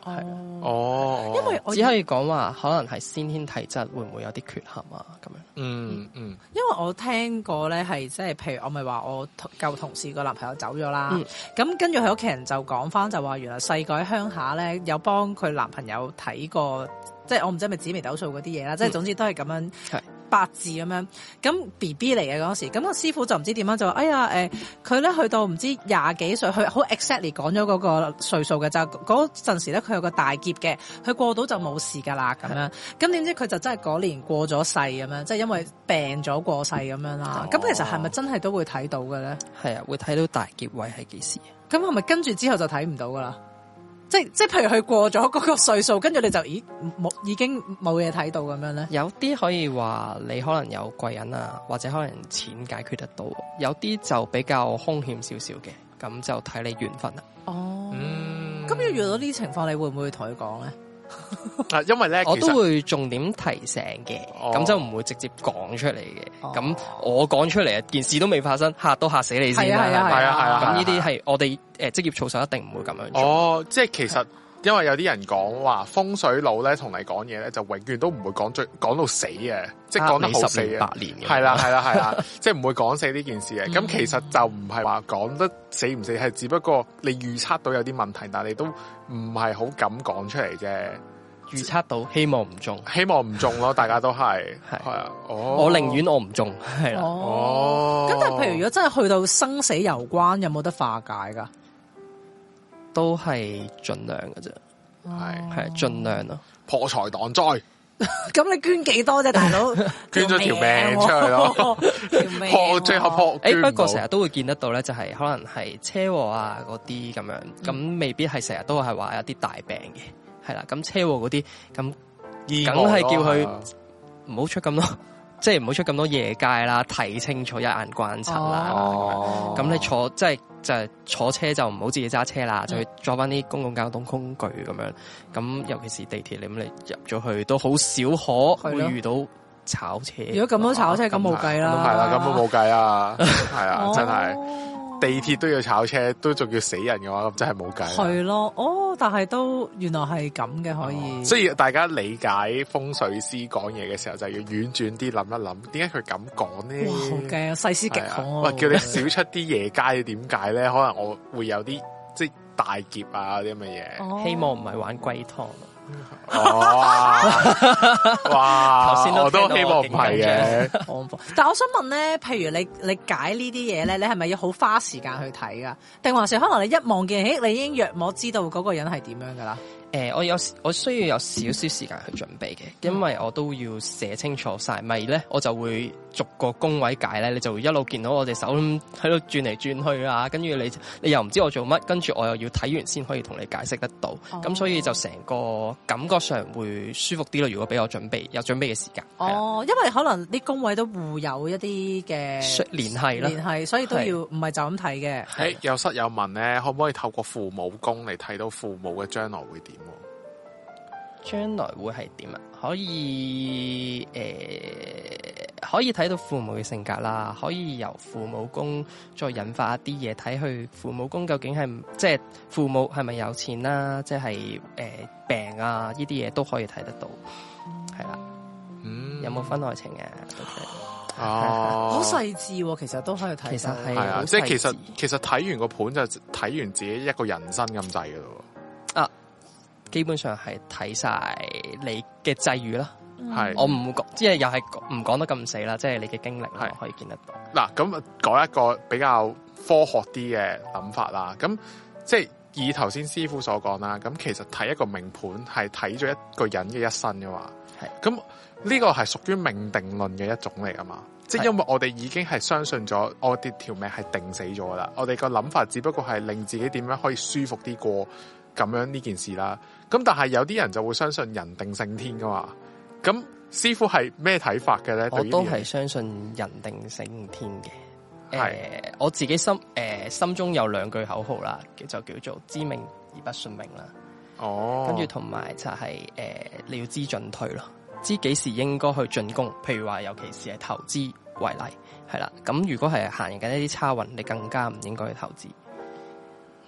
係哦， 因為我只可以講話可能係先天體質會唔會有啲缺陷啊咁樣。 嗯嗯， 因為我聽過咧係即係譬如我咪話我舊同事個男朋友走咗啦，咁、嗯、跟住佢屋企人就講翻就話原來細個喺鄉下咧有幫佢男朋友睇過，即係我唔知係咪紫微斗數嗰啲嘢啦，即係、嗯、總之都係咁樣。八字咁樣，咁 B B 嚟嘅嗰時，咁個師傅就唔知點樣就話，哎呀，誒，佢咧去到唔知廿幾歲，佢好 exactly 講咗嗰個歲數嘅，就嗰陣時咧佢有個大劫嘅，佢過到就冇事噶啦咁樣，咁點知佢就真係嗰年過咗世咁樣，即係因為病咗過世咁樣啦。咁、哦、其實係咪真係都會睇到嘅咧？係啊，會睇到大劫位係幾時？咁係咪跟住之後就睇唔到噶啦？即即譬如佢過咗嗰個歲數，跟住你就咦冇已經冇嘢睇到咁樣咧？有啲可以話你可能有貴人啊，或者可能錢解決得到；有啲就比較兇險少少嘅，咁就睇你緣分啦。哦，咁、嗯、要遇到呢啲情況，你會唔會同佢講咧？啊，因為咧，我都會重點提醒嘅，咁、哦、就唔會直接講出嚟嘅。咁、哦、我講出嚟啊，件事都未發生，嚇都嚇死你先啦。係啊係啊係啊！咁呢啲係我哋誒職業操守一定唔會咁樣做。哦，即係其實因為有啲人講話風水佬咧同你講嘢咧，就永遠都唔會講最講到死嘅，即係講得好死嘅。百年係啦係啦係啦，即係唔會講死呢件事嘅。咁、嗯、其實就唔係話講得死唔死，係只不過你預測到有啲問題，但係你都唔係好敢講出嚟啫。預測到，希望唔中，希望唔中咯，大家都係係啊。哦，我寧願我唔中，係啦。哦，咁但係譬如如果真係去到生死攸關，有冇得化解噶？都係盡量嘅啫，係係盡量咯，破財擋災。咁你捐幾多啫，大佬？捐咗條命出去咯，破最後破。誒，不過成日都會見得到咧，就係可能係車禍啊嗰啲咁樣，咁、嗯、未必係成日都係話有啲大病嘅。係啦，咁車禍嗰啲，咁梗係叫佢唔好出咁多，即係唔好出咁多夜街啦，睇清楚一眼關七啦。哦，咁你坐即係就係、是、坐車就唔好自己揸車啦，嗯、就去坐翻啲公共交通工具咁樣。咁尤其是地鐵，你咁你入咗去都好少可會遇到炒車。如果咁多炒車，咁冇計啦。係啦，咁都冇計啊。係啊，真係。地鐵都要炒車，都仲要死人嘅話，咁真係冇計。係咯，哦，但係都原來係咁嘅，可以、哦。所以大家理解風水師講嘢嘅時候，就要婉轉啲諗一諗，點解佢咁講呢？哇，好驚啊！細思極恐啊！喂，叫你少出啲夜街，點解咧？可能我會有啲即係大劫啊啲咁嘅嘢。哦、希望唔係玩龜湯。哇！哇！頭先我都希望唔係嘅。但係我想問咧，譬如你你解呢啲嘢咧，你係咪要好花時間去睇噶？定還是可能你一望見，誒，你已經約摸知道嗰個人係點樣噶啦？誒、呃，我有我需要有少少時間去準備嘅，因為我都要寫清楚晒，咪咧我就會逐個宮位解咧，你就會一路見到我隻手喺度轉嚟轉去啊，跟住你你又唔知我做乜，跟住我又要睇完先可以同你解釋得到，咁、哦、所以就成個感覺上會舒服啲咯。如果俾我準備有準備嘅時間，哦，因為可能啲宮位都互有一啲嘅聯繫啦，聯繫，所以都要唔係就咁睇嘅。誒，有室友問咧，可唔可以透過父母宮嚟睇到父母嘅將來會點？將來會係點啊？可以誒、呃，可以睇到父母嘅性格啦，可以由父母宮再引發一啲嘢，睇去父母宮究竟係即係父母係咪有錢啦，即係誒、呃、病啊呢啲嘢都可以睇得到，係啦，嗯，有冇婚外情啊？都哦，好細緻，其實都可以睇。其實係啊，即係其實其實睇完個盤就睇完自己一個人生咁滯噶咯。啊。基本上係睇晒你嘅際遇啦，係、嗯、我唔講，即係又係唔講得咁死啦，即係你嘅經歷係可以見得到。嗱，咁講一個比較科學啲嘅諗法啦，咁即係以頭先師傅所講啦，咁其實睇一個命盤係睇咗一個人嘅一生噶嘛，係咁呢個係屬於命定論嘅一種嚟噶嘛，即係因為我哋已經係相信咗我哋條命係定死咗啦，我哋個諗法只不過係令自己點樣可以舒服啲過咁樣呢件事啦。咁但係有啲人就會相信人定勝天噶嘛，咁師傅係咩睇法嘅咧？我都係相信人定勝天嘅。係、呃，我自己心誒、呃、心中有兩句口號啦，就叫做知命而不信命啦。哦，跟住同埋就係、是、誒、呃、你要知進退咯，知幾時應該去進攻。譬如話，尤其是係投資為例，係啦。咁如果係行緊一啲差運，你更加唔應該去投資。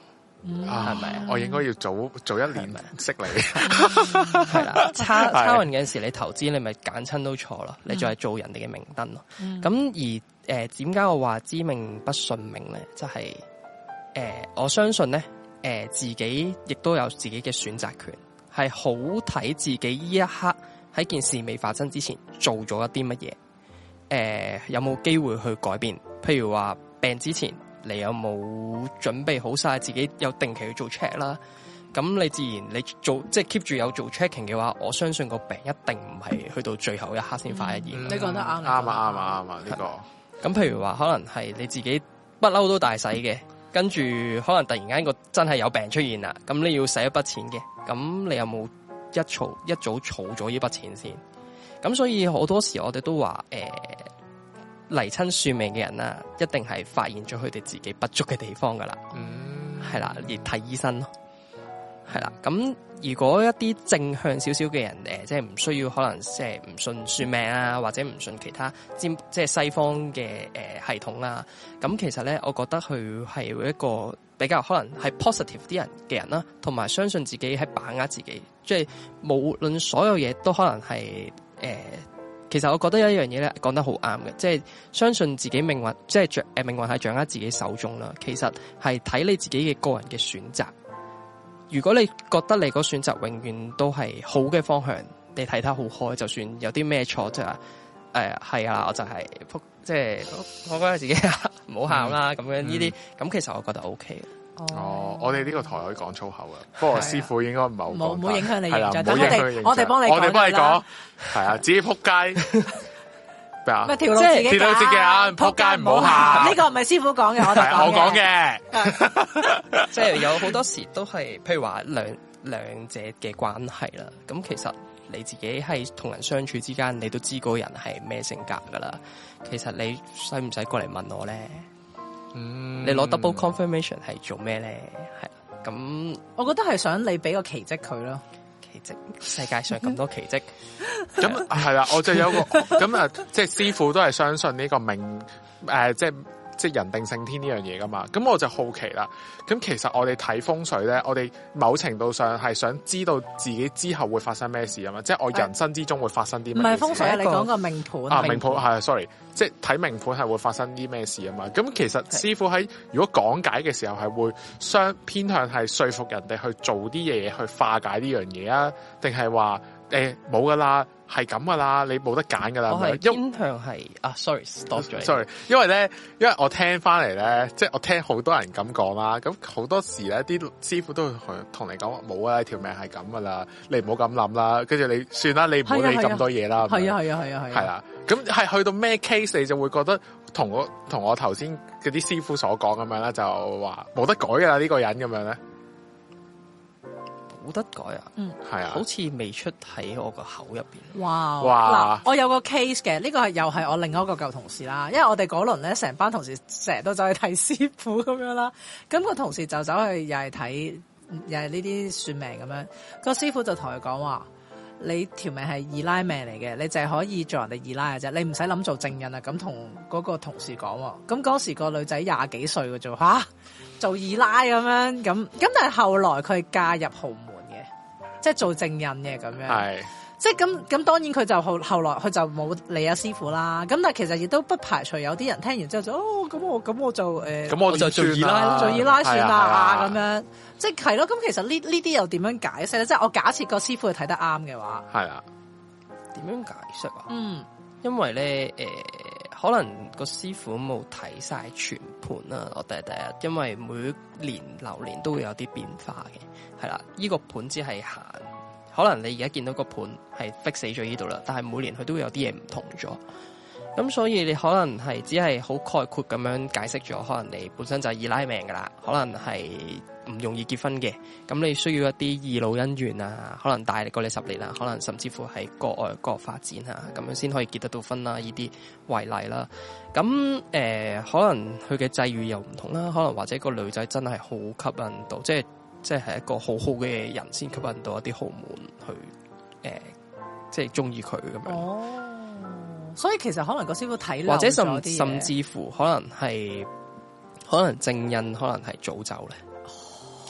係咪、嗯？我應該要早早一年識你， 係啦。差差運嗰陣時，你投資你咪揀親都錯咯，你就係做人哋嘅明燈咯。咁、嗯、而誒點解我話知命不信命咧？就係、是、誒、呃、我相信咧，誒、呃、自己亦都有自己嘅選擇權，係好睇自己呢一刻喺件事未發生之前做咗一啲乜嘢，誒、呃、有冇機會去改變？譬如話病之前。你有冇準備好晒自己有定期去做 check 啦？咁你自然你做即係 keep 住有做 checking 嘅話，我相信個病一定唔係去到最後一刻先發現。 你講得啱， 啱啊啱啊啱啊呢個。 咁譬如話，可能係你自己不嬲都大使嘅，跟住可能突然間個真係有病出現啦，咁你要使一筆錢嘅，咁你有冇一儲一早儲咗呢筆錢先？咁所以好多時我哋都話誒。呃嚟親算命嘅人啦，一定係發現咗佢哋自己不足嘅地方噶啦，係、嗯、啦，而睇醫生咯，係啦。咁如果一啲正向少少嘅人，誒、呃，即係唔需要可能即係唔信算命啊，或者唔信其他即係西方嘅誒、呃、系統啦。咁其實咧，我覺得佢係一個比較可能係 positive 啲人嘅人啦，同埋相信自己喺把握自己，即係無論所有嘢都可能係誒。呃其實我覺得有一樣嘢咧講得好啱嘅，即係相信自己命運，即係掌誒命運係掌握自己手中啦。其實係睇你自己嘅個人嘅選擇。如果你覺得你個選擇永遠都係好嘅方向，你睇得好開，就算有啲咩錯，即係誒係啊，我就係、是、即係我覺得自己唔好喊啦咁樣呢啲，咁、嗯、其實我覺得 O K 嘅。 哦，我哋呢個台可以講粗口嘅，不過師傅應該唔係好講， 冇冇影響你形象。 等我哋我哋幫你， 我哋幫你講，係啊，自己撲街咩啊？ 咩條路自己條路自己啊，撲街唔好行。 呢個唔係師傅講嘅，我哋我講嘅， 即係有好多時都係，譬如話兩兩者嘅關係啦。咁其實你自己係同人相處之間，你都知嗰個人係咩性格噶啦。其實你使唔使過嚟問我咧？嗯，你攞 double confirmation 係做咩咧？係咁， 我覺得係想你俾個奇蹟佢咯。 奇蹟，世界上咁多奇蹟， 咁係啦，我就有個咁啊，即係師傅都係相信呢個命誒、呃，即係即係人定勝天呢樣嘢噶嘛。咁我就好奇啦。咁其實我哋睇風水咧，我哋某程度上係想知道自己之後會發生咩事啊嘛。即係我人生之中會發生啲咩事？唔係風水，你講個命盤啊，命盤係 sorry。即係睇命盤係會發生啲咩事啊嘛，咁其實師傅喺如果講解嘅時候係會相偏向係說服人哋去做啲嘢去化解呢樣嘢啊，定係話誒冇噶啦，係咁噶啦，你冇得揀噶啦。 我係偏向係啊 ，sorry，stop 咗。 sorry， 因為咧，因為我聽翻嚟咧，即係我聽好多人咁講啦，咁好多時咧啲師傅都會同你講話冇啊，條命係咁噶啦，你唔好咁諗啦，跟住你算啦，你唔好理咁多嘢啦。 係啊係啊係啊係。 係啦。咁係去到咩 case 你就會覺得同我同我頭先嗰啲師傅所講咁樣咧，就話冇得改噶啦呢個人咁樣咧， 冇得改啊，嗯，係啊，好似未出喺我個口入邊。哇哇！我有個 case 嘅，呢、這個係又係我另外一個舊同事啦，因為我哋嗰輪咧成班同事成日都走去睇師傅咁樣啦，咁、那個同事就走去又係睇又係呢啲算命咁樣，個師傅就同佢講話。你條命係二奶命嚟嘅，你淨係可以做人哋二奶嘅啫，你唔使諗做正人啊！咁同嗰個同事講喎，咁嗰時個女仔廿幾歲嘅啫，吓做二奶咁樣，咁咁但係後來佢係嫁入豪門嘅，即係做正人嘅咁樣。係。即係咁咁，當然佢就後後來佢就冇理阿師傅啦。咁但係其實亦都不排除有啲人聽完之後就哦，咁我咁我就誒，咁、呃、我就做二奶，做二奶算啦咁樣。即係係咯。咁其實呢呢啲又點樣解釋咧？即係我假設個師傅係睇得啱嘅話，係啊， 點樣解釋啊？嗯，因為咧誒、呃，可能個師傅冇睇晒全盤啦。我第一第一，因為每年流年都會有啲變化嘅，係啦，呢、這個盤只係行。可能你而家見到個盤係 fix 死咗呢度啦，但係每年佢都會有啲嘢唔同咗，咁所以你可能係只係好概括咁樣解釋咗，可能你本身就係二奶命噶啦，可能係唔容易結婚嘅，咁你需要一啲二老姻緣啊，可能大過你十年啊，可能甚至乎係國外國發展啊，咁樣先可以結得到婚啦，呢啲為例啦。咁誒、呃，可能佢嘅際遇又唔同啦，可能或者個女仔真係好吸引到，即係。即係一個好好嘅人先吸引到一啲豪門去，誒、呃，即係中意佢咁樣。哦， 所以其實可能個師傅睇， 或者甚甚至乎可能係，可能正印，可能係早走咧。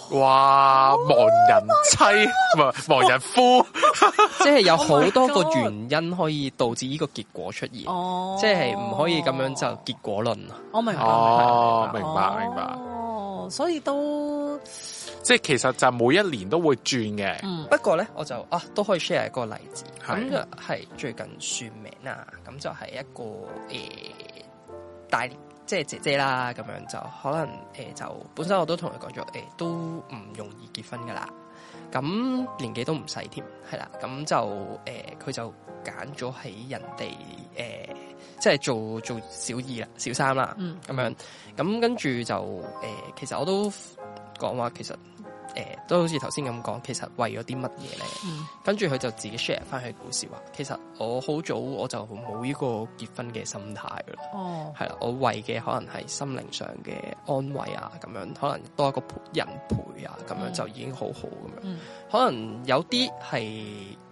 哇！亡人妻唔係亡人夫， 即係有好多個原因可以導致呢個結果出現， 哦、 即係唔可以咁樣就結果論啊！ 我明白， 哦，明白明白， 哦，所以都即係其實就每一年都會轉嘅。 嗯，不過咧我就啊都可以 share 一個例子，咁就係係最近算命啊，咁就係一個誒、呃、大即係姐姐啦，咁樣就可能誒、呃、就本身我都同佢講咗，誒、呃、都唔容易結婚噶啦，咁年紀都唔細添，係啦，咁就誒佢、呃、就揀咗喺人哋誒、呃、即係做做小二啦、小三啦，咁、嗯、樣，咁跟住就誒、呃、其實我都講話其實。誒、呃，都好似頭先咁講，其實為咗啲乜嘢咧？嗯、跟住佢就自己 share 翻佢故事話，其實我好早我就冇呢個結婚嘅心態噶啦。哦，係啦，我為嘅可能係心靈上嘅安慰啊，咁樣可能多一個陪人陪啊，咁樣就已經好好咁樣。嗯、可能有啲係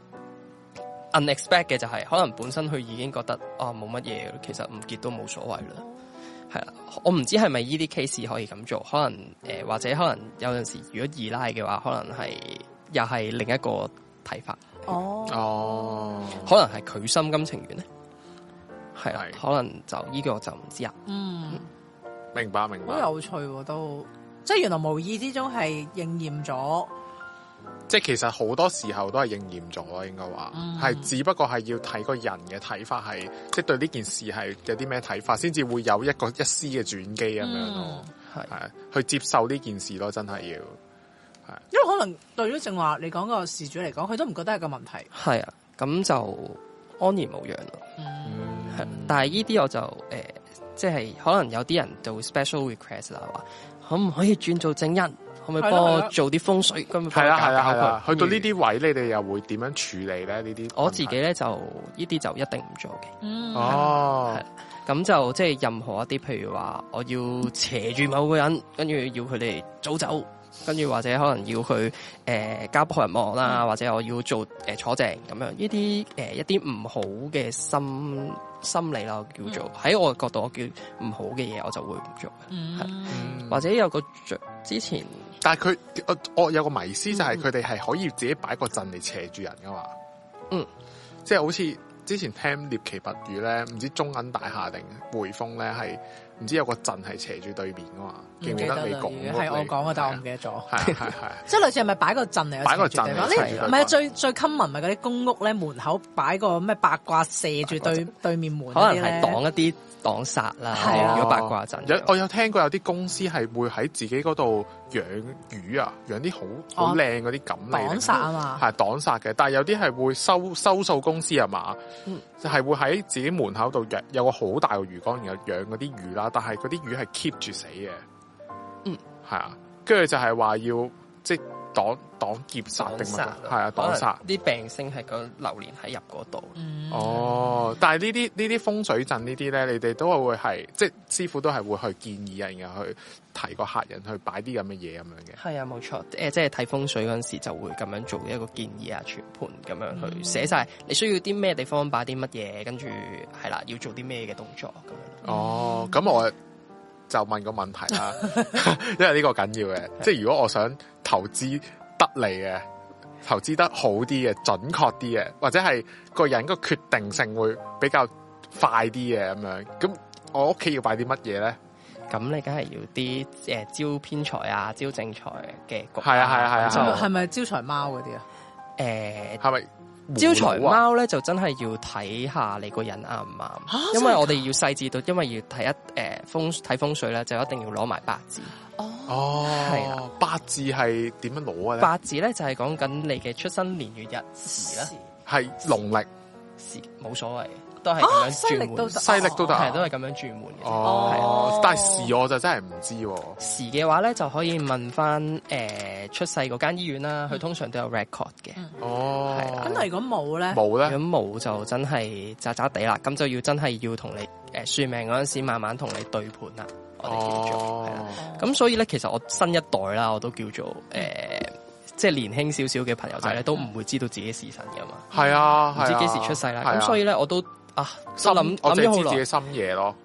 unexpected 嘅，就係可能本身佢已經覺得啊冇乜嘢，其實唔結都冇所謂啦。係啦，我唔知係咪呢啲 case 可以咁做，可能誒、呃、或者可能有陣時如果二奶嘅話，可能係又係另一個睇法。哦哦，可能係佢心甘情願咧，係啊，可能就呢個我就唔知啊。嗯， 明白明白， 好有趣喎，都即係原來無意之中係應驗咗。 即係其實好多時候都係應驗咗，應該話係，只不過係要睇個人嘅睇法係，即係對呢件事係有啲咩睇法，先至會有一個一絲嘅轉機咁樣咯。係係、嗯、去接受呢件事咯，真係要係。 因為可能對於正話你講個事主嚟講，佢都唔覺得係個問題。 係啊，咁就安然無恙咯。嗯，係。但係呢啲我就誒、呃，即係可能有啲人就會 special request 啦，話可唔可以轉做正印？可唔可以幫我做啲風水？咁係啦係啦係啦，去到呢啲位，你哋又會點樣處理咧？呢啲我自己咧就呢啲就一定唔做嘅。 嗯， 哦，係咁就即係任何一啲，譬如話我要斜住某個人，跟住要佢哋早走，跟住或者可能要去誒、呃、交幫人忙啦，嗯、或者我要做誒、呃、坐正咁樣，呢啲誒一啲唔好嘅心心理啦，我叫做喺、嗯、我嘅角度，我叫唔好嘅嘢，我就會唔做嘅。嗯，係或者有個之前。 但係佢，我我有個迷思就係佢哋係可以自己擺個陣嚟斜住人噶嘛， 嗯， 即係好似之前聽獵奇物語咧，唔知中銀大廈定匯豐咧係，唔知有個陣係斜住對面噶嘛，記唔記得你講？ 係我講嘅，但我唔記得咗。係係係， 即係類似係咪擺個陣嚟？ 擺個陣嚟，唔係最最 common 咪嗰啲公屋咧門口擺個咩八卦射住對對面門， 可能係擋一啲。擋煞啦，如果八卦陣， 有我有聽過有啲公司係會喺自己嗰度養魚啊，養啲好好靚嗰啲錦鯉， 擋煞啊嘛， 係擋煞嘅。但係有啲係會收收數公司啊嘛，嗯、就係會喺自己門口度養有個好大嘅魚缸，然後養嗰啲魚啦。但係嗰啲魚係 keep 住死嘅，嗯，係啊，跟住就係話要即係擋擋劫煞定乜？係啊，擋煞啲病星係個流年喺入嗰度。 嗯、 哦，但係呢啲呢啲風水陣呢啲咧，你哋都係會係即係師傅都係會去建議人，然後去提個客人去擺啲咁嘅嘢咁樣嘅。 係啊，冇錯。誒、呃，即係睇風水嗰陣時就會咁樣做一個建議啊，全盤咁樣去寫晒你需要啲咩地方擺啲乜嘢，跟住係啦，要做啲咩嘅動作咁樣。 哦，咁我就問個問題啦，因為呢個緊要嘅，即係如果我想投資得嚟嘅，投資得好啲嘅，準確啲嘅，或者係個人個決定性會比較快啲嘅咁樣，咁我屋企要擺啲乜嘢咧？ 咁你梗係要啲誒招偏財啊，招正財嘅局。 係啊係啊係啊， 係咪係咪招財貓嗰啲啊？ 誒， 係咪？ 招財貓咧就真係要睇下你個人啱唔啱，啊、因為我哋要細緻到，因為要睇一誒、呃、風睇風水咧，就一定要攞埋八字。 哦，係啦，八字係點樣攞嘅咧？ 八字咧就係講緊你嘅出生年月日時啦， 係農曆時冇所謂。都係咁樣轉換， 西曆都得， 係都係咁樣轉換嘅。 哦，但係時我就真係唔知。 時嘅話咧，就可以問翻誒出世嗰間醫院啦，佢通常都有 record 嘅。 哦，係啦。 咁如果冇咧？ 冇咧？ 咁冇就真係渣渣地啦。咁就要真係要同你誒算命嗰陣時，慢慢同你對盤啦。我哋叫做係啦。咁所以咧，其實我新一代啦，我都叫做誒，即係年輕少少嘅朋友仔咧，都唔會知道自己時辰噶嘛。 係啊， 唔知幾時出世啦。咁所以咧，我都。啊， 心諗我淨係知自自己深夜咯，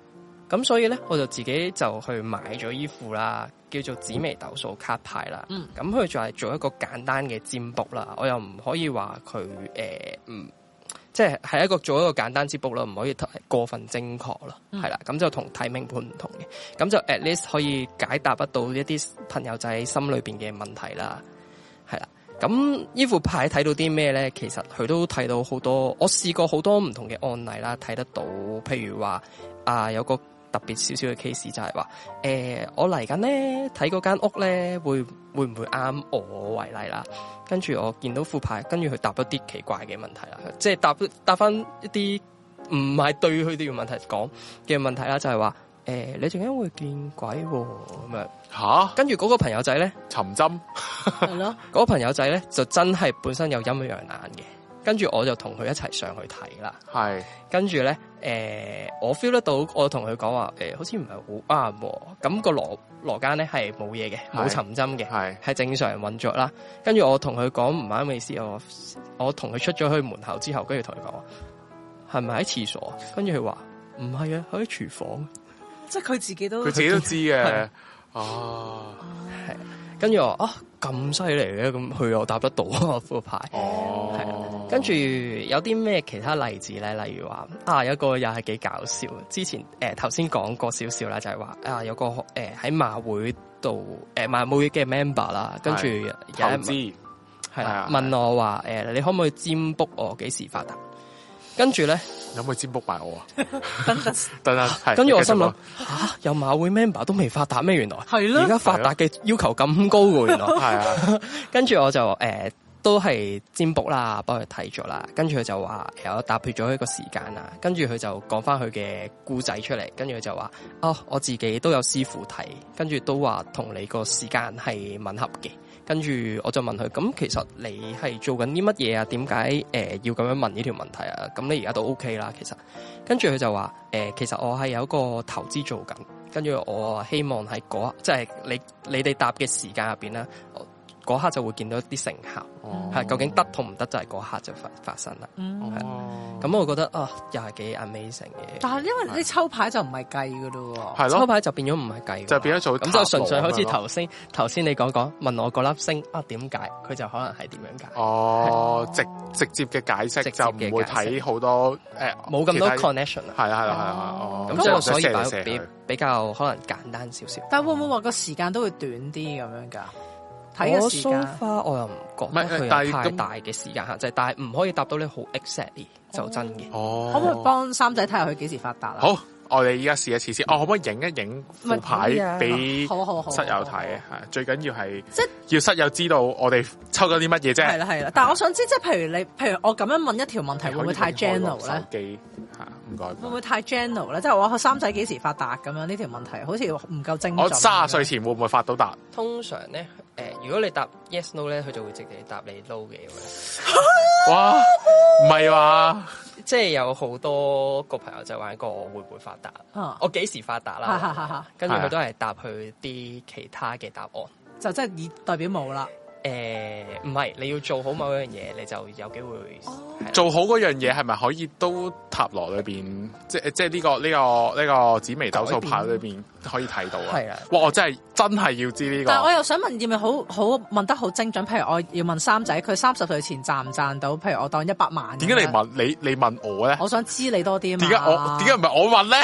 咁所以咧，我就自己就去買咗依副啦，叫做紫微斗數卡牌啦。嗯，咁佢就係做一個簡單嘅占卜啦。我又唔可以話佢誒，嗯，即係係一個做一個簡單占卜啦，唔可以過分精確啦。係啦、嗯，咁就同睇命盤唔同嘅。咁就 at least 可以解答得到一啲朋友仔心裏邊嘅問題啦。係啦，咁依副牌睇到啲咩咧？其實佢都睇到好多，我試過好多唔同嘅案例啦，睇得到，譬如話啊，有個特別少少嘅 case 就係話，誒、呃，我嚟緊咧睇嗰間屋咧，會會唔會啱我為例啦？跟住我見到副牌，跟住佢答一啲奇怪嘅問題啦，即係答答翻一啲唔係對佢哋嘅問題講嘅問題啦，就係話，誒、呃，你陣間會見鬼咁樣吓？跟住嗰個朋友仔咧， 尋針係咯， 嗰個朋友仔咧就真係本身有陰陽眼嘅。跟住我就同佢一齊上去睇啦，係。跟住咧，誒、呃，我 feel 得到，我同佢講話，誒、呃，好似唔係好啱。咁、那個羅羅間咧係冇嘢嘅，冇尋針嘅，係係正常運作啦。跟住我同佢講唔啱嘅意思，我我同佢出咗去門口之後，跟住同佢講話，係咪喺廁所？跟住佢話唔係啊，喺廚房。 即係佢自己都佢自己都知嘅，哦， 係。跟住我啊咁犀利嘅，咁佢又答得到啊副牌，哦，係啊。跟住有啲咩其他例子咧？例如話啊，有一個又係幾搞笑。之前誒頭先講過少少啦，就係、是、話啊有個誒喺、呃、馬會度誒馬會嘅 member 啦，跟住有一問係啦，問我話誒、呃、你可唔可以占卜我幾時發達？跟住咧， 有冇占卜埋我啊？ 等等， 等等， 跟住我心諗吓，有馬會 member 都未發達咩？原來係咯，而家發達嘅要求咁高嘅，原來係啊。跟住我就誒、呃、都係占卜啦，幫佢睇咗啦。跟住佢就話有搭配咗一個時間啦。跟住佢就講翻佢嘅故仔出嚟。跟住佢就話哦，我自己都有師傅睇，跟住都話同你個時間係吻合嘅。跟住我就問佢，咁其實你係做緊啲乜嘢啊？點解誒要咁樣問呢條問題啊？咁你而家都 OK 啦，其實。跟住佢就話誒、呃，其實我係有一個投資做緊，跟住我希望喺嗰即係你你哋答嘅時間入邊咧，嗰刻就會見到一啲成效，係、哦、究竟得同唔得就係嗰刻就發發生啦。嗯，咁我覺得啊，又係幾 amazing 嘅。 但係因為你抽牌就唔係計噶咯， 係咯， 抽牌就變咗唔係計， 就變咗做咁就純粹好似頭先頭先你講講問我嗰粒星啊點解，佢就可能係點樣解。哦， 直直接嘅解釋就唔會睇好多誒， 冇咁多 connection 啊。 係啊係啊係啊， 咁所以所以比比較可能簡單少少。 但會唔會話個時間都會短啲咁樣㗎？ 我 so far 我又唔覺得佢有太大嘅時間限制，但係唔可以答到你好 exactly 就真嘅。 哦， 可唔可以幫三仔睇下佢幾時發達啊？ 好，我哋依家試一次先。哦，可唔可以影一影副牌俾室友睇？係最緊要係即係要室友知道我哋抽咗啲乜嘢啫。係啦係啦，但係我想知，即係譬如你，譬如我咁樣問一條問題，會唔會太 general 咧？ 手機嚇，唔該。 會唔會太 general 咧？即係我三仔幾時發達咁樣呢條問題，好似唔夠精準。 我卅歲前會唔會發到達？ 通常咧。誒，如果你答 yes no 咧，佢就會直接答你 no 嘅。 哇，唔係話， 即係有好多個朋友就玩過我會唔會發達，啊、我幾時發達啦？跟住佢都係答佢啲其他嘅答案， 就真係以代表冇啦。 誒，唔係，你要做好某一樣嘢，你就有機會、哦、 做好嗰樣嘢，係咪可以都塔羅裏邊，即係即係呢個呢、這個呢、這個紫微斗數牌裏邊可以睇到啊？係啊！哇，我真係真係要知呢、這個。 但係我又想問，要咪好好問得好精準？譬如我要問三仔，佢三十歲前賺唔賺到？譬如我當一百萬。點解你問你你問我咧？ 我想知你多啲啊嘛。點解我點解唔係我問咧？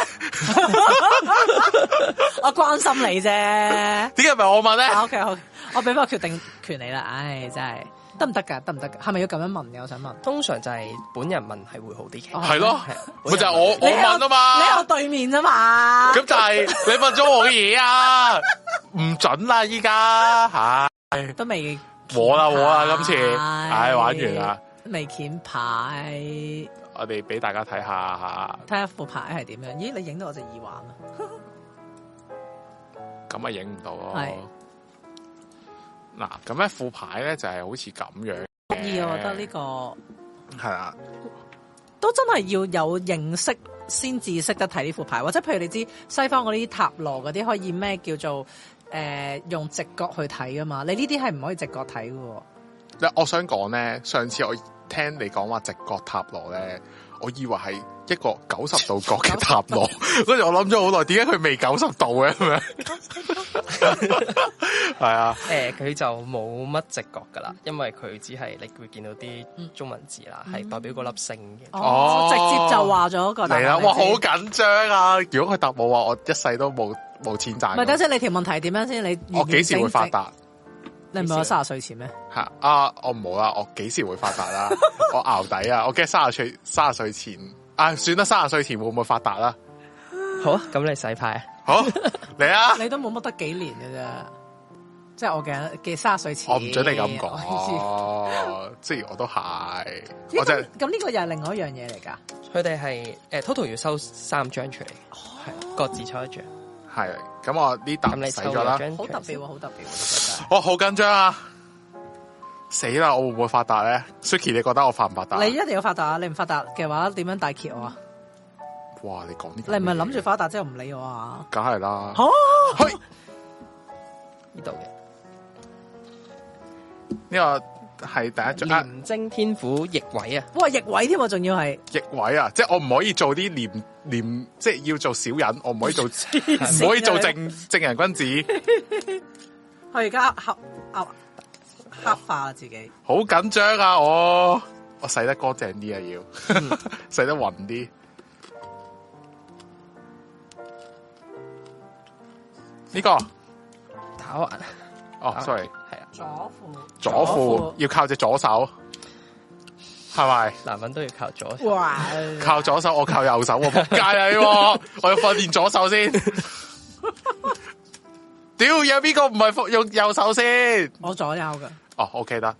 我關心你啫。 點解唔係我問咧 ？OK OK。我俾翻個決定權你啦，唉，真係得唔得噶？得唔得噶？係咪要咁樣問嘅？我想問。 通常就係本人問係會好啲嘅。 係咯，咪就係我我問啊嘛。 你有對面啊嘛。 咁就係你問咗我嘅嘢啊，唔準啦依家，唉， 都未和啦和啦，今次，唉，玩完啦。 未鉗牌。 我哋俾大家睇下吓。 睇下副牌係點樣？咦，你影到我隻耳環啊？ 咁啊，影唔到咯。 係。 嗱，咁咧副牌咧就係、是、好似咁樣， 得意啊！我覺得呢、這個係啊， 都真係要有認識先至識得睇呢副牌，或者譬如你知西方嗰啲塔羅嗰啲可以咩叫做誒、呃、用直覺去睇噶嘛？你呢啲係唔可以直覺睇噶。 我想講咧，上次我聽你講話直覺塔羅咧，我以為係一個九十度角嘅塔羅，跟住我諗咗好耐，點解佢未九十度嘅咁樣？係啊， 誒，佢就冇乜直覺噶啦，因為佢只係你會見到啲中文字啦，係、嗯、代表嗰粒星嘅。 哦，直接就話咗個答案嚟啦！哇，好緊張啊！如果佢答我話，我一世都冇冇錢賺。 唔係，等陣你條問題點樣先？你我幾時會發達？ 你唔係我三十歲前咩？ 係啊，我唔好啦，我幾時會發達啦？我淆底啊！我驚三十歲三十歲前啊，算啦，三十歲前會唔會發達啦？ 好啊，咁你洗牌好嚟啊！ 你都冇乜得幾年嘅啫，即係我嘅嘅三十歲前。 我唔准你咁講，哦，即係我都係。我就咁呢個又係另外一樣嘢嚟噶。 佢哋係誒 total 要收三張出嚟，係、哦、各自抽一張。係， 咁我呢沓洗咗啦。 好特別喎，好特別喎， 我好緊張啊！死啦！我會唔會發達咧 ？Suki， 你覺得我發唔發達？ 你一定要發達啊！你唔發達嘅話，點樣大揭我啊？ 哇！你講呢？ 你唔係諗住發達之後唔理我啊？ 梗係啦。 好， 去呢度嘅呢個係第一張廉貞天府逆位啊！ 哇，逆位添，仲要係逆位啊！即係我唔可以做啲廉廉，即係要做小人，我唔可以做，唔可以做正正人君子。 我而家黑啊黑化自己， 好緊張啊！我我洗得乾淨啲啊，要、嗯、洗得匀啲。呢、這個打橫哦 ，sorry， 係啊， 左褲左褲要靠隻左手，係咪？ 男人都要靠左手。 哇！ 靠左手，我靠右手，我仆街啊！我要訓練左手先。屌，有邊個唔係用右手先？ 我左右噶。 哦 ，OK 得。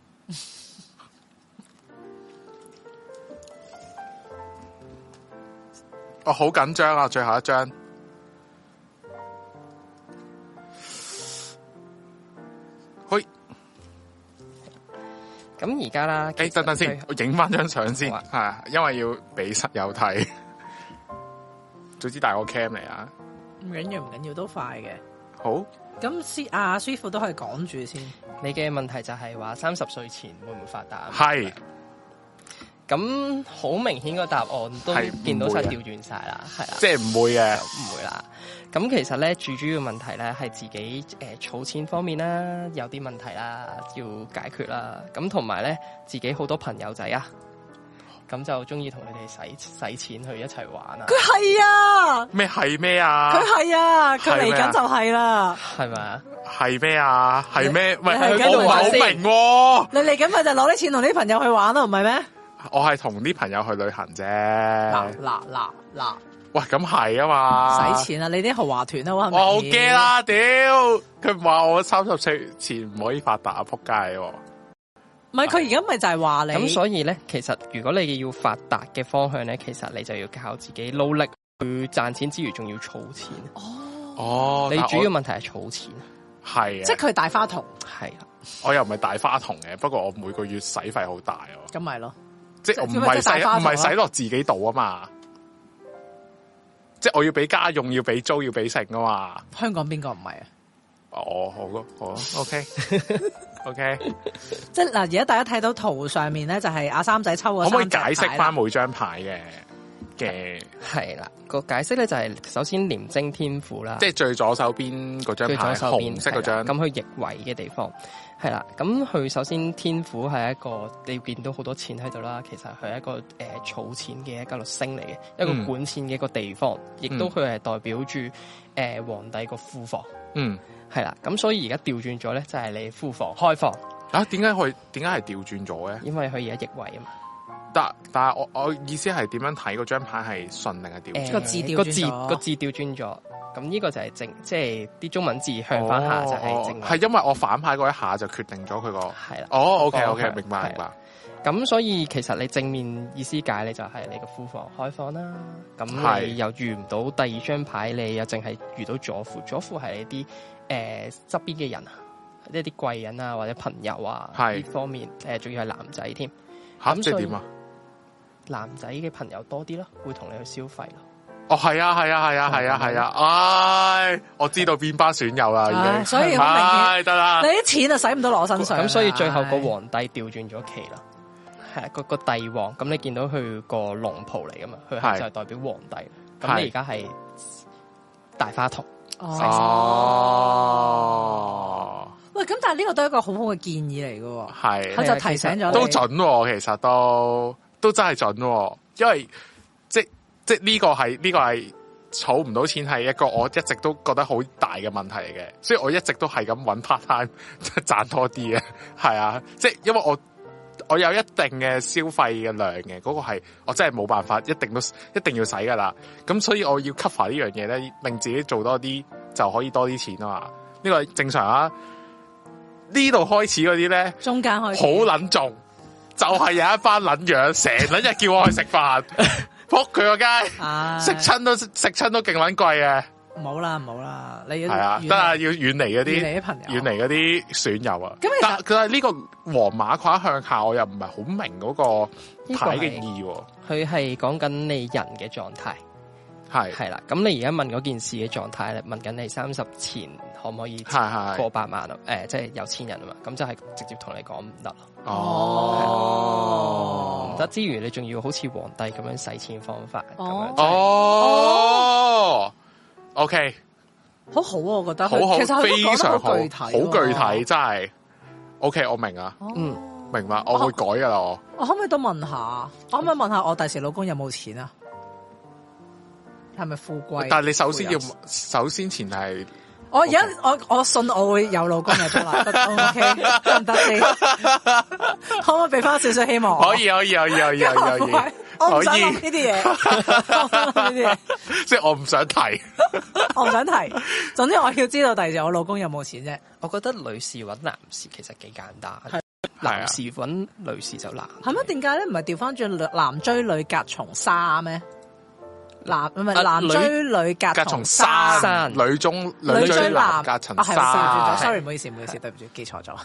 我好緊張啊！最後一張。去。 咁而家啦， 誒，等等先，我影翻張相先，係、啊，因為要俾室友睇。早知帶個 cam 嚟啊！ 唔緊要，唔緊要，都快嘅。 好。 咁師阿師傅都可以講住先。 你嘅問題就係話三十歲前會唔會發達？ 係。 咁好明顯個答案都見到晒調轉晒啦，係啦。 即係唔會嘅， 唔會啦。咁其實咧，最主要問題咧係自己誒儲、呃、錢方面啦，有啲問題啦，要解決啦。咁同埋咧，自己好多朋友仔啊。咁就中意同佢哋使使錢去一齊玩啊！ 佢係啊！ 咩係咩啊？ 佢係啊！佢嚟緊就係啦， 係咪啊？ 係咩啊？係咩？喂，我唔係好明。 你嚟緊咪就攞啲錢同啲朋友去玩咯，唔係咩？ 我係同啲朋友去旅行啫。嗱嗱嗱嗱！ 喂，咁係啊嘛！ 使錢啊！你啲豪華團啊，我我好驚啦！屌，佢話我三十歲前唔可以發達啊！仆街！ 唔係，佢而家咪就係話你咁，所以咧，其實如果你要發達嘅方向咧，其實你就要靠自己努力去賺錢之餘，仲要儲錢。哦， 哦， 你主要問題係儲錢， 係啊， 即係佢大花筒， 係啊， 我又唔係大花筒嘅，不過我每個月使費好大哦。 咁咪咯， 即係我唔係使唔係使落自己度啊嘛，即係我要俾家用，要俾租，要俾食啊嘛。 香港邊個唔係啊？ 哦，好咯，好咯 ，OK。O K， 即係嗱，而家大家睇到圖上面咧，就係阿三仔抽嘅。 可唔可以解釋翻每張牌嘅嘅？ 係啦，個解釋咧就係首先廉貞天府啦， 即係最左手邊嗰張牌，紅色嗰張。咁佢逆位嘅地方係啦，咁佢首先天府係一個你見到好多錢喺度啦，其實佢係一個誒儲、呃、錢嘅一個星嚟嘅，一個管錢嘅一個地方，亦、嗯、都佢係代表住誒、呃、皇帝個庫房。嗯。係啦，咁所以而家調轉咗咧，就係你庫房開放啊？點解佢點解係調轉咗嘅？ 因為佢而家逆位啊嘛。 但但係我我意思係點樣睇嗰張牌係順定係調轉？ 個、呃、字調個字個字調轉咗，咁呢個就係正，即係啲中文字向翻下就係正。係、 哦、因為我反牌嗰一下就決定咗佢個係啦。哦 ，OK OK，明白明白。咁所以其實你正面意思解你就係你個庫房開放啦。咁你又遇唔到第二張牌，你又淨係遇到左庫，左庫係一啲。誒，側邊嘅人啊，一啲貴人啊，或者朋友啊，呢方面誒，仲要係男仔添。 吓，即係點啊？ 男仔嘅朋友多啲咯，會同你去消費咯。 哦，係啊，係啊，係啊，係啊，係啊，唉，我知道邊班損友啦，已經。 所以好明顯得啦。 你啲錢啊，使唔到落我身上。 咁所以最後個皇帝調轉咗旗啦。 係啦，個個帝王，咁你見到佢個龍袍嚟噶嘛？佢係就係代表皇帝。咁你而家係大花童。 哦。 喂，咁但係呢個都係一個好好嘅建議嚟嘅。 係。 佢就提醒咗你。 都準喎，其實都都真係準喎，因為即即呢個係呢個係儲唔到錢係一個我一直都覺得好大嘅問題嚟嘅，所以我一直都係咁揾 part time 賺多啲嘅。係啊，即係因為我。我有一定嘅消費嘅量嘅，嗰、那個係我真係冇辦法，一定都一定要使噶啦。咁所以我要 cover 呢樣嘢咧，令自己做多啲就可以多啲錢啊嘛。呢、這個正常啊。呢度開始嗰啲咧， 中間開始好撚重，就係、是、有一班撚樣，成撚日叫我去食飯，仆佢個街，食親都食親都勁撚貴嘅。 唔好啦，唔好啦，你要係啊，得啦，要遠離嗰啲， 遠離啲朋友， 遠離嗰啲損友啊。 咁但佢係呢個黃馬褂向下，我又唔係好明嗰個牌嘅意義。 佢係講緊你人嘅狀態，係係啦。咁你而家問嗰件事嘅狀態咧，問緊你三十前可唔可以過百萬啊？誒，即係有錢人啊嘛。咁就係直接同你講唔得咯。 哦， 唔得之餘，你仲要好似皇帝咁樣使錢方法咁樣。 哦。O K， 好好啊，我覺得好好， 其實非常好， 具體，好具體，真係 O K， 我明啊，嗯，明白，我會改噶啦，我。 我可唔可以都問下？我可唔可以問下我第時老公有冇錢啊？係咪富貴？ 但係你首先要，首先前提。 我而家我我信我會有老公嘅出嚟 ，O K， 得唔得先？可唔可以俾翻少少希望？ 可以，可以，可以，可以，可以。 我唔想諗呢啲嘢，呢啲嘢， 即係我唔想提， 我唔想提。總之我要知道第時我老公有冇錢啫。 我覺得女士揾男士其實幾簡單，男士揾女士就難。 係咩？點解咧？唔係調翻轉男追女隔重紗咩？男唔係男追女隔重山， 女中女追男隔層紗。 sorry， 唔好意思，唔好意思，對唔住，記錯咗。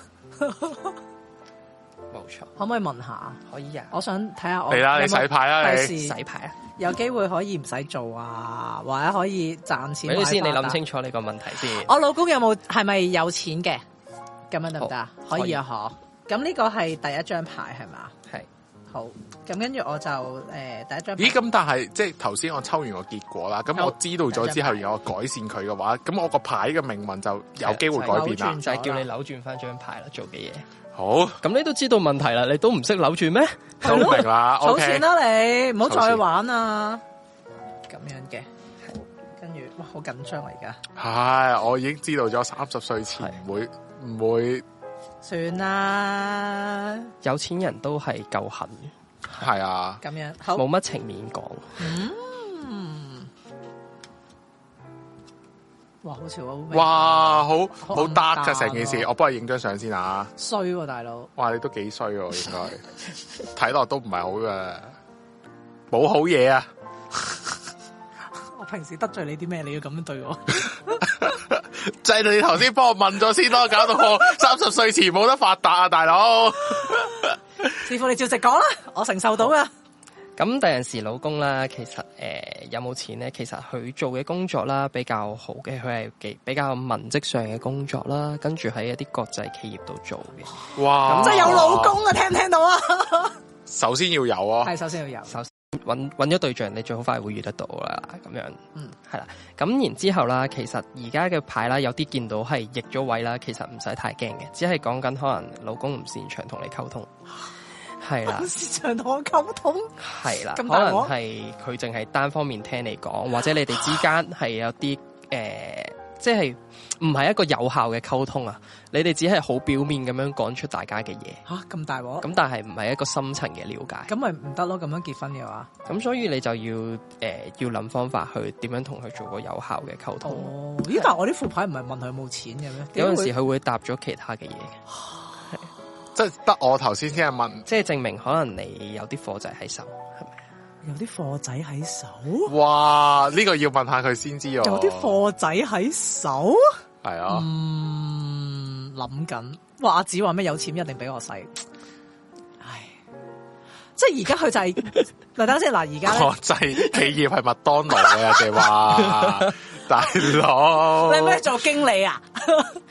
冇錯， 可唔可以問下？ 可以啊， 我想睇下我。 嚟啦，你洗牌啦，你洗牌啊！ 有機會可以唔使做啊，或者可以賺錢。 你先，你諗清楚你個問題先。 我老公有冇係咪有錢嘅？咁樣得唔得啊？可以啊，嗬。咁呢個係第一張牌係嘛？ 係。 好，咁跟住我就誒第一張。 咦？咁但係即係頭先我抽完個結果啦，咁我知道咗之後，如果我改善佢嘅話，咁我個牌嘅命運就有機會改變啦。 就係叫你扭轉翻張牌啦，做嘅嘢。 好， 咁你都知道問題啦，你都唔識扭轉咩？ 都明啦， 儲錢啦你，唔好再玩啊！咁樣嘅，跟住哇，好緊張啊而家。 係，我已經知道咗三十歲前唔會唔會。 算啦， 有錢人都係夠狠嘅， 係啊， 咁樣冇乜情面講。 嗯，哇，好似好， 哇，好好 dark 㗎成件事，我幫你影張相先啊。 衰喎，大佬， 哇，你都幾衰喎，應該睇落都唔係好嘅，冇好嘢啊！ 我平時得罪你啲咩？你要咁樣對我？ 就係你頭先幫我問咗先咯，搞到我三十歲前冇得發達啊，大佬！ 師傅你照直講啦，我承受到噶。 咁第陣時老公啦，其實誒、呃、有冇錢咧？其實佢做嘅工作啦比較好嘅，佢係幾比較文職上嘅工作啦，跟住喺一啲國際企業度做嘅。 哇！ 即係有老公啊，聽唔聽到啊？ 首先要有啊， 係首先要有。 首先揾揾咗對象，你最好快會遇得到啦，咁樣。 嗯， 係啦。咁然之後啦，其實而家嘅牌啦，有啲見到係逆咗位啦，其實唔使太驚嘅，只係講緊可能老公唔擅長同你溝通。係啦， 擅長同我溝通， 係啦，可能係佢淨係單方面聽你講，或者你哋之間係有啲誒、呃，即係唔係一個有效嘅溝通啊？你哋只係好表面咁樣講出大家嘅嘢， 吓咁大鑊， 咁但係唔係一個深層嘅了解， 咁咪唔得咯？咁樣結婚嘅話， 咁所以你就要誒、呃、要諗方法去點樣同佢做個有效嘅溝通。 哦，咦？但係我啲副牌唔係問佢有冇錢嘅咩？ 有陣時佢會答咗其他嘅嘢。 即係得我頭先先係問， 即係證明可能你有啲貨仔喺手，係咪？ 有啲貨仔喺手？ 哇！呢、這個要問下佢先知啊。 有啲貨仔喺手？ 係啊。 嗯，諗緊。哇！阿子話咩有錢一定俾我使。唉，即係而家佢就係、是，嗱等先嗱，而家國際企業係麥當勞嘅，人哋話大佬。 你係咩做經理啊？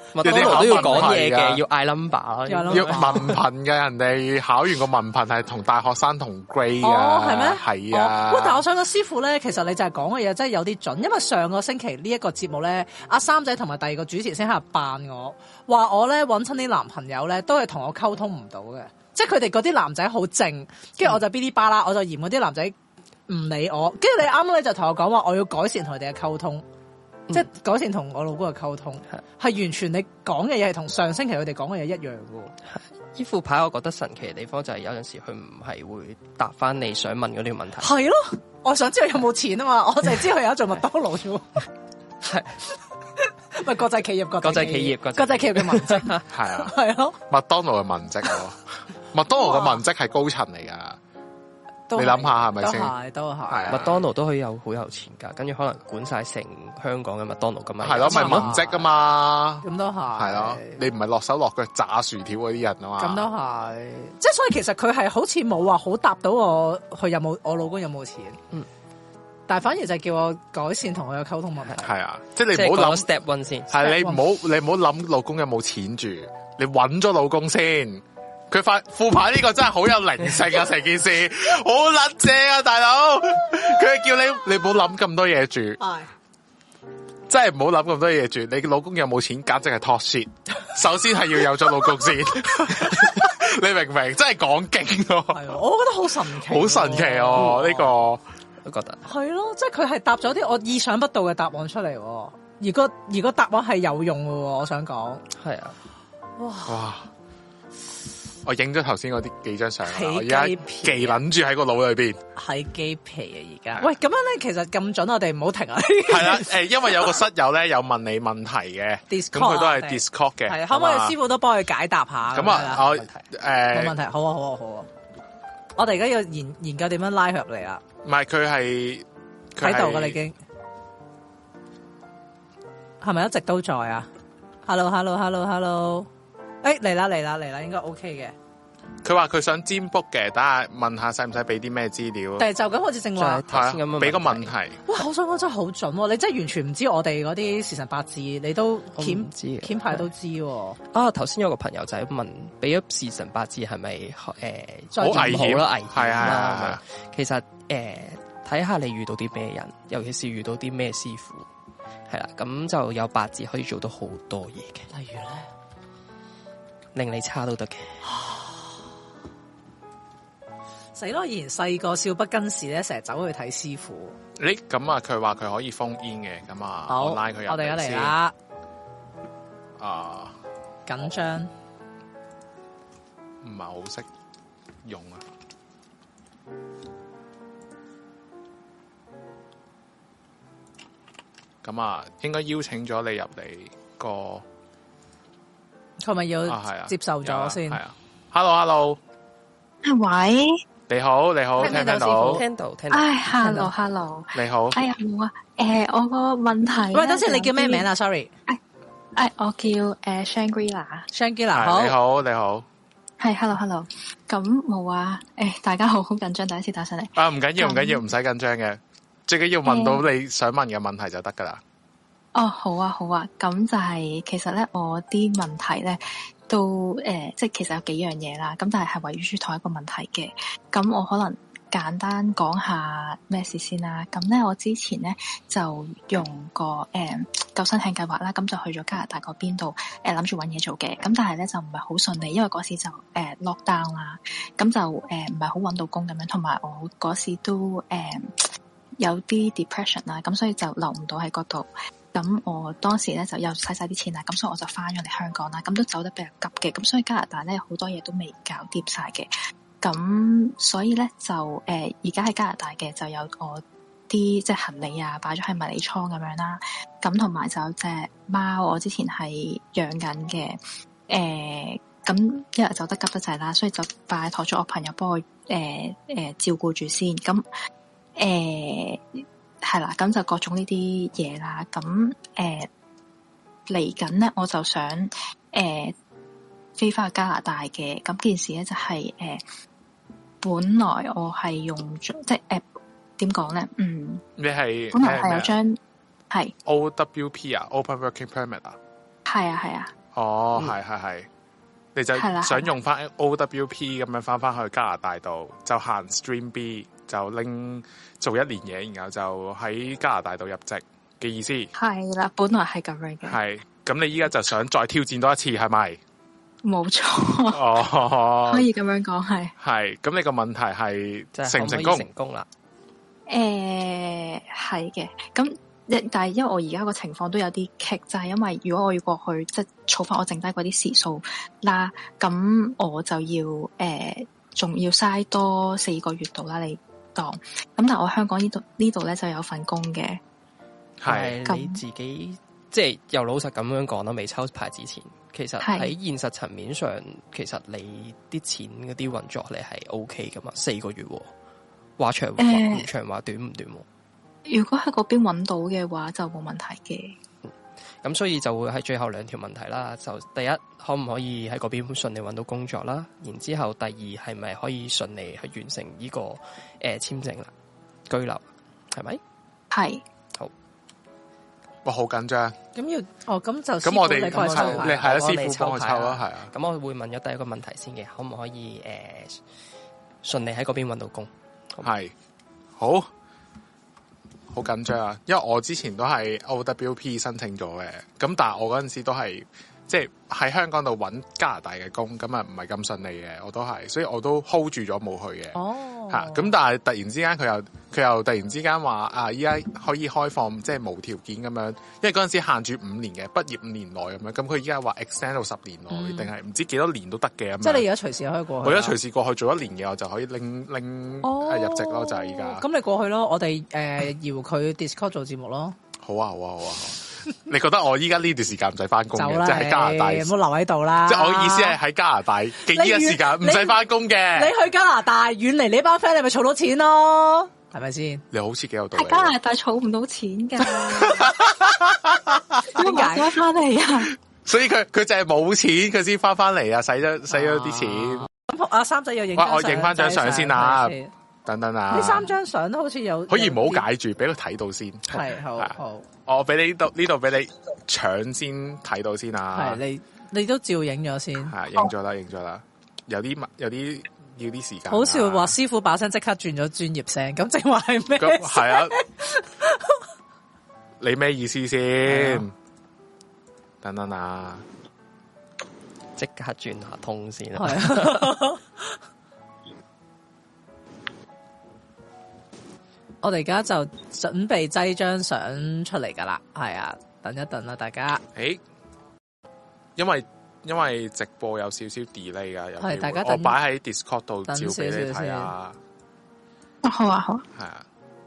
麥當勞都要講嘢嘅，要嗌 number 咯， 要文憑嘅，人哋考完個文憑係同大學生同 grade 啊， 哦係咩？ 係啊。 喂，但係我想講師傅咧，其實你就係講嘅嘢真係有啲準，因為上個星期呢一個節目咧，阿三仔同埋第二個主持先喺度扮我，話我咧揾親啲男朋友咧都係同我溝通唔到嘅，即係佢哋嗰啲男仔好靜，跟住我就嗶哩吧啦，我就嫌嗰啲男仔唔理我，跟住你啱啱咧就同我講話，我要改善同佢哋嘅溝通。即係改善同我老公嘅溝通，係、嗯、完全你講嘅嘢係同上星期佢哋講嘅嘢一樣嘅。 呢副牌我覺得神奇嘅地方就係有陣時佢唔係會答翻你想問嗰啲問題。 係咯，我想知道有冇錢啊嘛，我就係知佢有做麥當勞啫。係咪國際企業？國際企業，國際企業嘅文職係啊， 係咯。 麥當勞嘅文職咯，麥當勞嘅文職係高層嚟噶。你諗下係咪先？ 都係，都係。 麥當勞都可以有好有錢噶，跟住可能管晒成香港嘅麥當勞咁嘛。 係咯，咪文職噶嘛。 咁都係。係咯， 你唔係落手落腳炸薯條嗰啲人啊嘛。 咁都係。即係所以其實佢係好似冇話好答到我，佢有冇我老公有冇錢。嗯。但係反而就係叫我改善同佢嘅溝通問題。係啊，即係你唔好諗 step one 先。 係你唔好你唔好諗老公有冇錢住，你揾咗老公先。佢發副牌呢個真係好有靈性啊！成件事好撚正啊，大佬！佢係叫你你唔好諗咁多嘢住，真係唔好諗咁多嘢住。你老公有冇錢，簡直係 talk shit。首先係要有咗老公先，你明唔明？真係講經咯。係啊， 我覺得好神奇， 好神奇哦！呢個我覺得係咯，即係佢係答咗啲我意想不到嘅答案出嚟。而個而個答案係有用嘅，我想講係啊， 哇！ 哇我影咗頭先嗰啲幾張相，我而家記諗住喺個腦裏邊， 起雞皮啊！而家喂，咁樣咧，其實咁準，我哋唔好停啊！ 係啦，誒，因為有個室友咧有問你問題嘅，咁佢都係 Discord 嘅， 係可唔可以師傅都幫佢解答下？ 咁啊，我誒冇問題，好啊，好啊，好啊！我哋而家要研研究點樣拉佢入嚟啊！ 唔係佢係喺度噶，你已經係咪一直都在啊 ？Hello，Hello，Hello，Hello。誒，嚟啦嚟啦嚟啦，應該 OK 嘅。 佢話佢想占卜嘅，等下問下使唔使俾啲咩資料？ 但係就咁好似正話係俾個問題。 哇，我想講真係好準，你真係完全唔知我哋嗰啲時辰八字，你都檢檢牌都知。 啊，頭先有個朋友仔問，俾咗時辰八字係咪誒好危險啦？危險係啊， 其實誒睇下你遇到啲咩人，尤其是遇到啲咩師傅，係啦，咁就有八字可以做到好多嘢嘅。 例如咧？ 令你差都得嘅， 死咯！以前細個少不更事咧，成日走去睇師傅。 你咁啊，佢話佢可以封煙嘅，咁啊， 好我拉佢入嚟先。 我哋而家嚟啦。 啊， 緊張， 唔係好識用啊。咁啊，應該邀請咗你入嚟個。 佢咪要接受咗先？ 係啊 ，Hello，Hello， 喂， 你好，你好，聽唔聽到？ 聽到，聽到。 唉 ，Hello，Hello， 你好。 哎呀，冇啊，誒，我個問題。 喂，等先，你叫咩名啊 ？Sorry， 誒誒，我叫誒 Shangri-La，Shangri-La， 好， 你好，你好。 係 ，Hello，Hello， 咁冇啊，誒，大家好好緊張，第一次打上嚟。 啊，唔緊要，唔緊要，唔使緊張嘅，最緊要問到你想問嘅問題就得噶啦。 哦，好啊，好啊，咁就係、是、其實咧，我啲問題咧都誒、呃，即係其實有幾樣嘢啦，咁但係係圍繞住同一個問題嘅。咁我可能簡單講下咩事先啦。咁咧，我之前咧就用個誒、呃、救生艇計劃啦，咁就去咗加拿大嗰邊度誒諗住搵嘢做嘅。咁但係咧就唔係好順利，因為嗰時就誒、呃、lock down 啦，咁就誒唔係好搵到工咁樣，同埋我嗰時都誒、呃、有啲 depression 啦，咁所以就留唔到喺嗰度。咁我當時咧就又使晒啲錢啦，咁所以我就翻咗嚟香港啦，咁都走得比較急嘅，咁所以加拿大咧好多嘢都未搞掂晒嘅，咁所以咧就誒而家喺加拿大嘅就有我啲即係行李啊擺咗喺迷你倉咁樣啦，咁同埋就有隻貓我之前係養緊嘅，誒咁一日走得急得滯啦，所以就拜託咗我朋友幫我誒誒、呃呃、照顧住先，咁誒。呃係啦，咁就各種呢啲嘢啦。咁誒嚟緊咧，我就想誒、呃、飛翻去加拿大嘅。咁件事咧就係、是、誒、呃，本來我係用咗即係誒點講咧？嗯， 你係本來係有張係 O W P 啊 ，Open Working Permit 啊。 係啊係啊， 哦，係係係，你就想用翻 O W P 咁樣翻翻去加拿大度，就行 Stream B， 就拎做一年嘢，然後就喺加拿大度入籍嘅意思。 係啦，本來係咁樣嘅。 係，咁你依家就想再挑戰多一次，係咪？ 冇錯。哦，可以咁樣講，係。係， 咁你個問題係成唔成功？ 可唔可以成功啦？ 誒、呃，係嘅，咁。但係因為我而家個情況都有啲棘，就係、是、因為如果我要過去即係儲翻我剩低嗰啲時數啦，咁我就要誒仲、呃、要嘥多四個月度啦，你當。咁但係我香港呢度呢度咧就有份工嘅， 係你自己即係又老實咁樣講啦，未抽牌之前，其實喺現實層面上，其實你啲錢嗰啲運作你係 O K 噶嘛，四個月話長話唔長話短唔短。 如果喺嗰邊揾到嘅話，就冇問題嘅。 咁、嗯、所以就會係最後兩條問題啦。就第一，可唔可以喺嗰邊順利揾到工作啦？然之後第二，係咪可以順利去完成呢、這個誒簽證啦、居留？係咪？係。好。 哇，好緊張。 咁要哦，咁就咁我哋你係你係啊，師傅幫我抽啦，係啊。 咁我會問咗第一個問題先嘅，可唔可以誒順利喺嗰邊揾到工？ 係。好。好緊張啊！因為我之前都係 O W P 申請咗嘅，咁但係我嗰陣時都係即係喺香港度揾加拿大嘅工，咁啊唔係咁順利嘅，我都係，所以我都 hold 住咗冇去嘅。哦，嚇！咁但係突然之間佢又佢又突然之間話啊，依家可以開放即係無條件咁樣，因為嗰陣時限住五年嘅，畢業五年內咁樣，咁佢依家話 extend 到十年內，定係唔知幾多年都得嘅咁。即係你而家隨時可以過去。 我而家隨時過去做一年嘅，我就可以拎拎、哦、入籍咯，就係依家。 咁你過去咯，我哋誒搖佢 Discord 做節目咯。 好啊，好啊，好啊！你覺得我依家呢段時間唔使翻工嘅，即係喺加拿大， 唔好留喺度啦。 即係我嘅意思係喺加拿大嘅呢個時間唔使翻工嘅。 你去加拿大遠離呢班 friend，你咪儲到錢咯，係咪先？ 你好似幾有道理。 喺加拿大儲唔到錢噶，點解翻嚟啊？ 所以佢佢就係冇錢，佢先翻翻嚟啊！使咗使咗啲錢。 咁阿三仔又影， 我影翻張相先啊！等等啊！ 呢三張相都好似有， 可以唔好解住，俾佢睇到先。 係好好， 我俾你呢度呢度俾你搶先睇到先啊！ 係你你都照影咗先， 係影咗啦，影咗啦。有啲有啲要啲時間。 好笑話，師傅把聲即刻轉咗專業聲，咁正話係咩？ 係啊，你咩意思先？等等啊， 即刻轉下通先啊！ 我哋而家就準備擠張相出嚟噶啦，係啊，等一等啦，大家。 誒，因為因為直播有少少 delay 噶， 係大家等我擺喺 Discord 度照俾你睇啊。 好啊，好。 係啊。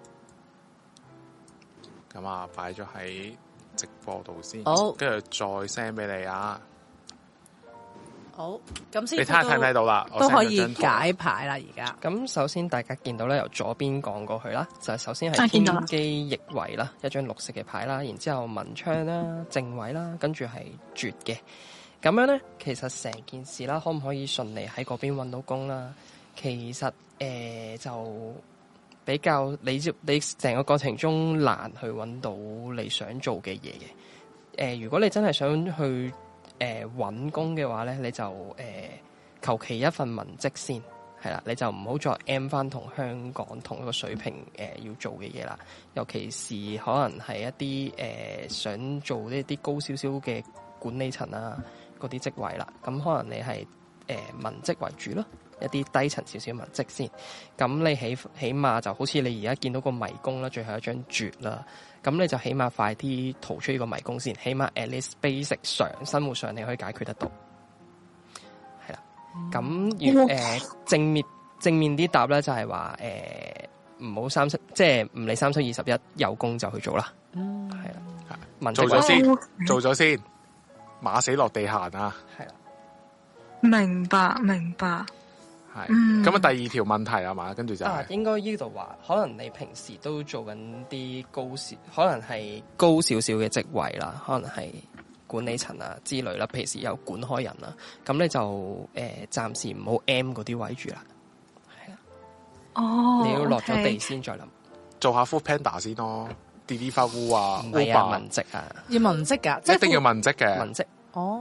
咁啊，擺咗喺直播度先，好，跟住再 send 俾你啊。 好，咁先。 你睇下睇唔睇到啦？ 都可以解牌啦，而家。 咁首先大家見到咧，由左邊講過去啦，就係首先係天機逆位啦，一張綠色嘅牌啦，然之後文昌啦、正位啦，跟住係絕嘅。咁樣咧，其實成件事啦，可唔可以順利喺嗰邊搵到工啦？其實誒、呃、就比較你你成個過程中難去搵到你想做嘅嘢嘅。誒、呃，如果你真係想去。誒，搵、呃、工嘅話咧，你就誒求其一份文職先，係啦，你就唔好再 M 翻同香港同一個水平誒、呃、要做嘅嘢啦。尤其是可能係一啲誒、呃、想做呢啲高少少嘅管理層啊嗰啲職位啦，咁可能你係誒、呃、文職為主咯，一啲低層少少文職先。咁你起起碼就好似你而家見到個迷宮啦，最後一張絕啦。咁你就起碼快啲逃出呢個迷宮先，起碼 at least basic 上生活上你可以解決得到，係啦。咁如誒正面正面啲答咧，就係話誒唔好三七，即係唔理三七二十一，有工就去做啦。嗯，係啦， 做咗先，做咗先，馬死落地行啊！係啦， 明白明白。 係，咁啊、嗯、第二條問題係嘛，跟住就係、是啊、應該呢度話，可能你平時都做緊啲高少，可能係高少少嘅職位啦，可能係管理層啊之類啦，平時有管開人啦，咁你就誒暫、呃、時唔好 M 嗰啲位住啦，係啊，哦，你要落咗地先再諗， 做下 Food Panda 先咯，delete 翻污啊， 唔係啊，文職啊， 要文職噶， 一定要文職嘅文職。 哦，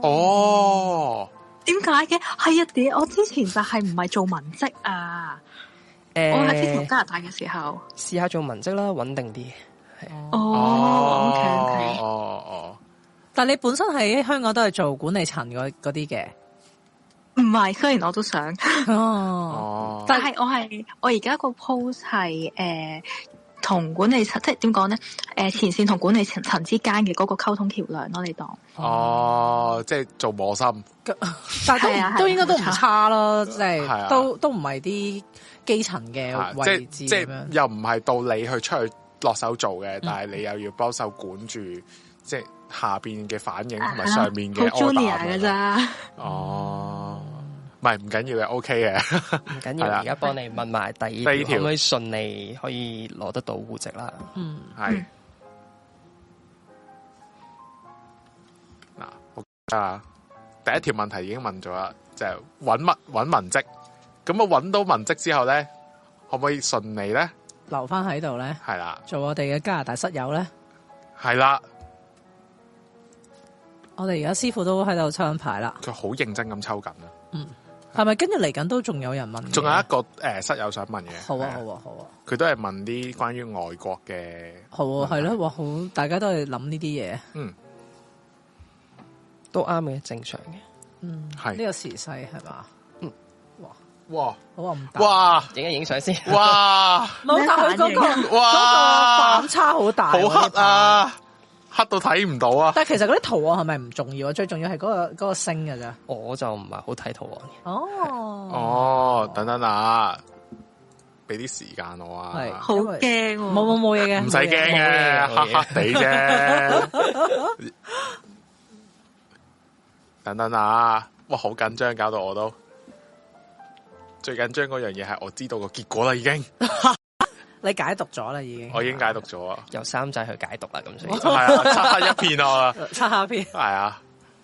哦， 點解嘅？係啊，點？我之前就係唔係做文職啊？誒，我喺之前加拿大嘅時候， 試下做文職啦，穩定啲。 哦，OK OK， 哦哦， 但你本身喺香港都係做管理層嗰嗰啲嘅。 唔係，雖然我都想， 哦， 但係我係我而家個 post 係誒同管理層，即係點講咧？誒前線同管理層層之間嘅嗰個溝通橋梁咯，你當哦，即係做磨心， 但係都都應該都唔差咯，即係係都都唔係啲基層嘅位置， 即係又唔係到你去出去落手做嘅，但係你又要幫手管住，即係下邊嘅反應同埋上面嘅 order 嘅咋？ 哦。唔係唔緊要嘅 ，OK 嘅， 唔緊要。而家幫你問埋第二條，可唔可以順利可以攞得到戶籍啦？ 嗯， 係。嗱，我啊，第一條問題已經問咗啦，就係揾乜揾文職。咁啊，揾到文職之後咧，可唔可以順利咧留翻喺度咧？ 係啦， 做我哋嘅加拿大室友咧？ 係啦。 我哋而家師傅都喺度抽緊牌啦。 佢好認真咁抽緊啊。 嗯。係咪跟住嚟緊都仲有人問？仲有一個誒、呃、室友想問嘅。 好啊，好啊，好啊。 佢都係問啲關於外國嘅。 好啊，係咯，哇，好，大家都係諗呢啲嘢。 嗯， 都啱嘅，正常嘅。 嗯，係呢個時勢係嘛？ 嗯， 哇哇， 好啊，唔哇， 影一影相先。 哇， 冇，但佢嗰個嗰個反差好大， 好黑啊！黑到睇唔到啊！ 但係其實嗰啲圖案係咪唔重要啊？最重要係嗰個嗰個星㗎咋。 我就唔係好睇圖案嘅。 哦， 哦，等等啊，俾啲時間我啊。 係好驚， 冇冇冇嘢嘅， 唔使驚嘅，黑黑地啫。等等啊，哇，好緊張，搞到我都最緊張嗰樣嘢係我知道個結果啦，已經。 你解讀咗啦，已經。 我已經解讀咗啊， 由三仔去解讀啦，咁所以係啊，漆黑一片啊， 漆黑一片。 係啊，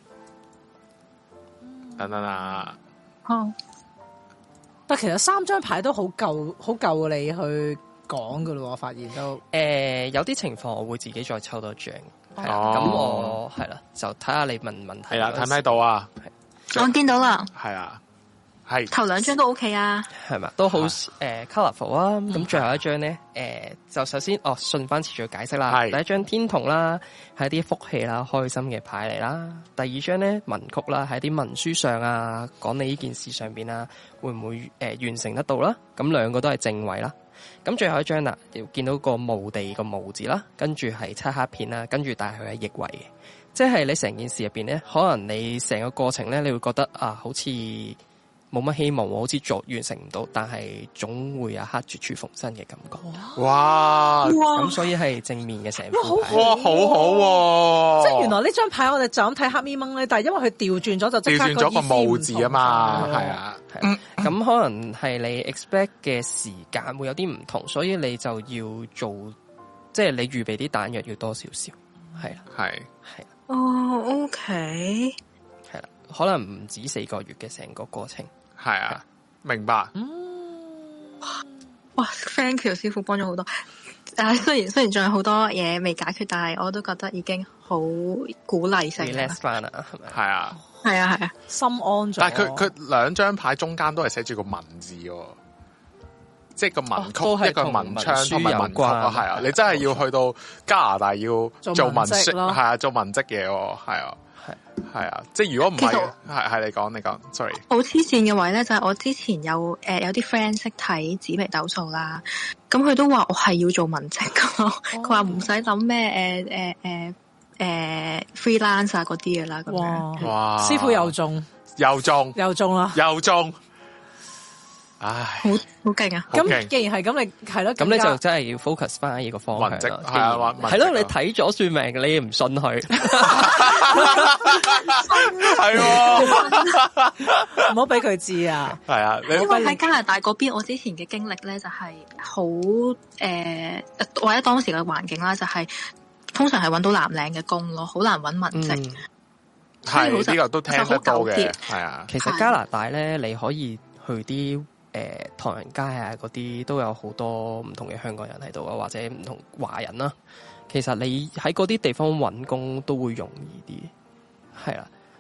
等等啊， 好。 但其實三張牌都好夠，好夠你去講噶咯，我發現都。 誒，有啲情況我會自己再抽多張，係啦，咁我係啦，就睇下你問問題。 係啦，睇唔睇到啊？ 我見到啦。 係啊。係頭兩張都 OK 啊， 係嘛，都好誒 colourful 啊。咁、嗯、最後一張咧，誒、呃、就首先哦順翻次序解釋啦。第一張天同啦，係一啲福氣啦、開心嘅牌嚟啦。第二張咧文曲啦，係一啲文書上啊，講你呢件事上邊啊，會唔會誒、呃、完成得到啦？咁兩個都係正位啦。咁最後一張啦，要見到個墓地個墓字啦，跟住係漆黑片啦，跟住但係佢係逆位嘅，即係你成件事入邊咧，可能你成個過程咧，你會覺得啊，好似冇乜希望，好似做完成唔到，但係總會有一刻絕處逢生嘅感覺。 哇！ 咁所以係正面嘅成副牌。 哇，好好喎！ 即係原來呢張牌我哋就咁睇黑咪掹咧，但係因為佢調轉咗就調轉咗個墓字啊嘛，係啊。 咁可能係你 expect 嘅時間會有啲唔同，所以你就要做，即係你預備啲彈藥要多少少，係啦， 係係。 哦，OK， 係啦，可能唔止四個月嘅成個過程。 係啊，明白。 嗯， 哇 ，thank you 師傅幫咗好多。誒，雖然雖然仲有好多嘢未解決，但係我都覺得已經好鼓勵性。 relax 翻啦，係咪？ 係啊， 係啊，係啊， 心安咗。 但係佢佢兩張牌中間都係寫住個文字喎，即係個文曲、哦、一個文昌同埋文曲啊，係啊，你真係要去到加拿大要做文職，係啊，做文職嘢喎，係啊。係啊，即係如果唔係，係係你講你講 ，sorry。 好黐線嘅位咧，就係、是、我之前有誒、呃、有啲 friend 識睇紫微斗數啦，咁佢都話我係要做文職噶，佢話唔使諗咩誒誒誒誒 freelance 啊嗰啲嘅啦，咁樣。 哇！ 師傅又中， 又中， 又中啦， 又中。唉， 好好勁啊！ 咁既然係咁，你係咯， 咁你就真係要 focus 翻喺呢個方向咯。 係啊， 係咯，你睇咗算命，你唔信佢， 係唔好俾佢知啊！ 係啊， 因為喺加拿大嗰邊，我之前嘅經歷咧就係好誒，或者當時嘅環境啦，就係通常係揾到藍領嘅工咯，好難揾文職。 係呢個都聽得到嘅，係啊。 其實加拿大咧，你可以去啲。誒、呃，唐人街啊，嗰啲都有好多唔同嘅香港人喺度啊，或者唔同華人啦、啊。其實你喺嗰啲地方揾工都會容易啲，係啦。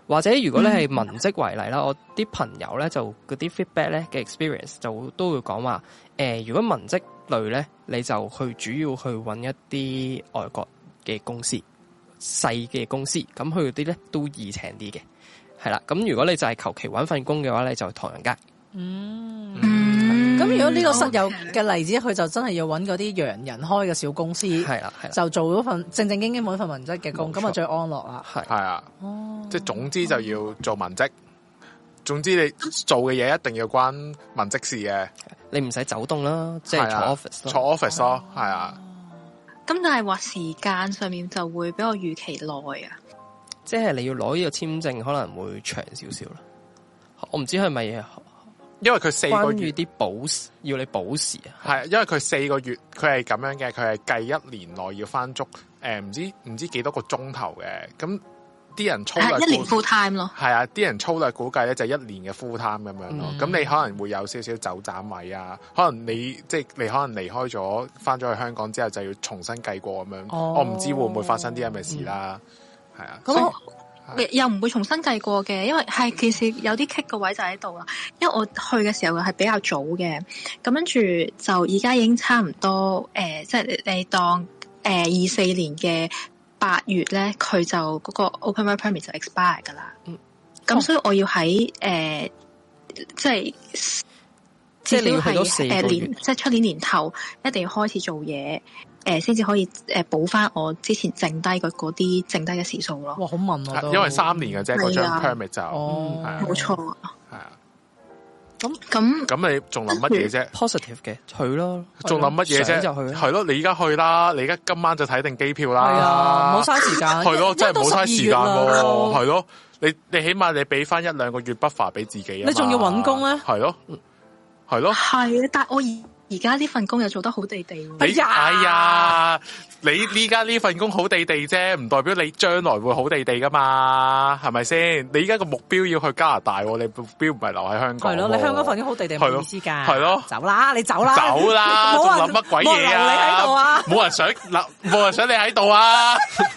或者如果你係文職為例啦，我啲朋友咧就嗰啲 feedback 咧嘅 experience 就都會講話，誒、呃，如果文職類咧，你就去主要去揾一啲外國嘅公司，細嘅公司，咁佢啲咧都易請啲嘅，係啦。咁如果你就係求其揾份工嘅話咧，你就唐人街。 嗯。 嗯咁如果呢個室友嘅例子，佢就真係要揾嗰啲洋人開嘅小公司，係啦，就做嗰份正正經經揾份文職嘅工，咁啊最安樂啦。係係啊，哦，即係總之就要做文職，總之你做嘅嘢一定要關文職事嘅， 你唔使走動啦，即係坐 office， 坐 office 咯，係啊。 咁但係話時間上面就會比我預期耐啊， 即係你要攞呢個簽證可能會長少少啦。我唔知係咪。 因為佢四個月啲保要你保時啊， 係因為佢四個月佢係咁樣嘅，佢係計一年內要翻足誒唔知唔知幾多個鐘頭嘅，咁啲人粗略一年 full time 咯， 係啊，啲人粗略估計咧就一年嘅 full time 咁樣咯，咁、嗯、你可能會有少少走盞位啊，可能你即係你可能離開咗翻咗去香港之後就要重新計過咁樣，哦、我唔知會唔會發生啲咁嘅事啦，係、嗯、啊，咁。 又唔會重新計過嘅，因為係其實有啲棘個位就喺度啦。因為我去嘅時候係比較早嘅，咁跟住就而家已經差唔多誒、呃，即係你當誒二四年嘅八月咧，佢就嗰個 Open Work Permit 就 expire 噶啦。嗯，咁所以我要喺誒、呃，即係至少係誒年，即係出年年頭一定要開始做嘢。誒，先至可以誒補翻我之前剩低嘅嗰啲剩低嘅時數咯。 哇，好問我都， 因為三年嘅啫，嗰張 permit 就， 哦， 冇錯， 係啊。 咁咁咁你仲諗乜嘢啫 ？positive 嘅去咯， 仲諗乜嘢啫？ 就去， 係咯，你而家去啦，你而家今晚就睇定機票啦。 係啊，冇嘥時間。 係咯，真係冇嘥時間喎。係咯，你你起碼你俾翻一兩個月 buffer 俾自己啊。 你仲要搵工咧？ 係咯，係咯。 係啊，但係我而。而家呢份工又做得好地地喎！ 哎呀，哎呀，你呢家呢份工好地地啫，唔代表你將來會好地地噶嘛，係咪先？你而家個目標要去加拿大，你目標唔係留喺香港。係咯， 你香港份工好地地冇意思㗎。 係咯， 走啦，你走啦， 走啦，仲諗乜鬼嘢啊？ 你喺度啊？ 冇人想嗱，冇人想你喺度啊！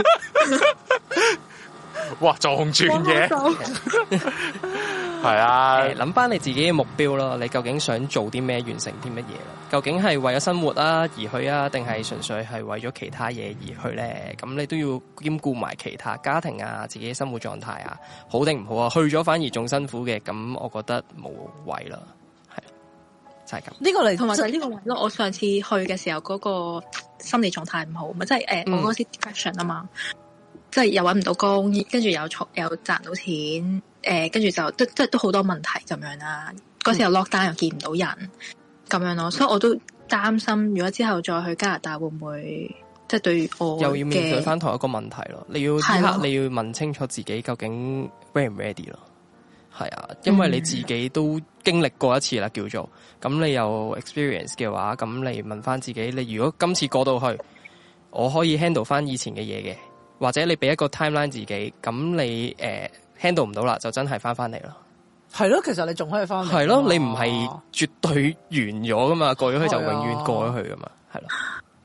哇，撞轉嘅，係啊！ 諗翻你自己嘅目標咯，你究竟想做啲咩，完成啲乜嘢？究竟係為咗生活啊而去啊，定係純粹係為咗其他嘢而去咧？咁你都要兼顧埋其他家庭啊、自己嘅生活狀態啊，好定唔好啊？去咗反而仲辛苦嘅，咁我覺得冇謂啦，係就係咁。 呢個嚟，同埋就係呢個位咯。我上次去嘅時候，嗰個心理狀態唔好，咪即係誒，我嗰時 depression 啊嘛。即係又搵唔到工，跟住又儲又賺到錢，誒、呃，跟住就都即係都好多問題咁樣啦。嗰時又 lock down 又見唔到人，咁樣咯，所以我都擔心，如果之後再去加拿大會唔會即係對我又要面對翻同一個問題咯？你要即刻你要問清楚自己究竟 ready 唔 ready 咯？係啊，因為你自己都經歷過一次啦，叫做咁你有 experience 嘅話，咁你問翻自己，你如果今次過到去，我可以 handle 翻以前嘅嘢嘅。或者你俾一個 timeline 自己，咁你誒 handle 唔到啦，就真係翻翻嚟咯。 係咯，其實你仲可以翻嚟。 係咯，你唔係絕對完咗噶嘛，過咗去就永遠過咗去噶嘛，係咯。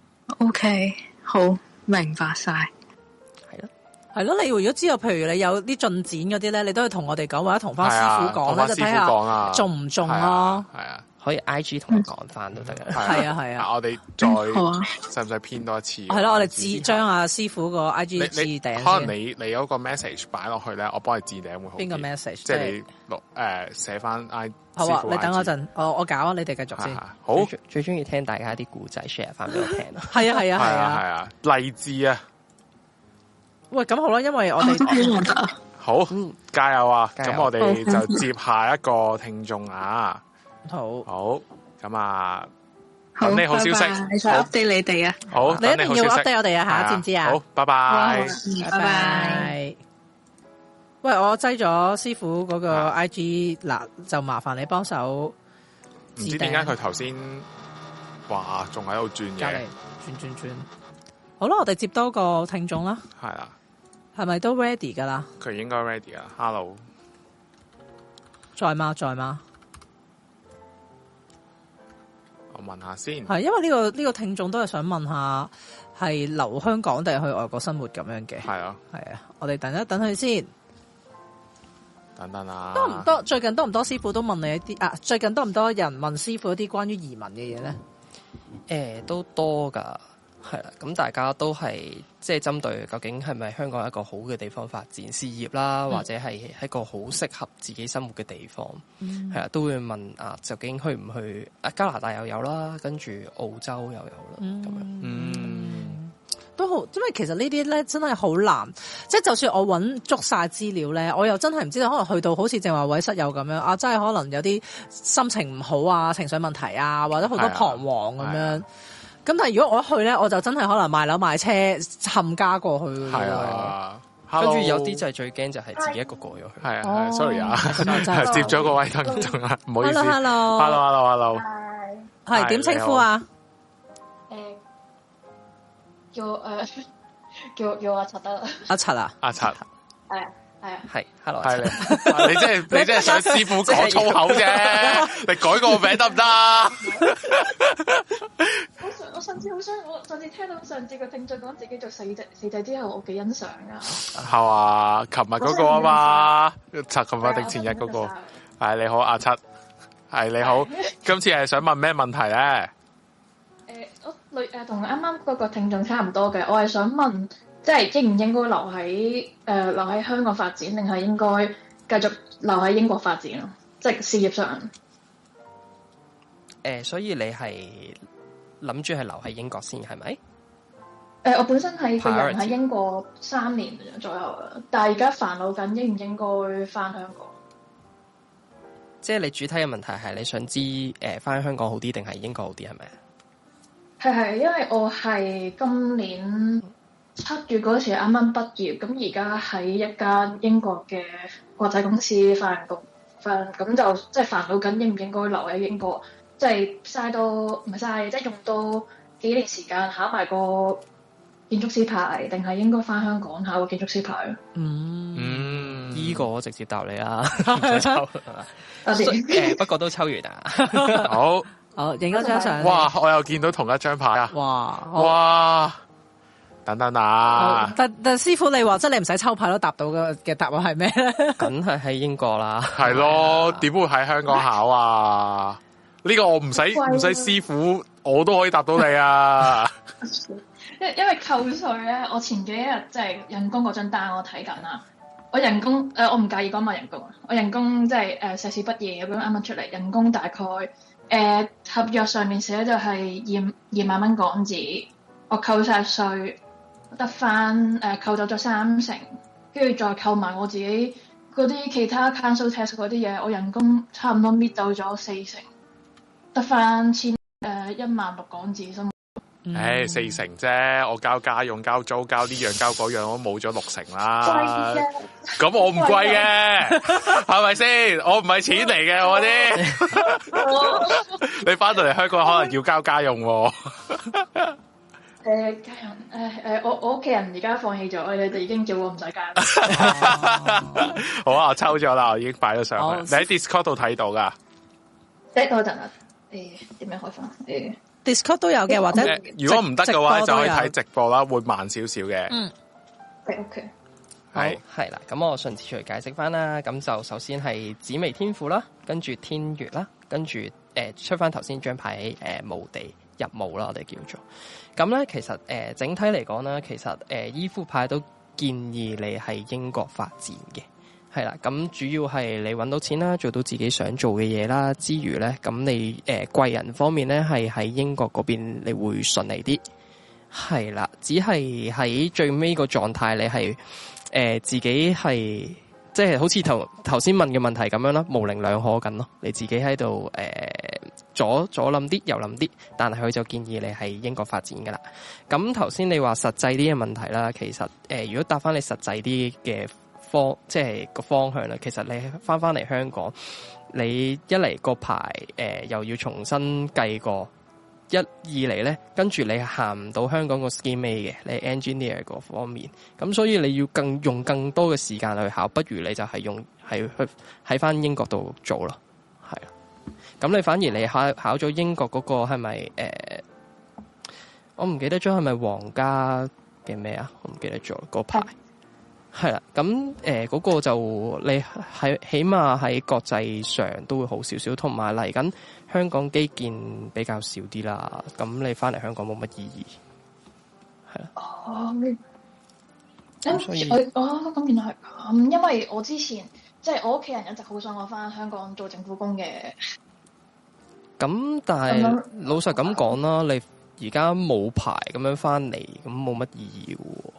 OK，好明白晒。 係咯， 係咯，你如果知道，譬如你有啲進展嗰啲咧，你都可以同我哋講，或者同翻師傅講咧，就睇下中唔中咯。 係啊。 可以 I G 同我講翻都得嘅， 係啊係啊。 我哋再使唔使編多一次？ 係咯，我哋自將阿師傅個 I G 置頂。 可能你你有個 message 擺落去咧，我幫你置頂會好。 邊個 message？ 即係你錄誒寫翻 I。 好啊，你等我陣，我我搞，你哋繼續先。 好， 最中意聽大家啲故仔 share 翻俾我聽咯。 係啊係啊係啊係啊，勵志啊！ 喂，咁好啦，因為我哋好加油啊！咁我哋就接下一個聽眾啊。 好， 好，咁啊，等你好消息， 再 update 你哋啊， 好， 你一定要 update 我哋啊，吓，知唔知啊？ 好，拜拜， 拜拜。 喂，我擠咗師傅嗰個 I G 嗱，就麻煩你幫手。 唔知點解佢頭先哇，仲喺度轉嘅， 轉轉轉。好啦，我哋接多個聽眾啦。 係啦， 係咪都 ready 噶啦？ 佢應該 ready 啦。Hello， 在嗎？在嗎？ 我問下先， 係因為呢、這個呢、這個聽眾都係想問下，係留香港定係去外國生活咁樣嘅？ 係啊， 係啊，我哋等一等佢先。 等等啊， 多唔多？最近多唔多師傅都問你一啲啊？最近多唔多人問師傅一啲關於移民嘅嘢咧？ 誒、呃，都多噶，係啦。咁大家都係即係針對究竟係咪香港一個好嘅地方發展事業啦，嗯、或者係一個好適合自己生活嘅地方，係啦、嗯，都會問啊，究竟去唔去啊？加拿大又有啦，跟住澳洲又有啦，咁、嗯、樣。 嗯，都好，因為其實呢啲咧真係好難，即係就算我揾足晒資料咧，我又真係唔知道，可能去到好似正話位室友咁樣啊，真係可能有啲心情唔好啊，情緒問題啊，或者好多彷徨咁樣。咁但係如果我一去咧，我就真係可能賣樓賣車冚家過去。係啊， 跟住有啲就係最驚就係自己一個過咗去。 係啊，sorry 啊，接咗個位聽眾啊，唔好意思。 Hello，Hello，Hello，Hello，係點稱呼啊？ 誒，叫誒叫叫阿柒得。 阿柒啊？ 阿柒。 係啊。係啊， 係，hello， 係你，你真係你真係想師傅講粗口啫，你改個名得唔得？ 我上我上次好想，我上次聽到上次個聽眾講自己做四仔四仔之後，我幾欣賞噶。係啊，琴日嗰個啊嘛，七琴日定前日嗰個。係你好，阿七，係你好，今次係想問咩問題咧？ 誒，我類誒同啱啱嗰個聽眾差唔多嘅，我係想問。即係應唔應該留喺誒、呃、留喺香港發展，定係應該繼續留喺英國發展咯？即係事業上。誒、 呃，所以你係諗住係留喺英國先係咪？誒、 呃，我本身係個人喺英國三年左右啦，但係而家煩惱緊應唔應該翻香港。 即係你主體嘅問題係你想知誒翻、呃、香港好啲定係英國好啲係咪？ 係係，因為我係今年七月嗰時啱啱畢業，咁而家喺一間英國嘅國際公司翻工，翻咁就即係煩惱緊應唔應該留喺英國，即係嘥到唔係嘥，即係用到幾年時間考埋個建築師牌，定係應該翻香港考個建築師牌？ 嗯嗯，依、這個我直接答你啦，唔使抽。多謝。誒，不過都抽完啊。 好， 好影咗張相。 哇！我又見到同一張牌啊！ 哇！ 哇！等等啊！ 但但師傅你話即係你唔使抽牌都答到嘅嘅答案係咩咧？ 梗係喺英國啦， 係咯，點會喺香港考啊？呢個我唔使唔使師傅，我都可以答到你啊！ 因因為扣稅咧，我前幾日即係人工嗰張單我睇緊啦，我人工誒、呃、我唔介意講埋人工，我人工即係誒碩士畢業咁樣啱啱出嚟，人工大概誒、呃、合約上面寫就係二二萬蚊港紙，我扣晒稅。得翻誒扣走咗三成，跟住再扣埋我自己嗰啲其他 council tax 嗰啲嘢，我人工差唔多搣走咗四成，得翻千誒一萬六港紙啫。 誒、欸，四成啫，我交家用、交租、交呢樣、交嗰樣，我冇咗六成啦。咁我唔貴嘅，係咪先？我唔係錢嚟嘅，我啲。你翻到嚟香港可能要交家用、啊。 誒、呃，家人，誒、呃、誒，我我屋企人而家放棄咗，你哋已經叫我唔使交。 好啊，我抽咗啦，我已經擺咗上去。哦、你喺 Discord 度睇到噶？ 等多陣啊，誒，點樣開翻？誒 ，Discord 都有嘅，或者、 呃、如果唔得嘅話，就可以睇直播啦，會慢少少嘅。 嗯 ，OK， 係係啦，咁我順次嚟解釋翻啦。咁就首先係紫微天賦啦，跟住天月啦，跟住誒、呃、出翻頭先張牌誒墓地入墓啦，我哋叫做。咁咧，其實誒、呃、整體嚟講咧，其實誒依副牌都建議你喺英國發展嘅，係啦。咁主要係你揾到錢啦，做到自己想做嘅嘢啦，之餘咧，咁你誒、呃、貴人方面咧，係喺英國嗰邊你會順利啲，係啦。只係喺最尾個狀態，你係誒、呃、自己係即係好似頭頭先問嘅問題咁樣啦，模棱兩可緊咯。你自己喺度誒。呃左左諗啲，右諗啲，但係佢就建議你喺英國發展噶啦。咁頭先你話實際啲嘅問題啦，其實誒、呃，如果答翻你實際啲嘅方，即係個方向啦，其實你翻翻嚟香港，你一嚟個牌誒又要重新計過，一二嚟咧，跟住你行唔到香港個 scheme A 嘅，你 engineer 嗰方面，咁所以你要更用更多嘅時間去考，不如你就係用係去喺翻英國度做咯，係啊。咁你反而你考考咗英國嗰個係咪誒？我唔記得咗係咪皇家嘅咩啊？我唔記得咗個牌。 係啦，咁誒嗰個就你喺起碼喺國際上都會好少少，同埋嚟緊香港基建比較少啲啦，咁你翻嚟香港冇乜意義，係啦。 哦，咁所以我哦咁原來係咁，因為我之前即係、就是、我屋企人一直好想我翻香港做政府工嘅。 咁但係老實咁講啦，你而家冇牌咁樣翻嚟，咁冇乜意義嘅喎。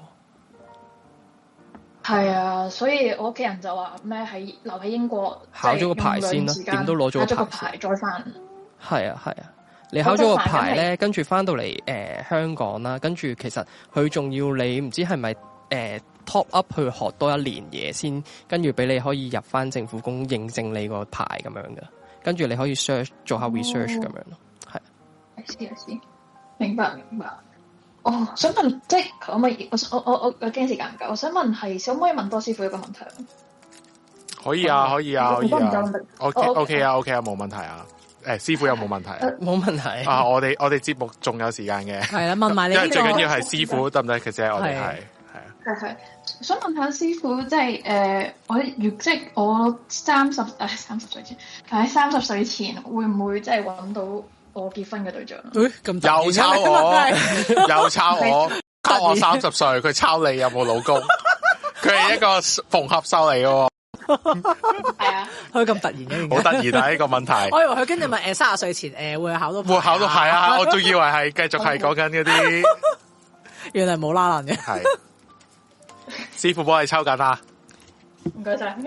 係啊，所以我屋企人就話咩喺留喺英國考咗個牌先啦，點都攞咗個牌再翻。係啊係啊，你考咗個牌咧，跟住翻到嚟誒、呃、香港啦，跟住其實佢仲要你唔知係咪誒 top up 去學多一年嘢先，跟住俾你可以入翻政府工認證你個牌咁樣嘅，跟住你可以 search 做下 research 咁、哦、樣咯，係。 I see I see，明白明白。哦，想問即係可唔可以？我我我我我驚時間唔夠，我想問係可唔可以問多師傅一個問題？ 可以啊，可以啊，可以啊。OK OK 啊 OK 啊，冇問題啊。誒，師傅有冇問題？ 冇問題啊！我哋我哋節目仲有時間嘅。 係啦，問埋你。因為最緊要係師傅得唔得？其實我哋係係啊。 係係，想問下師傅，即係誒，我如即係我三十誒三十歲前，喺三十歲前會唔會即係揾到我結婚嘅對象？ 誒，咁又抄我，又抄我，抄我三十歲，佢抄你有冇老公？佢係一個縫合秀嚟嘅。 係啊， 佢咁突然嘅， 好突然啊！呢個問題， 我以為佢跟住問誒三十歲前誒會考到牌， 會考到係啊！我仲以為係繼續係講緊嗰啲， 原來冇拉爛嘅。 係師傅幫你抽緊啦， 唔該晒。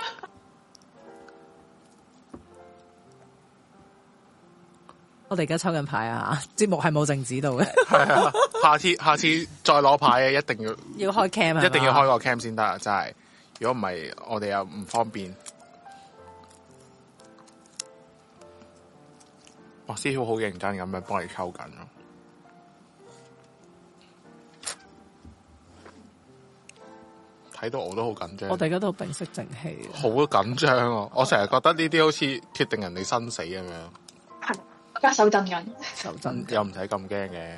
我哋而家抽緊牌啊！節目係冇靜止到嘅。 係啊，下次下次再攞牌嘅，一定要要開 cam 啊！ 一定要開個 cam 先得啊！真係，如果唔係，我哋又唔方便。哇！師傅好認真咁樣幫你抽緊咯，睇到我都好緊張。 我哋而家都屏息靜氣， 好緊張啊！我成日覺得呢啲好似決定人哋生死咁樣。 係。而家手震緊， 手震又唔使咁驚嘅。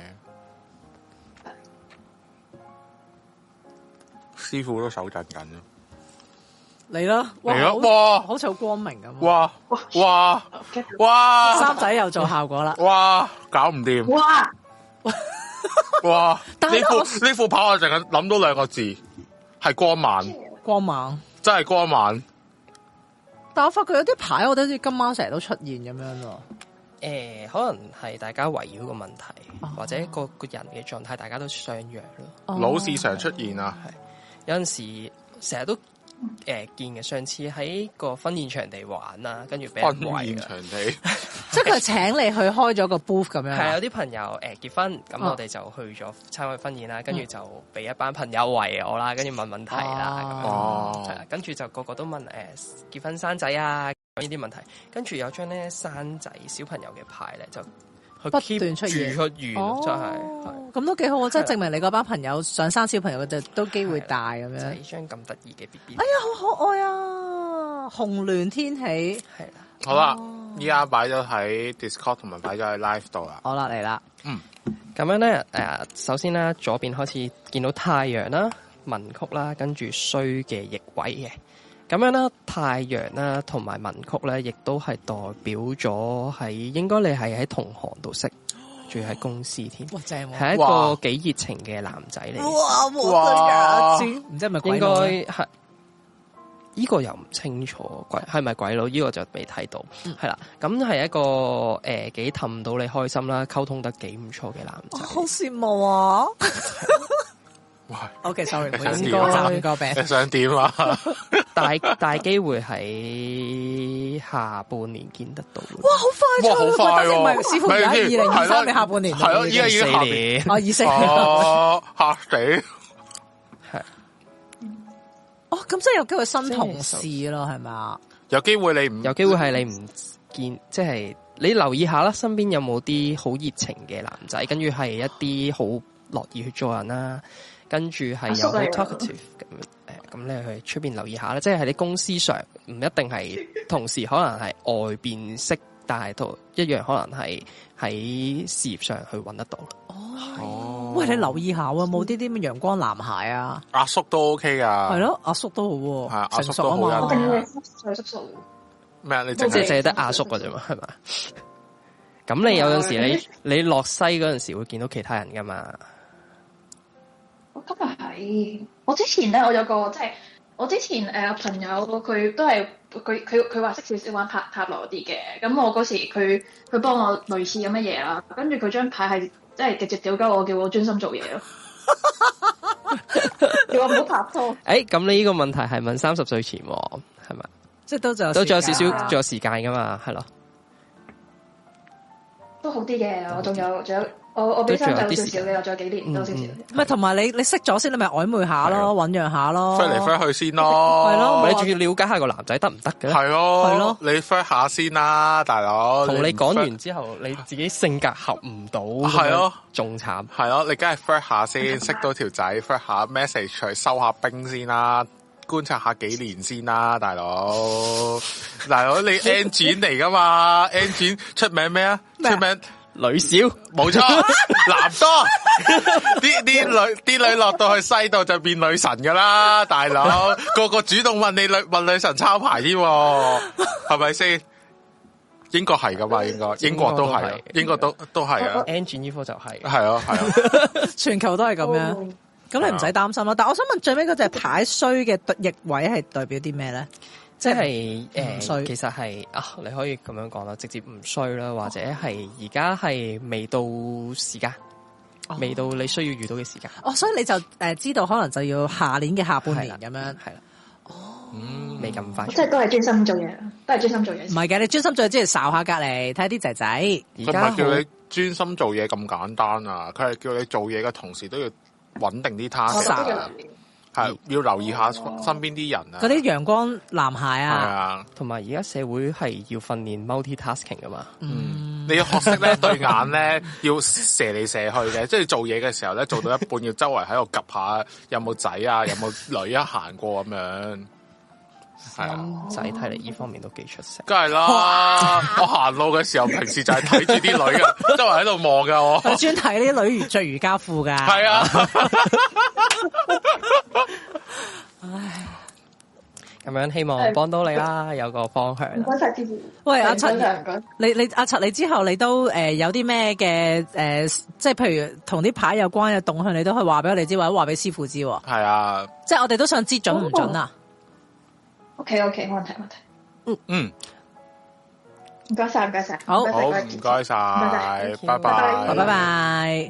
師傅都手震緊咯。 嚟啦！ 嚟啦！哇， 好似好光明咁。 哇哇哇！ 三仔又做效果啦！ 哇，搞唔掂！ 哇哇！呢副呢副牌我淨係諗到兩個字，係光猛。 光猛， 真係光猛。 但我發覺有啲牌，我覺得好似今晚成日都出現咁樣咯。 誒、呃，可能係大家圍繞個問題，哦、或者個個人嘅狀態，大家都相若咯。 哦、老是常出現啊， 係有陣時成日都誒、呃、見嘅。上次喺個婚宴場地玩啦，跟住俾人圍。婚宴場地， 即係佢請你去開咗個 booth 咁樣。係有啲朋友誒、呃、結婚，咁我哋就去咗參加婚宴啦，跟、哦、住就俾一班朋友圍我啦，跟住問問題啦，咁、哦、樣係啦，跟住就個個都問誒、呃、結婚生仔啊。呢啲問題，跟住有張咧生仔小朋友嘅牌咧，就不斷出現出現，哦、真係咁都幾好，即係證明你嗰班朋友想生小朋友嘅就都機會大咁樣。 就係呢張咁得意嘅 B B。 哎呀，好可愛啊！紅鸞天喜係啦，好啦，依家擺咗喺 Discord 同埋擺咗喺 Live 度啦。 好啦，嚟啦， 嗯，咁樣咧，誒，首先咧，左邊開始見到太陽啦、文曲啦，跟住衰嘅逆位嘅。咁樣啦，太陽啦，同埋文曲咧，亦都係代表咗喺應該你係喺同行度識，仲要喺公司添。哇，正喎！係一個幾熱情嘅男仔嚟。 哇，冇得假知，唔知係咪鬼佬？應該係呢個又唔清楚，鬼係咪鬼佬？呢個就未睇到。係啦，咁係一個誒幾氹到你開心啦，溝通得幾唔錯嘅男仔。 好羨慕啊！OK，sorry，唔好意思，暫個病。 你想點啊？ 大大機會喺下半年見得到。 哇，好快！ 哇，好快喎！ 唔係，師傅而家二零二三年下半年。 係咯，依家已經下年。 哦，二四年。 哦，嚇死！ 係。 哦，咁即係有機會新同事咯，係咪？ 有機會你唔有機會係你唔見，即係你留意下啦，身邊有冇啲好熱情嘅男仔，跟住係一啲好樂意去做人啦。跟住係有好 talkative 咁，誒，咁你去出邊留意下啦，即係喺你公司上唔一定係同事，可能係外邊識但係都一樣可能係喺事業上去揾得到。 哦，喂，你留意下喎，冇啲啲咩陽光男孩啊？ 阿叔都 OK 噶， 係咯，阿叔都好喎， 係阿叔都好啊嘛。 我叔叔咩啊？你即係淨係得阿叔㗎啫嘛，係嘛？咁你有陣時你你落西嗰陣時會見到其他人噶嘛？ 我今日係我之前咧，我有個即係我之前誒、呃、朋友，佢都係佢佢佢話識少少玩塔塔羅啲嘅。咁我嗰時佢佢幫我類似咁嘅嘢啦，跟住佢張牌係即係直接屌鳩我，叫我專心做嘢咯，叫我唔好拍拖。誒、 欸，咁你呢個問題係問三十歲前係咪？ 即係都仲有都仲有少少仲有時間噶嘛？係咯。 都好啲嘅，我仲有仲有，我我比三仔少少嘅，我仲有幾年多少少。唔係同埋你你識咗先，你咪曖昧下咯，醞釀下咯， 飛嚟飛去先咯， 係咯， 你仲要了解下個男仔得唔得嘅？ 係咯， 係咯， 你飛下先啦，大佬。 同你講完之後，你自己性格合唔到，係咯，仲慘。 係咯，你梗係飛下先，識到條仔，飛下 message 嚟收下兵先啦。觀察下幾年先啦，大佬，大佬你 engine 嚟噶嘛 ？engine 出名咩啊？出名女少， 冇錯，男多，啲啲女啲女落到去西度就變女神噶啦，大佬，個個主動問你女問女神抄牌添，係咪先？英國係噶嘛？應該英國都係，英國都都係啊。 engine 呢科就係， 係啊係啊， 全球都係咁樣。咁你唔使擔心啦，但係我想問最尾嗰隻牌衰嘅逆位係代表啲咩咧？ 即係誒， 衰其實係啊，你可以咁樣講啦，直接唔衰啦，或者係而家係未到時間，哦、未到你需要遇到嘅時間。 哦，所以你就誒、呃、知道可能就要下年嘅下半年咁樣，係啦。 哦，嗯，未咁快。 即係都係專心做嘢，都係專心做嘢。 唔係嘅，你專心做嘢之前睄下隔離，睇下啲仔仔。 而家叫你專心做嘢咁簡單啊！佢係叫你做嘢嘅同時都要穩定啲 task， 係要留意下身邊啲人啊。 嗰啲陽光男孩啊， 係啊， 同埋而家社會係要訓練 multi-tasking 噶嘛。 嗯，你要學識咧對眼咧要射嚟射去嘅，即係做嘢嘅時候咧做到一半要周圍喺度 𥄫 下有冇仔啊，有冇女啊行過咁樣。係啊， 仔睇嚟呢方面都幾出色。 梗係啦，我行路嘅時候平時就係睇住啲女噶，周圍喺度望噶我。 專睇呢啲女着瑜伽褲噶。 係啊。 唉， 咁樣希望幫到你啦，有個方向。 唔該晒支持。 喂，阿陳，你你阿陳，你之後你都誒、呃、有啲咩嘅誒，即係譬如同啲牌有關嘅動向，你都可以話俾我哋知，或者話俾師傅知。 係啊， 即係我哋都想知準唔準啊 ？O K O K，冇問題冇問題。 嗯嗯， 唔該晒唔該晒， 好， 好唔該晒，拜拜， 拜拜拜。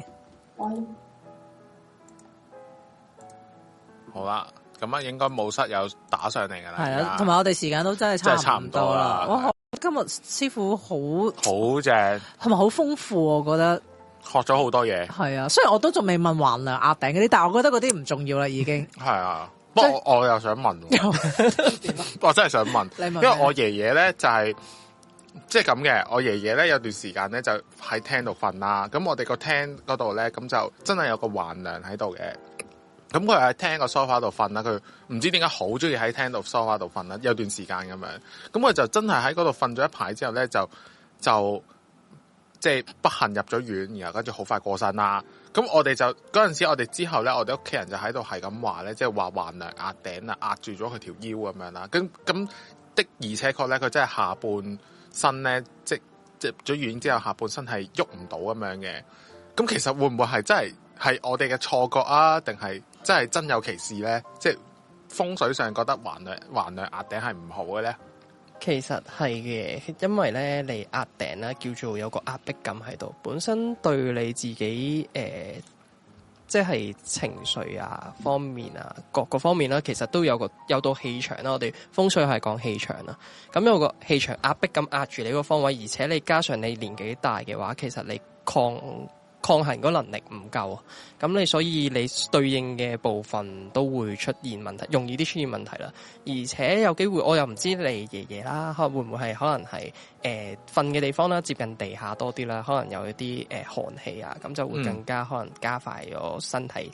好啦。咁啊，應該冇室友打上嚟噶啦。 係啊，同埋我哋時間都真係差唔多啦。哇，今日師傅好好正， 係咪好豐富？我覺得學咗好多嘢。係啊，雖然我都仲未問橫梁壓頂嗰啲，但係我覺得嗰啲唔重要啦，已經。 係啊，不過我，我又想問，我真係想問，問因為我爺爺咧就係即係咁嘅。我爺爺咧有段時間咧就喺廳度瞓啦。咁我哋個廳嗰度咧，咁就真係有個橫梁喺度嘅。咁佢喺廳個梳化度瞓啦，佢唔知點解好中意喺廳度梳化度瞓啦，有段時間咁樣。咁佢就真係喺嗰度瞓咗一排之後咧，就就即係不幸入咗院，然後跟住好快過身啦。咁我哋就嗰陣時，我哋之後咧，我哋屋企人就喺度係咁話咧，即係話橫梁壓頂啊，壓住咗佢條腰咁樣啦。咁咁的而且確咧，佢真係下半身咧，即即入咗院之後，下半身係喐唔到咁樣嘅。咁其實會唔會係真係係我哋嘅錯覺啊？定係真係真有其事咧？即係風水上覺得橫梁橫梁壓頂係唔好嘅咧？ 其實係嘅，因為咧你壓頂啦，叫做有個壓迫感喺度，本身對你自己誒、呃，即係情緒啊方面啊，各個方面啦，其實都有個有到氣場啦。我哋風水係講氣場啦，咁有個氣場壓迫感壓住你個方位，而且你加上你年紀大嘅話，其實你抗抗衡嗰能力唔夠，咁你所以你對應嘅部分都會出現問題，容易啲出現問題啦。而且有機會，我又唔知你爺爺啦，會唔會係可能係誒瞓嘅地方啦，接近地下多啲啦，可能有一啲誒、呃、寒氣啊，咁就會更加可能加快咗身體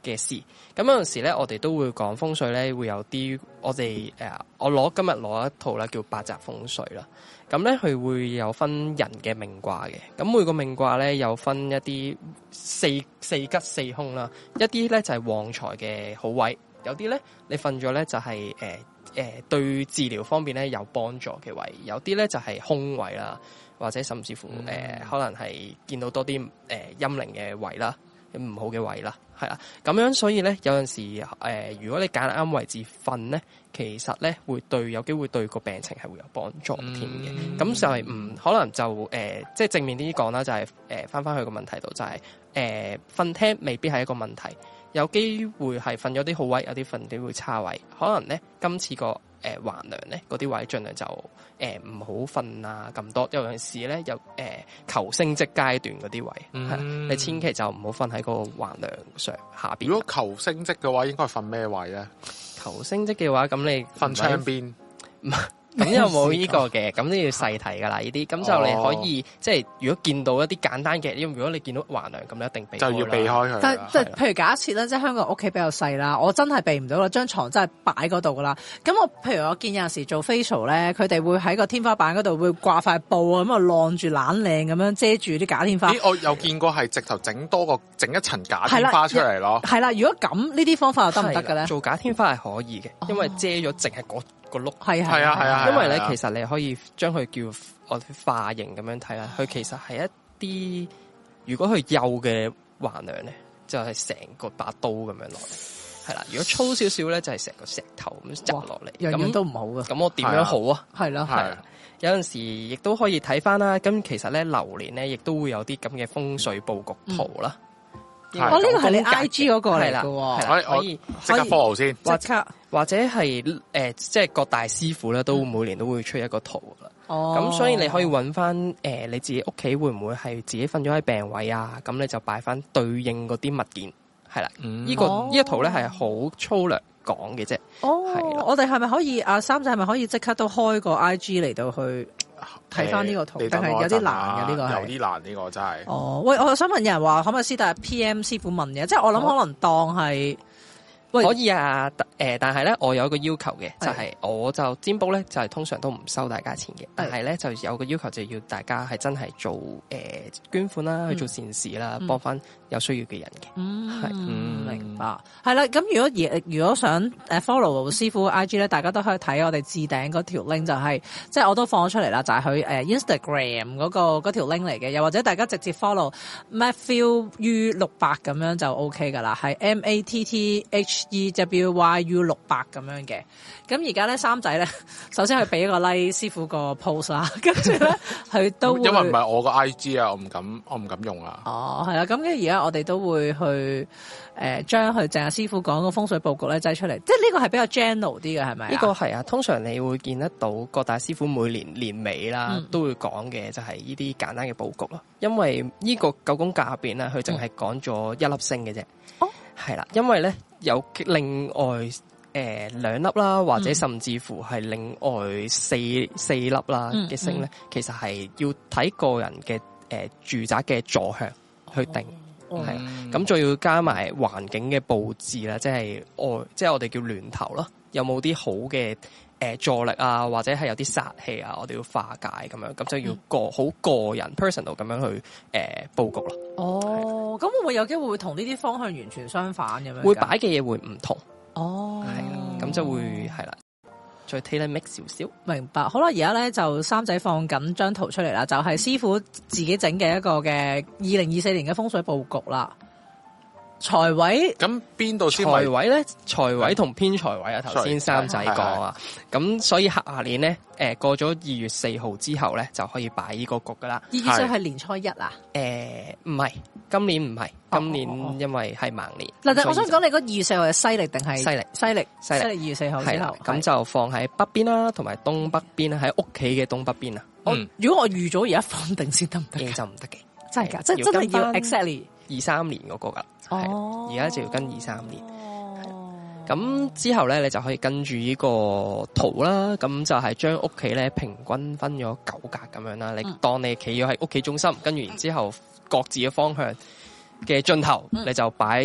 嘅事。咁有陣時咧，我哋都會講風水咧，會有啲我哋誒、呃，我攞今日攞一套啦，叫八宅風水啦。咁咧，佢會有分人嘅命卦嘅。咁每個命卦咧，有分一啲四四吉四凶啦。一啲咧就係旺財嘅好位，有啲咧你瞓咗咧就係誒誒對治療方面咧有幫助嘅位，有啲咧就係凶位啦，或者甚至乎誒、嗯呃、可能係見到多啲誒陰靈嘅位啦。唔好嘅位啦，係啦，咁樣所以咧，有陣時誒、呃，如果你揀啱位置瞓咧，其實咧會對有機會對個病情係會有幫助添嘅。咁、嗯、就係唔可能就誒、呃，即係正面啲講啦，就係誒翻翻去個問題度，就係誒瞓廳未必係一個問題，有機會係瞓咗啲好位，有啲瞓啲會差位，可能咧今次個誒橫梁咧嗰啲位盡量就誒唔好瞓啊咁多，有陣時咧有誒、呃、求升職階段嗰啲位，係、嗯、你千祈就唔好瞓喺個橫梁上下邊。 如果求升職嘅話，應該瞓咩位咧？ 求升職嘅話，咁你瞓窗邊。 咁又冇呢個嘅，咁都要細睇噶啦呢啲，咁就你可以、哦、即係如果見到一啲簡單嘅，因為如果你見到橫梁咁，你一定避開就要避開佢。 但即係譬如假設咧，即係香港屋企比較細啦，我真係避唔到啦，張床真係擺嗰度噶啦。咁我譬如我見有陣時做 facial 咧，佢哋會喺個天花板嗰度會掛塊布啊，咁啊晾住懶靚咁樣遮住啲假天花。 咦，我有見過係直頭整多個整一層假天花出嚟咯。 係啦，如果咁呢啲方法又得唔得嘅咧？ 做假天花係可以嘅，因為遮咗淨係嗰個碌。 係係啊係啊， 因為咧其實你可以將佢叫我哋化形咁樣睇啦，佢其實係一啲如果佢幼嘅橫梁咧，就係、是、成個把刀咁樣落嚟，係啦。如果粗少少咧，就係成個石頭咁砸落嚟， 樣樣都唔好噶。 咁我點樣好啊？ 係咯， 係。有陣時亦都可以睇翻啦。咁其實咧流年咧，亦都會有啲咁嘅風水佈局圖啦。 我呢個係你 I G 嗰個嚟噶， 可以即刻 follow 先， 即刻或者係誒、呃，即係各大師傅咧，都每年都會出一個圖噶啦。哦，咁所以你可以揾翻誒，你自己屋企會唔會係自己瞓咗喺病位啊？咁你就擺翻對應嗰啲物件，係啦。嗯，這個哦、呢個呢一圖咧係好粗略講嘅啫。哦，係我哋係咪可以啊？三仔係咪可以即刻都開個 I G 嚟到去？睇翻呢個圖，但係有啲難嘅呢、呢個係有啲難呢、呢個真係。 哦，喂，我想問有人話可唔可以私帶 P M 師傅問嘅，即係我諗可能當係。 可以啊，誒、呃，但係咧，我有一個要求嘅，就係、是、我就占卜咧，就係、是、通常都唔收大家錢嘅，但係咧就有個要求，就要大家係真係做誒、呃、捐款啦，去做善事啦，幫、嗯、翻有需要嘅人嘅。嗯，係、嗯， 明白。係啦，咁如果而如果想誒 follow 師傅 I G 咧，大家都可以睇我哋置頂嗰條 link， 就係、是、即係我都放咗出嚟啦，就係佢誒 Instagram 嗰、那個嗰條 link 嚟嘅，又或者大家直接 follow Matthew U 六八咁樣就 OK 噶啦，係 M A T T H E W Y U 六八咁樣嘅，咁而家咧三仔咧，首先佢俾一個 like 師傅個 post 啦，跟住咧佢都會因為唔係我個 I G 啊，我唔敢，我唔敢用啊。 哦，係啦，咁嘅而家我哋都會去誒將佢淨係師傅講個風水佈局咧擠出嚟，即係呢個係比較 general 啲嘅，係咪？ 呢個係啊，通常你會見得到各大師傅每年年尾啦、嗯、都會講嘅就係呢啲簡單嘅佈局咯，因為呢個九宮格入邊咧，佢淨係講咗一粒星嘅啫。哦，係啦，因為咧。有另外誒兩、呃、粒啦，或者甚至乎係另外四四粒啦嘅星咧、嗯嗯，其實係要睇個人嘅誒、呃、住宅嘅坐向去定，係咁再要加埋環境嘅佈置啦，即係外即係我哋叫巒頭啦，有冇啲好嘅誒助力啊，或者係有啲煞氣啊，我哋要化解咁樣，咁就要個好、嗯、個人 personal 咁樣去誒、呃、佈局咯。 哦，咁會唔會有機會會同呢啲方向完全相反咁樣？ 會擺嘅嘢會唔同。 哦， 係啦，咁就會係啦，再 tailor make 少少。 明白。好啦，而家咧就三仔放緊張圖出嚟啦，就係、是、師傅自己整嘅一個嘅二零二四年嘅風水佈局啦。財位咁邊度先？ 財位咧，財位同偏財位啊，頭先三仔講啊，咁所以下年咧，誒、呃、過咗二月四號之後咧，就可以擺呢個局噶啦。 二月四號係年初一啊？ 誒唔係，今年唔係、哦，今年因為係盲年。嗱、哦， 但我想講你嗰二月四號係西曆定係西曆？西曆，西曆二月四號之後， 咁就放喺北邊啦，同埋東北邊喺屋企嘅東北邊啊。 嗯，如果我預咗而家放定先得唔得？ 就唔得嘅， 真係噶，即係真係要 exactly 二三年嗰個噶。 哦， 而家就要跟二三年，咁之後咧，你就可以跟住呢個圖啦。咁就係將屋企咧平均分咗九格咁樣啦。你當你企咗喺屋企中心，跟住然之後各自嘅方向嘅盡頭，嗯、你就擺依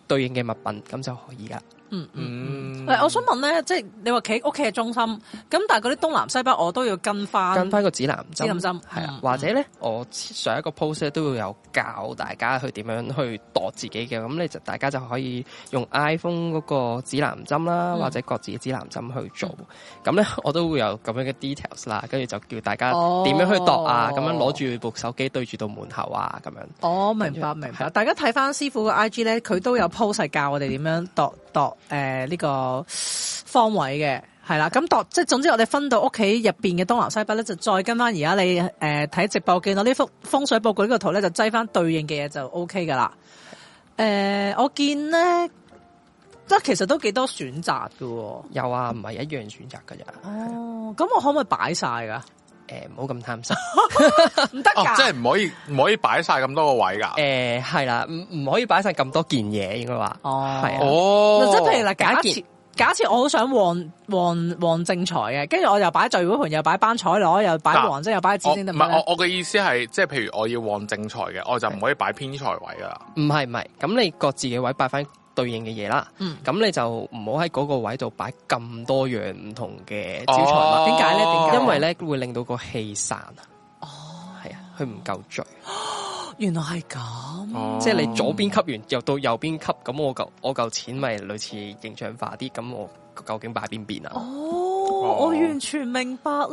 對應嘅物品，咁就可以噶。 嗯嗯，誒，我想問咧，即係你話企屋企嘅中心，咁但係嗰啲東南西北我都要跟翻跟翻個指南針， 指南針係啊，或者咧，我上一個 post 咧都會有教大家去點樣去度自己嘅，咁你就大家就可以用 iPhone 嗰個指南針啦，或者各自嘅指南針去做。咁咧，我都會有咁樣嘅 details 啦，跟住就叫大家點樣去度啊，咁樣攞住部手機對住到門口啊，咁樣。 哦，明白明白。大家睇翻師傅個 I G 咧，佢都有 post 係教我哋點樣度度。誒，呢、呃這個方位嘅係啦，咁度即係總之我哋分到屋企入邊嘅東南西北咧，就再跟翻而家你誒睇、呃、直播見到呢幅風水布局呢個圖咧，就擠翻對應嘅嘢就 O K 噶啦。誒、呃，我見咧，即係其實都幾多選擇噶。 有啊，唔係一樣選擇噶咋。 哦，咁我可唔可以擺晒噶？ 誒，唔好咁貪心， 唔得噶， 即係唔可以唔可以擺晒咁多個位噶。 誒，係啦，唔唔可以擺晒咁多件嘢，應該話。 哦， 係啊。 哦， 即係譬如嗱，假假設假設我好想旺旺旺正財嘅，跟住我又擺聚會盤，又擺班彩攞，又擺黃色，又擺紫星，得唔得？ 唔係，我我嘅意思係，即係譬如我要旺正財嘅，我就唔可以擺偏財位噶啦。 唔係唔係，咁你各自嘅位擺翻對應嘅嘢啦，咁、嗯、你就唔好喺嗰個位度擺咁多樣唔同嘅招財物。 點解咧？點解？ 因為咧會令到個氣散啊。哦，係啊，佢唔夠聚。 原來係咁， 哦、即係你左邊吸完又到右邊吸，咁我嚿我嚿錢咪類似形象化啲，咁我究竟擺邊邊啊？ 哦，哦我完全明白了。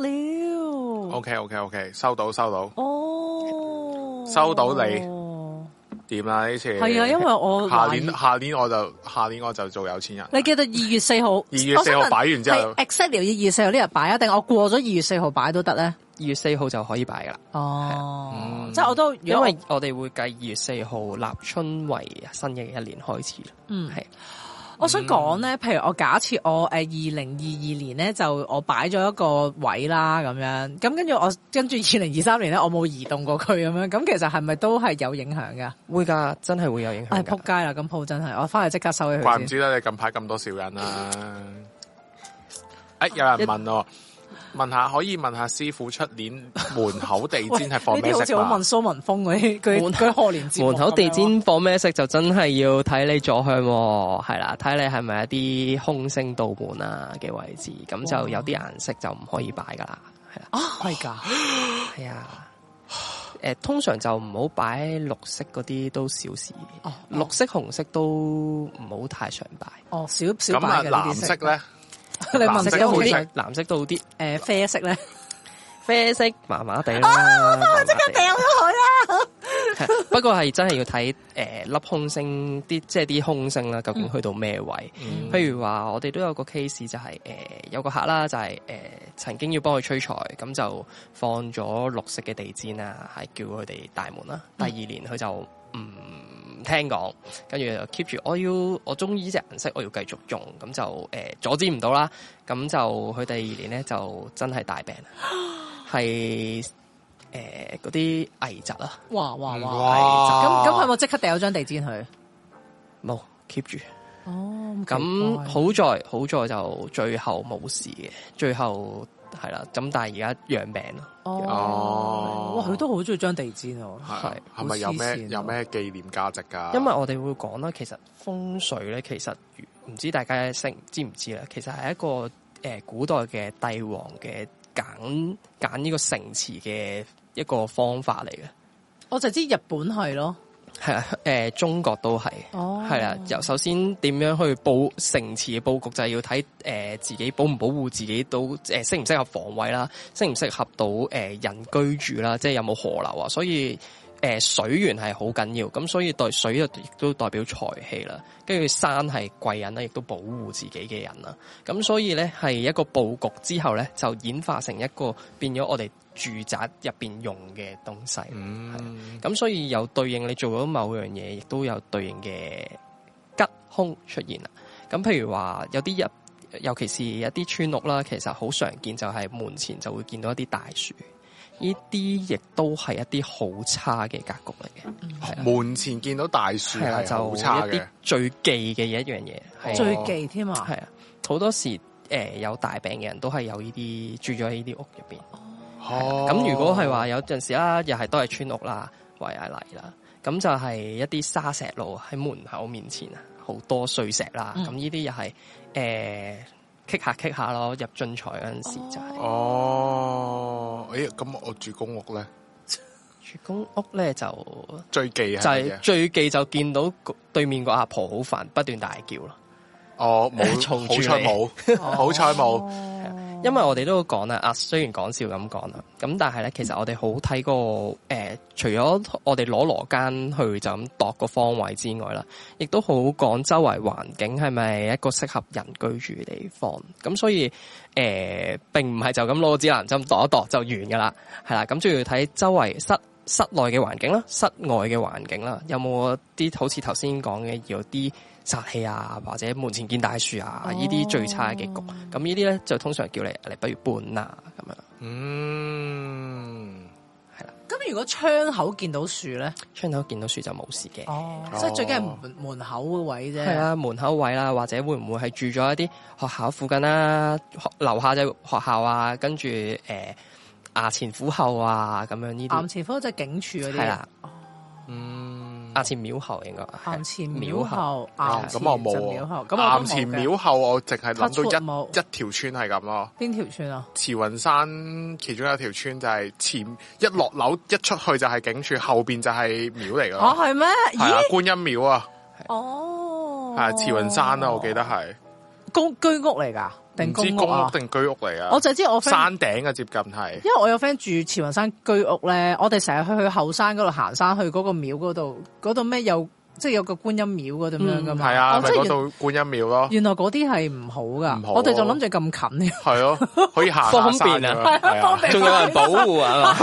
OK OK OK， 收到收到。 哦， 收到你。點啦呢次？ 係啊，因為我下年下年我就下年我就做有錢人。 你記得二月四號， 二月四號擺完之後 ，exactly 二月四號呢日擺啊？定我過咗二月四號擺都得咧？ 二月四號就可以擺噶啦。 哦，嗯、即係我都， 因為我哋會計二月四號立春為新嘅一年開始。 嗯，係。我想講咧，譬如我假設我誒二零二二年咧就我擺咗一個位啦咁樣，咁跟住我跟住二零二三年咧我冇移動過佢咁樣，咁其實係咪都係有影響噶？會噶，真係會有影響。係撲街啦，咁鋪真係，我翻去即刻收起佢。 怪唔知得你近排咁多小人啦。誒，有人問我。問下可以問下師傅出年門口地氈係放咩色？呢啲好似好問蘇文峰嗰啲佢佢賀年節目。門口地氈放咩色就真係要睇你左向，係啦，睇你係咪一啲空星道門啊嘅位置，咁就有啲顏色就唔可以擺噶啦，係啦。啊，係噶，係啊。誒，通常就唔好擺綠色嗰啲都小事。哦，綠色、紅色都唔好太常擺。哦，少少擺嘅。咁啊，藍色咧？你問色都好啲，藍色都好啲。誒，啡色咧，啡色麻麻地啦。啊，我即刻掉咗佢啦。不過係真係要睇誒粒空星啲，即係啲空星啦，究竟去到咩位？嗯、譬如話我哋都有個 case 就係、是、誒、呃、有個客啦，就係、是、誒、呃、曾經要幫佢吹財，咁就放咗綠色嘅地氈啊，係叫佢哋大門啦。第二年佢就唔。嗯聽講，跟住就 keep 住，我要我中意呢隻顏色，我要繼續用，咁就誒、呃、阻止唔到啦。咁就佢第二年咧就真係大病，係誒嗰啲危疾啦。哇哇哇！咁咁佢有冇即刻掉咗張地氈去？冇 keep 住。哦，咁好在好在就最後冇事嘅，最後。係啦，咁但係而家養病咯。哦，哇，佢都好中意張地氈喎。係，係咪有咩有咩紀念價值噶？因為我哋會講啦，其實風水咧，其實唔知大家識知唔知啦？其實係一個誒、呃、古代嘅帝王嘅揀揀呢個城池嘅一個方法嚟嘅。我就知日本係咯。係啊，誒、呃，中國都係，係啦、oh.。由首先點樣去布城池嘅布局，就係、是、要睇誒、呃、自己保唔保護自己到誒適唔適合防衛啦，適唔適合到誒、呃、人居住啦，即係有冇河流啊。所以誒、呃、水源係好緊要，咁所以對水亦都代表財氣啦。跟住山係貴人啦，亦都保護自己嘅人啦。咁所以咧係一個布局之後咧，就演化成一個變咗我哋住宅入邊用嘅東西，咁、嗯、所以有對應你做咗某樣嘢，亦都有對應嘅吉凶出現啦。咁譬如話有啲入，尤其是一啲村屋啦，其實好常見就係門前就會見到一啲大樹，呢啲亦都係一啲好差嘅格局嚟嘅。嗯、門前見到大樹係好差嘅，就一啲最忌嘅一樣嘢，哦、最忌添啊！係啊，好多時誒、呃、有大病嘅人都係有呢啲住咗喺呢啲屋入邊。哦，咁如果係話有陣時啦，又係都係村屋啦，圍下嚟啦，咁就係一啲沙石路喺門口面前啊， 好多碎石啦。咁呢啲又係誒棘下棘下咯，入進財嗰陣時就係、是。 哦，誒，咁我住公屋咧， 住公屋咧就最忌係就係最忌就見到對面個阿婆好煩，不斷大叫咯。 哦，冇，好彩冇，好彩冇。 因為我哋都講啦，啊雖然講笑咁講啦，咁但係咧，其實我哋好睇個誒，除咗我哋攞羅間去就咁度個方位之外啦，亦都好講周圍環境係咪一個適合人居住嘅地方。咁所以誒、呃，並唔係就咁攞個指南針度一度就完噶啦，係啦。咁仲要睇周圍室室內嘅環境啦，室外嘅環境啦，有冇啲好似頭先講嘅有啲煞氣啊，或者門前見大樹啊，呢啲、哦、最差嘅結局。咁呢啲咧就通常叫你你不如搬啦咁樣。 嗯， 係啦。 咁如果窗口見到樹咧， 窗口見到樹就冇事嘅。 哦，即係最緊係門門口嘅位啫。 係啊，門口位啦，或者會唔會係住咗一啲學校附近啦，樓下就學校啊，跟住誒衙前府後啊，咁樣呢啲。衙前府即係警署嗰啲。係啦。嗯，衙前廟後應該。 衙前廟後， 咁我冇。咁衙前廟後我淨係諗到一一條村係咁咯。 邊條村啊？慈雲山其中有一條村就係前一落樓一出去就係警署，後邊就係廟嚟噶。 哦，係咩？ 係啊，觀音廟啊。 哦。 係慈雲山啊，我記得係。 公居屋嚟噶？定公屋啊？ 定居屋嚟啊？ 我就知我 friend 山頂嘅接近係， 因為我有 friend 住慈雲山居屋咧，我哋成日去去後山嗰度行山，去嗰個廟嗰度，嗰度咩有即係有個觀音廟嗰咁樣噶嘛？ 係啊，咪嗰度觀音廟咯。原來嗰啲係唔好噶，我哋就諗住咁近。 係咯，可以行方便啊，方便，仲有人保護啊。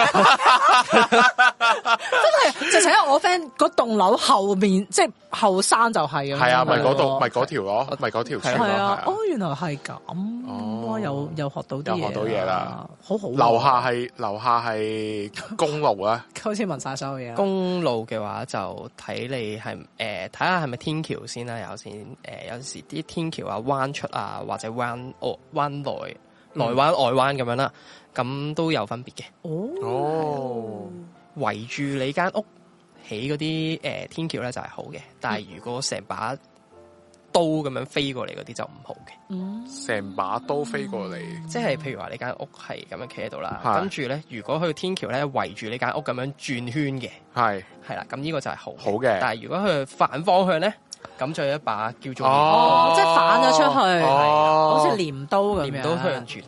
真係，直情喺我 friend 嗰棟樓後面，即係後山就係。 係啊，咪嗰度，咪嗰條咯，咪嗰條村咯。係啊， 哦，原來係咁。哦，又又學到啲嘢， 又學到嘢啦， 好好。 樓下係樓下係公路啊， 好似問晒所有嘢。 公路嘅話就睇你係誒睇下係咪天橋先啦，有先誒有時啲天橋啊彎出啊或者彎哦彎內內彎外彎咁樣啦，咁都有分別嘅。 哦， 圍住你間屋起嗰啲誒天橋咧就係好嘅，但係如果成把刀咁樣飛過嚟嗰啲就唔好嘅。 嗯， 成把刀飛過嚟， 即係譬如話你間屋係咁樣企喺度啦，跟住咧如果佢天橋咧圍住你間屋咁樣轉圈嘅，係係啦，咁呢個就係好好嘅。 但係如果佢反方向咧，咁就有一把叫做哦，即係反咗出去， 哦， 好似鐮刀咁樣， 鐮刀向住你。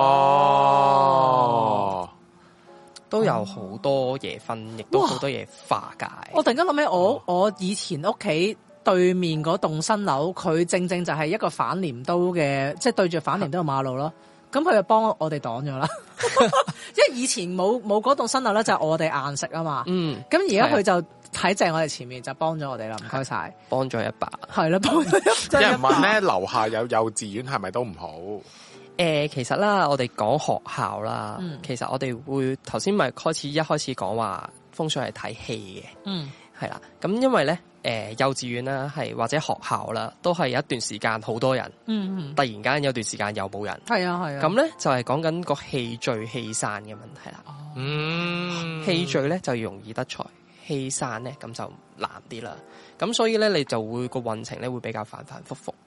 哦， 都有好多嘢分，亦都好多嘢化解。 我突然間諗起我我以前屋企對面嗰棟新樓，佢正正就係一個反鐮刀嘅，即係對住反鐮刀嘅馬路咯。咁佢就幫我哋擋咗啦。因為以前冇冇嗰棟新樓咧，就係我哋硬食啊嘛。嗯。咁而家佢就喺正我哋前面，就幫咗我哋啦。唔該晒， 幫咗一把。係啦，幫咗一把。 有人問咧，樓下有幼稚園係咪都唔好？ 誒、呃，其實啦，我哋講學校啦，嗯、其實我哋會頭先咪開始一開始講話風水係睇戲嘅。嗯。係啦，咁因為咧。誒、呃，幼稚園啦，係或者學校啦，都係有一段時間好多人，嗯嗯，突然間有段時間又冇人， 係啊係啊， 咁咧就係講緊個氣聚氣散嘅問題啦。嗯，氣聚咧就容易得財，氣散咧咁就難啲啦。咁所以咧你就會個運程咧會比較反反复复。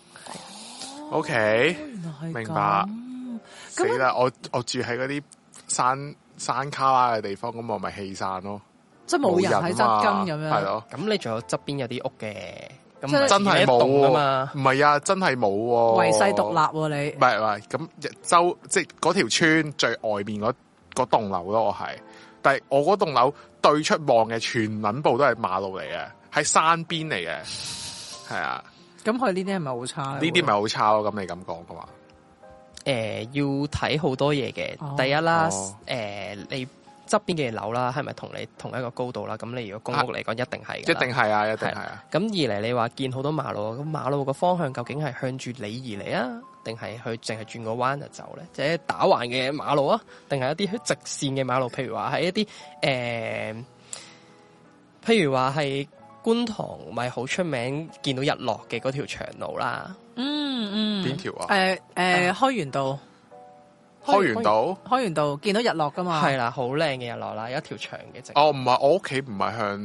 O K，明白。死啦！我我住喺嗰啲山山卡拉嘅地方，咁我咪氣散咯。 即係冇人喺側根咁樣， 係咯。咁你仲有側邊有啲屋嘅，咁真係冇啊嘛？ 唔係啊，真係冇。 遺世獨立你？ 唔係唔係，咁周即係嗰條村最外面嗰嗰棟樓咯，我係。但係我嗰棟樓對出望嘅全撚部都係馬路嚟嘅，喺山邊嚟嘅，係啊。 咁佢呢啲係咪好差？呢啲咪好差咯？咁你咁講嘅話， 誒，要睇好多嘢嘅。第一啦，誒，你。側邊嘅樓啦，係咪同你同一個高度啦？咁你如果公屋嚟講，一定係，一定係啊，一定係啊。 咁二嚟，你話見好多馬路，咁馬路個方向究竟係向住你而嚟啊，定係去淨係轉個彎就走咧？即係打橫嘅馬路啊，定係一啲直線嘅馬路？譬如話係一啲誒、呃，譬如話係觀塘咪好出名見到日落嘅嗰條長路啦。 嗯嗯， 邊條啊？ 誒誒，開源道。 開源道， 開源道見到日落噶嘛？ 係啦，好靚嘅日落啦，有一條長嘅直。 哦，唔係，我屋企唔係向唔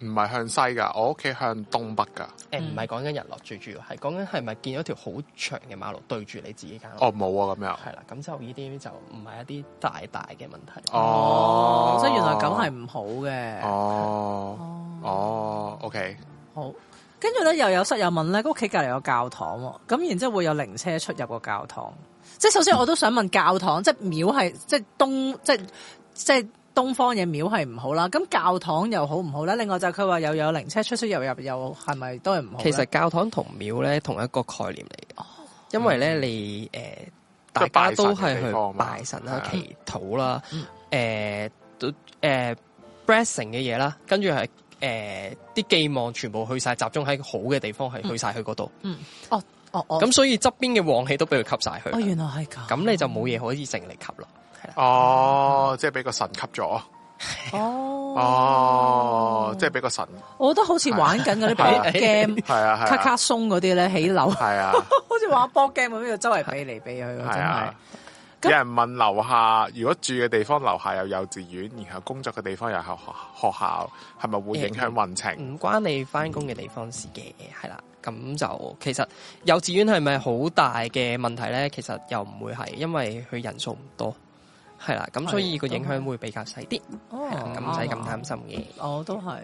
唔係向西噶，我屋企向東北噶。 誒唔係講緊日落，最主要係講緊係咪見咗條好長嘅馬路對住你自己間屋？ 哦，冇啊，咁樣。 係啦，咁就呢啲就唔係一啲大大嘅問題。 哦，即係原來咁係唔好嘅。 哦，哦 ，OK， 好。跟住咧又有室友問咧，屋企隔離有教堂喎，咁然之後會有靈車出入個教堂。即係首先我都想問教堂，即係廟係即係東即係即係。東方嘅廟係唔好啦，咁教堂又好唔好咧？另外就佢話又有靈車出出入入，又係咪都係唔好？ 其實教堂同廟咧同一個概念嚟嘅，哦、因為咧你誒、呃、大家都係去拜神啦、祈禱啦、誒都誒 blessing 嘅嘢啦，跟住係誒啲寄望全部去晒，集中喺好嘅地方，係去晒去嗰度。嗯，哦哦哦，咁所以側邊嘅旺氣都俾佢吸晒去。 哦，原來係咁。 咁你就冇嘢可以剩嚟吸咯。 哦，即係俾個神吸咗。 哦， 哦，即係俾個神。 我覺得好似玩緊嗰啲 board game， 係啊， 卡卡松嗰啲咧起樓， 係啊， 好似玩 board game 咁樣，周圍避嚟避去，真係。 有人問樓下，如果住嘅地方樓下有幼稚園，然後工作嘅地方有學學校，係咪會影響運程？ 唔關你翻工嘅地方事嘅，係啦。咁就其實幼稚園係咪好大嘅問題咧？其實又唔會係，因為佢人數唔多，係啦。咁所以個影響會比較細啲，咁唔使咁擔心嘅。 我都係。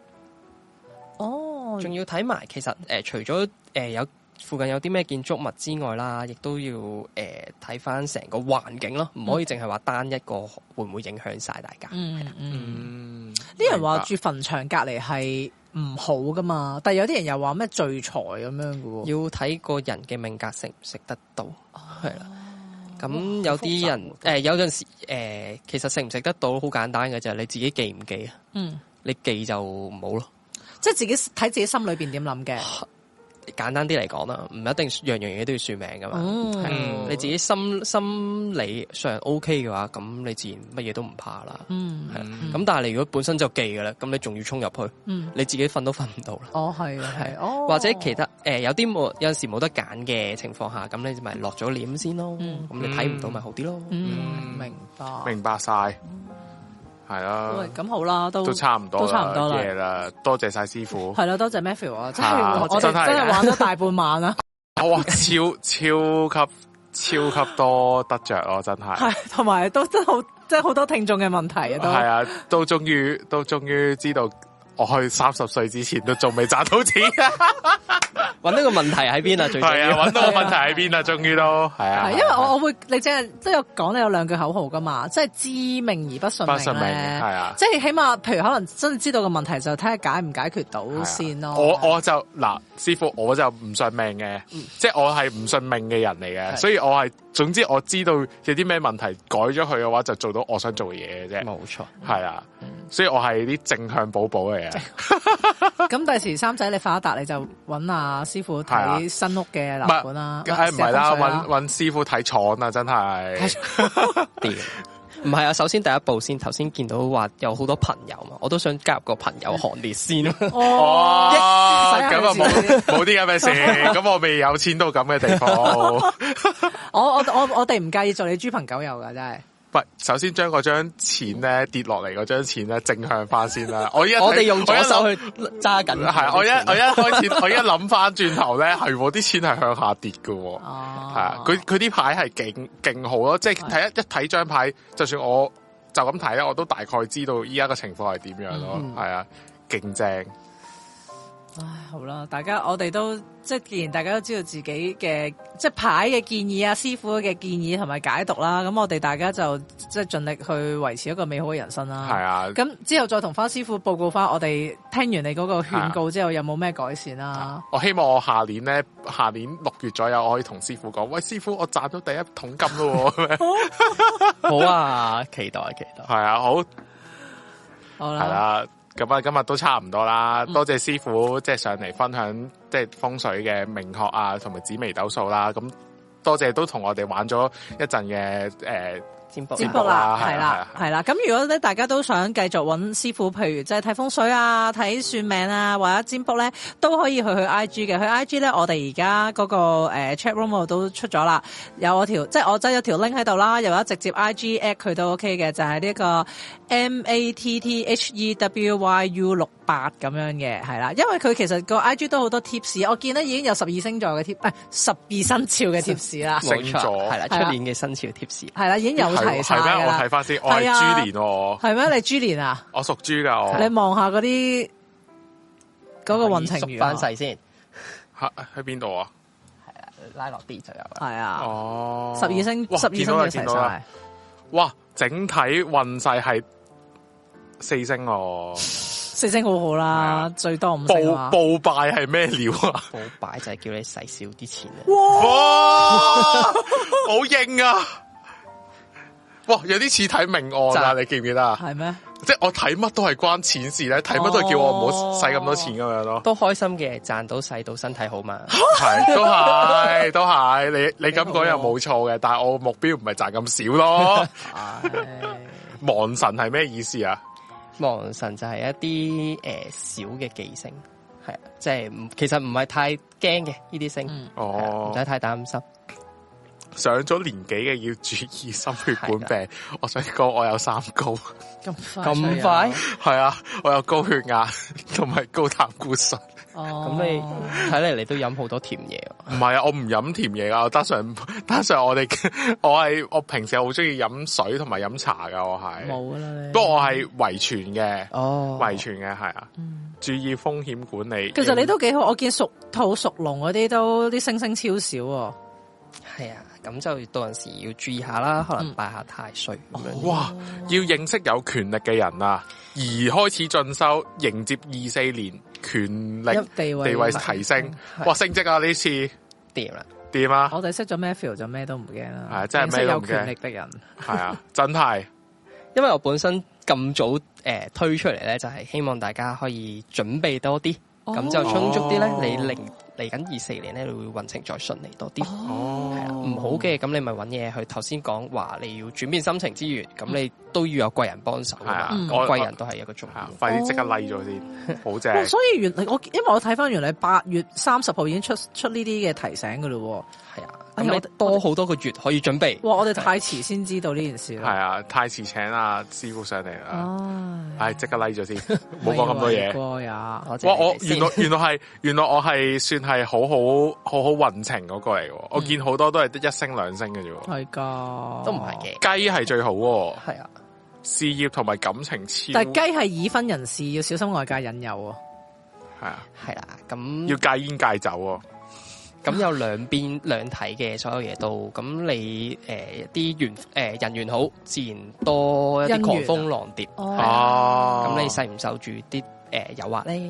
哦， 仲要睇埋其實誒、呃，除咗誒、呃、有附近有啲咩建築物之外啦，亦都要誒睇翻成個環境咯，唔可以淨係話單一個會唔會影響晒大家。 嗯嗯，啲人話住墳場隔離係唔好噶嘛，但係有啲人又話咩聚財咁樣嘅喎， 要睇個人嘅命格食唔食得到，係啦、哦。咁有啲人誒、呃、有陣時誒、呃，其實食唔食得到好簡單嘅就係你自己記唔記啊？嗯，你記就唔好咯， 即係自己睇自己心裏邊點諗嘅。 簡單啲嚟講啦，唔一定樣樣嘢都要算命噶嘛。嗯嗯、你自己心心理上 OK 嘅話，咁你自然乜嘢都唔怕啦。嗯，係啦。咁、嗯、但係你如果本身就記嘅啦，咁你仲要衝入去，嗯、你自己瞓都瞓唔到啦。哦，係啊，係。哦，或者其他誒、呃、有啲冇有陣時冇得揀嘅情況下，咁你咪落咗簾先咯。咁、嗯、你睇唔到咪好啲咯。嗯，嗯明白。 明白晒。係啦， 咁好啦，都都差唔多， 都差唔多啦。多謝晒師傅， 係啦，多謝 Matthew 啊，真係我哋真係玩咗大半晚啦。 哇，超超級超級多得着咯，真係。係， 同埋都真好，即係好多聽眾嘅問題啊，都係啊，都終於都終於知道。我去三十歲之前都仲未賺到錢， 揾到個問題喺邊啊？最係啊，揾到個問題喺邊啊？終於都係啊， 因為我我會你即係都有講你有兩句口號噶嘛，即係知命而不信命，不信命係啊，即係起碼譬如可能真係知道個問題就睇下解唔解決到先咯。 我我就嗱，師傅我就唔信命嘅，即係我係唔信命嘅人嚟嘅，所以我係總之我知道有啲咩問題改咗佢嘅話，就做到我想做嘅嘢嘅啫。冇錯，係啊，所以我係啲正向寶寶嚟。 咁第時三仔你發達你就揾阿師傅睇新屋嘅樓盤啦， 梗係唔係啦，揾揾師傅睇廠啊，真係。 唔係啊，首先第一步先，頭先見到話有好多朋友嘛，我都想加入個朋友行列先。 哦，咁啊冇冇啲咁嘅事，咁我未有錢到咁嘅地方。 我我我我哋唔介意做你豬朋狗友噶，真係。 喂，首先將嗰張錢咧跌落嚟嗰張錢咧正向翻先啦。我一我哋用左手去揸緊， 係我一我一開始我一諗翻轉頭咧，係啲錢係向下跌嘅。哦，係啊，佢佢啲牌係勁勁好咯，即係睇一一睇張牌，就算我就咁睇咧，我都大概知道依家嘅情況係點樣咯。係啊，勁正。 唉，好啦，大家我哋都即係，既然大家都知道自己嘅即係牌嘅建議啊，師傅嘅建議同埋解讀啦，咁我哋大家就即係盡力去維持一個美好嘅人生啦。係啊，咁之後再同翻師傅報告翻，我哋聽完你嗰個勸告之後，有冇咩改善啦？啊？ 我希望我下年咧，下年六月左右，我可以同師傅講，喂，師傅，我賺到第一桶金咯。 好啊，期待期待。 係啊，好， 好啦。係啦。咁啊，今日都差唔多啦，多謝師傅即係上嚟分享即係風水嘅命學啊，同埋紫微斗數啦。咁多謝都同我哋玩咗一陣嘅誒占卜占卜啦，係啦係啦。咁如果咧大家都想繼續揾師傅，譬如即係睇風水啊、睇算命啊或者占卜咧，都可以去去 I G 嘅。去 I G 咧，我哋而家嗰個誒 chat room 度都出咗啦，有我條即係我擠咗條 link 喺度啦，又有直接 I G at 佢都 OK 嘅，就係呢個 M A T T H E W Y U 六。 八咁樣嘅，係啦，因為佢其實個 I G 都好多 tips， 我見咧已經有十二星座嘅貼，誒十二生肖嘅 tips 啦， 星座係啦，出年嘅生肖 tips 係啦，已經有齊晒係咩？我睇翻先，我係豬年喎。 係咩？你豬年啊？ 我屬豬噶，我。 你望下嗰啲嗰個運程縮翻細先， 喺喺邊度啊？ 係啊，拉落啲就有啦。 係啊， 哦， 十二星十二星嘅齊晒。 哇，整體運勢係四星哦。 四星好好啦，最多五星啊！ 報報拜係咩料啊？ 報拜就係叫你使少啲錢啊！ 哇，好硬啊！哇，有啲似睇命案啊！你記唔記得啊？ 係咩？ 即係我睇乜都係關錢事咧，睇乜都係叫我唔好使咁多錢咁樣咯。 都開心嘅，賺到使到身體好嘛？ 係，都係，都係。你你咁講又冇錯嘅，但係我目標唔係賺咁少咯。亡神係咩意思啊？ 亡神就係一啲誒小嘅忌星，係啊，即係唔其實唔係太驚嘅呢啲星， 嗯、 哦，唔使太擔心。 上咗年紀嘅要注意心血管病。我想講我有三高， 咁咁快係啊，我有高血壓同埋高膽固醇。 哦，咁你睇嚟你都飲好多甜嘢。 唔係啊，我唔飲甜嘢噶，我單純單純我哋我係我平時好中意飲水同埋飲茶噶，我係冇啦。 不過我係遺傳嘅， 哦， 遺傳嘅係啊，嗯、注意風險管理。 其實你都幾好，我見屬兔屬龍嗰啲都啲星星超少。 係啊，咁就到陣時要注意下啦，可能拜下太歲咁樣。 嗯、哇，要認識有權力嘅人啊，而開始進修，迎接二四年權力地位，地位提升。哇，升職啊呢次掂啦， 掂啊！ 我哋識咗 Matthew 就咩都唔驚啦， 係真係咩都唔驚。 有權力的人係啊，真係。 因為我本身咁早誒、呃、推出嚟咧，就係、是、希望大家可以準備多啲。咁、哦、就充足啲咧，你嚟嚟緊二四年咧，你會運程再順利多啲。哦，係啦，唔好嘅，咁你咪揾嘢去。頭先講話你要轉變心情之餘，咁、嗯、你都要有貴人幫手。係啊，貴人都係一個重要。 快啲即刻 like 咗先，好正、哦。 所以原來我因為我睇翻原來八月三十號已經出出呢啲嘅提醒噶咯。係啊。 咁你多好多個月可以準備。 哇！我哋太遲先知道呢件事啦。 係啊，太遲請阿師傅上嚟啦。唉，即刻 like 咗先，冇講咁多嘢。哇！我原來原來係原來我係算係好好好好運程嗰個嚟嘅。我見好多都係得一星兩星嘅啫。係噶， 都唔係嘅。 雞係最好。係啊， 事業同埋感情超。 但係雞係已婚人士要小心外界引誘。 係啊， 係啦，咁要戒煙戒酒。 咁有兩邊兩睇嘅所有嘢都，咁你誒啲緣誒人緣好，自然多一啲狂蜂浪蝶。哦，咁你受唔受住啲誒誘惑咧？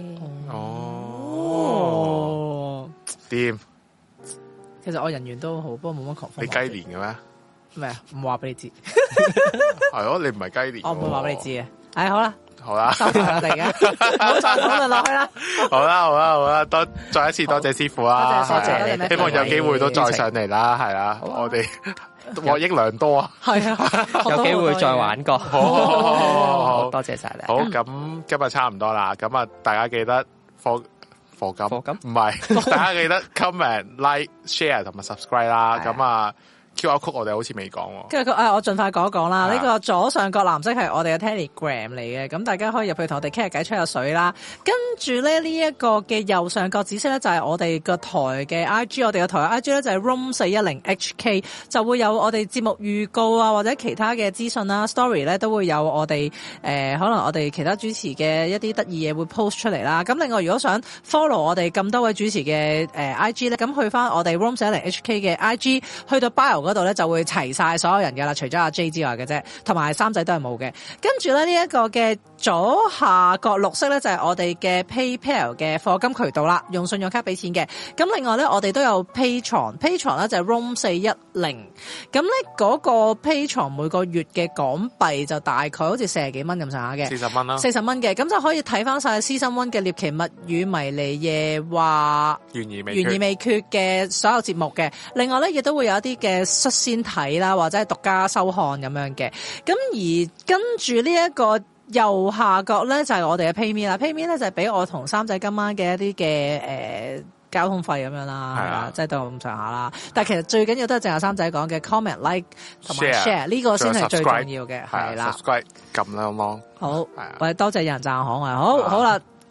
哦，掂。 其實我人緣都好，不過冇乜狂蜂。 你雞年嘅咩？ 咩啊？唔話俾你知。 係咯，你唔係雞年。 我唔會話俾你知嘅。唉，好啦。 好啦， 收埋我哋嘅，唔好再討論落去啦。 好啦，好啦，好啦，多再一次多謝師傅啦， 多謝多謝， 希望有機會都再上嚟啦，係啦，我哋獲益良多啊，係啊，有機會再玩過， 好好好好好， 多謝晒你。 好，咁今日差唔多啦，咁啊，大家記得課課金，課金唔係，大家記得 comment、like、share 同埋 subscribe 啦，咁啊。Q R code 我哋好似未講喎， 跟住誒，我盡快講一講啦。呢個左上角藍色係我哋嘅 Telegram 嚟嘅，咁大家可以入去同我哋傾下偈、吹下水啦。跟住咧呢一個嘅右上角紫色咧就係我哋個台嘅 I G， 我哋個台嘅 I G 咧就係 room 四一零 H K， 就會有我哋節目預告啊，或者其他嘅資訊啦 ，story 咧都會有我哋誒、呃，可能我哋其他主持嘅一啲得意嘢會 post 出嚟啦。咁另外如果想 follow 我哋咁多位主持嘅誒、呃、I G 咧，咁去翻我哋 room 四一零 H K 嘅 I G， 去到 bio嗰度咧就會齊晒所有人嘅啦，除咗阿 J 之外嘅啫，同埋三仔都係冇嘅。跟住咧呢一個嘅左下角綠色咧就係我哋嘅 PayPal 嘅課金渠道啦，用信用卡俾錢嘅。咁另外咧我哋都有 Patreon，Patreon 咧就係 room 四一零。咁咧嗰個 Patreon 每個月嘅港幣就大概好似四十幾蚊咁上下嘅， 四十蚊啦， 四十蚊嘅，咁就可以睇翻晒 Season One 嘅獵奇物語迷離夜話懸疑未懸疑未決嘅所有節目嘅。另外咧亦都會有一啲嘅率先睇啦，或者係獨家收看咁樣嘅。咁而跟住呢一個右下角咧就係、是、我哋嘅 PayMe 啦 ，PayMe 咧就係、是、俾我同三仔今晚嘅一啲嘅誒交通費咁樣啦，係啦，即係到咁上下啦。但係其實最緊要都係正阿三仔講嘅 comment、like 同埋 share 呢個先係最重要嘅，係啦。subscribe 撳啦，好冇？ 好，我哋多謝有人讚我可愛，好好啦。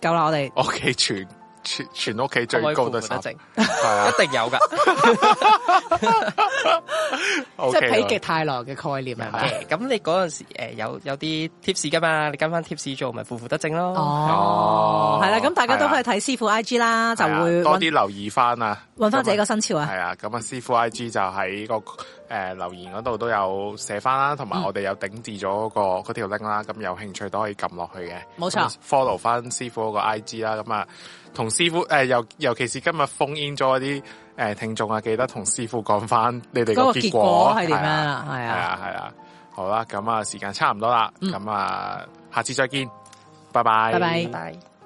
夠啦，我哋屋企全全全屋企最高都三，係啊， 一定有噶， 即係否極泰來嘅概念係咪？ 咁你嗰陣時誒有有啲 tips 噶嘛？你跟翻 tips 做，咪負負得正咯。 哦，係啦，咁大家都可以睇師傅 I G 啦，就會多啲留意翻啊， 揾翻自己個生肖啊。 係啊，咁啊師傅 I G 就喺個誒留言嗰度都有寫翻啦，同埋我哋有頂置咗個嗰條 link 啦，咁有興趣都可以撳落去嘅。 冇錯 ，follow 翻師傅嗰個 I G 啦，咁啊同師傅誒尤尤其是今日封 in 咗啲誒聽眾啊，記得同師傅講翻你哋個結果係點樣啦？係啊， 係啊，係啊，好啦，咁啊時間差唔多啦，咁啊下次再見，拜拜， 拜拜。 拜。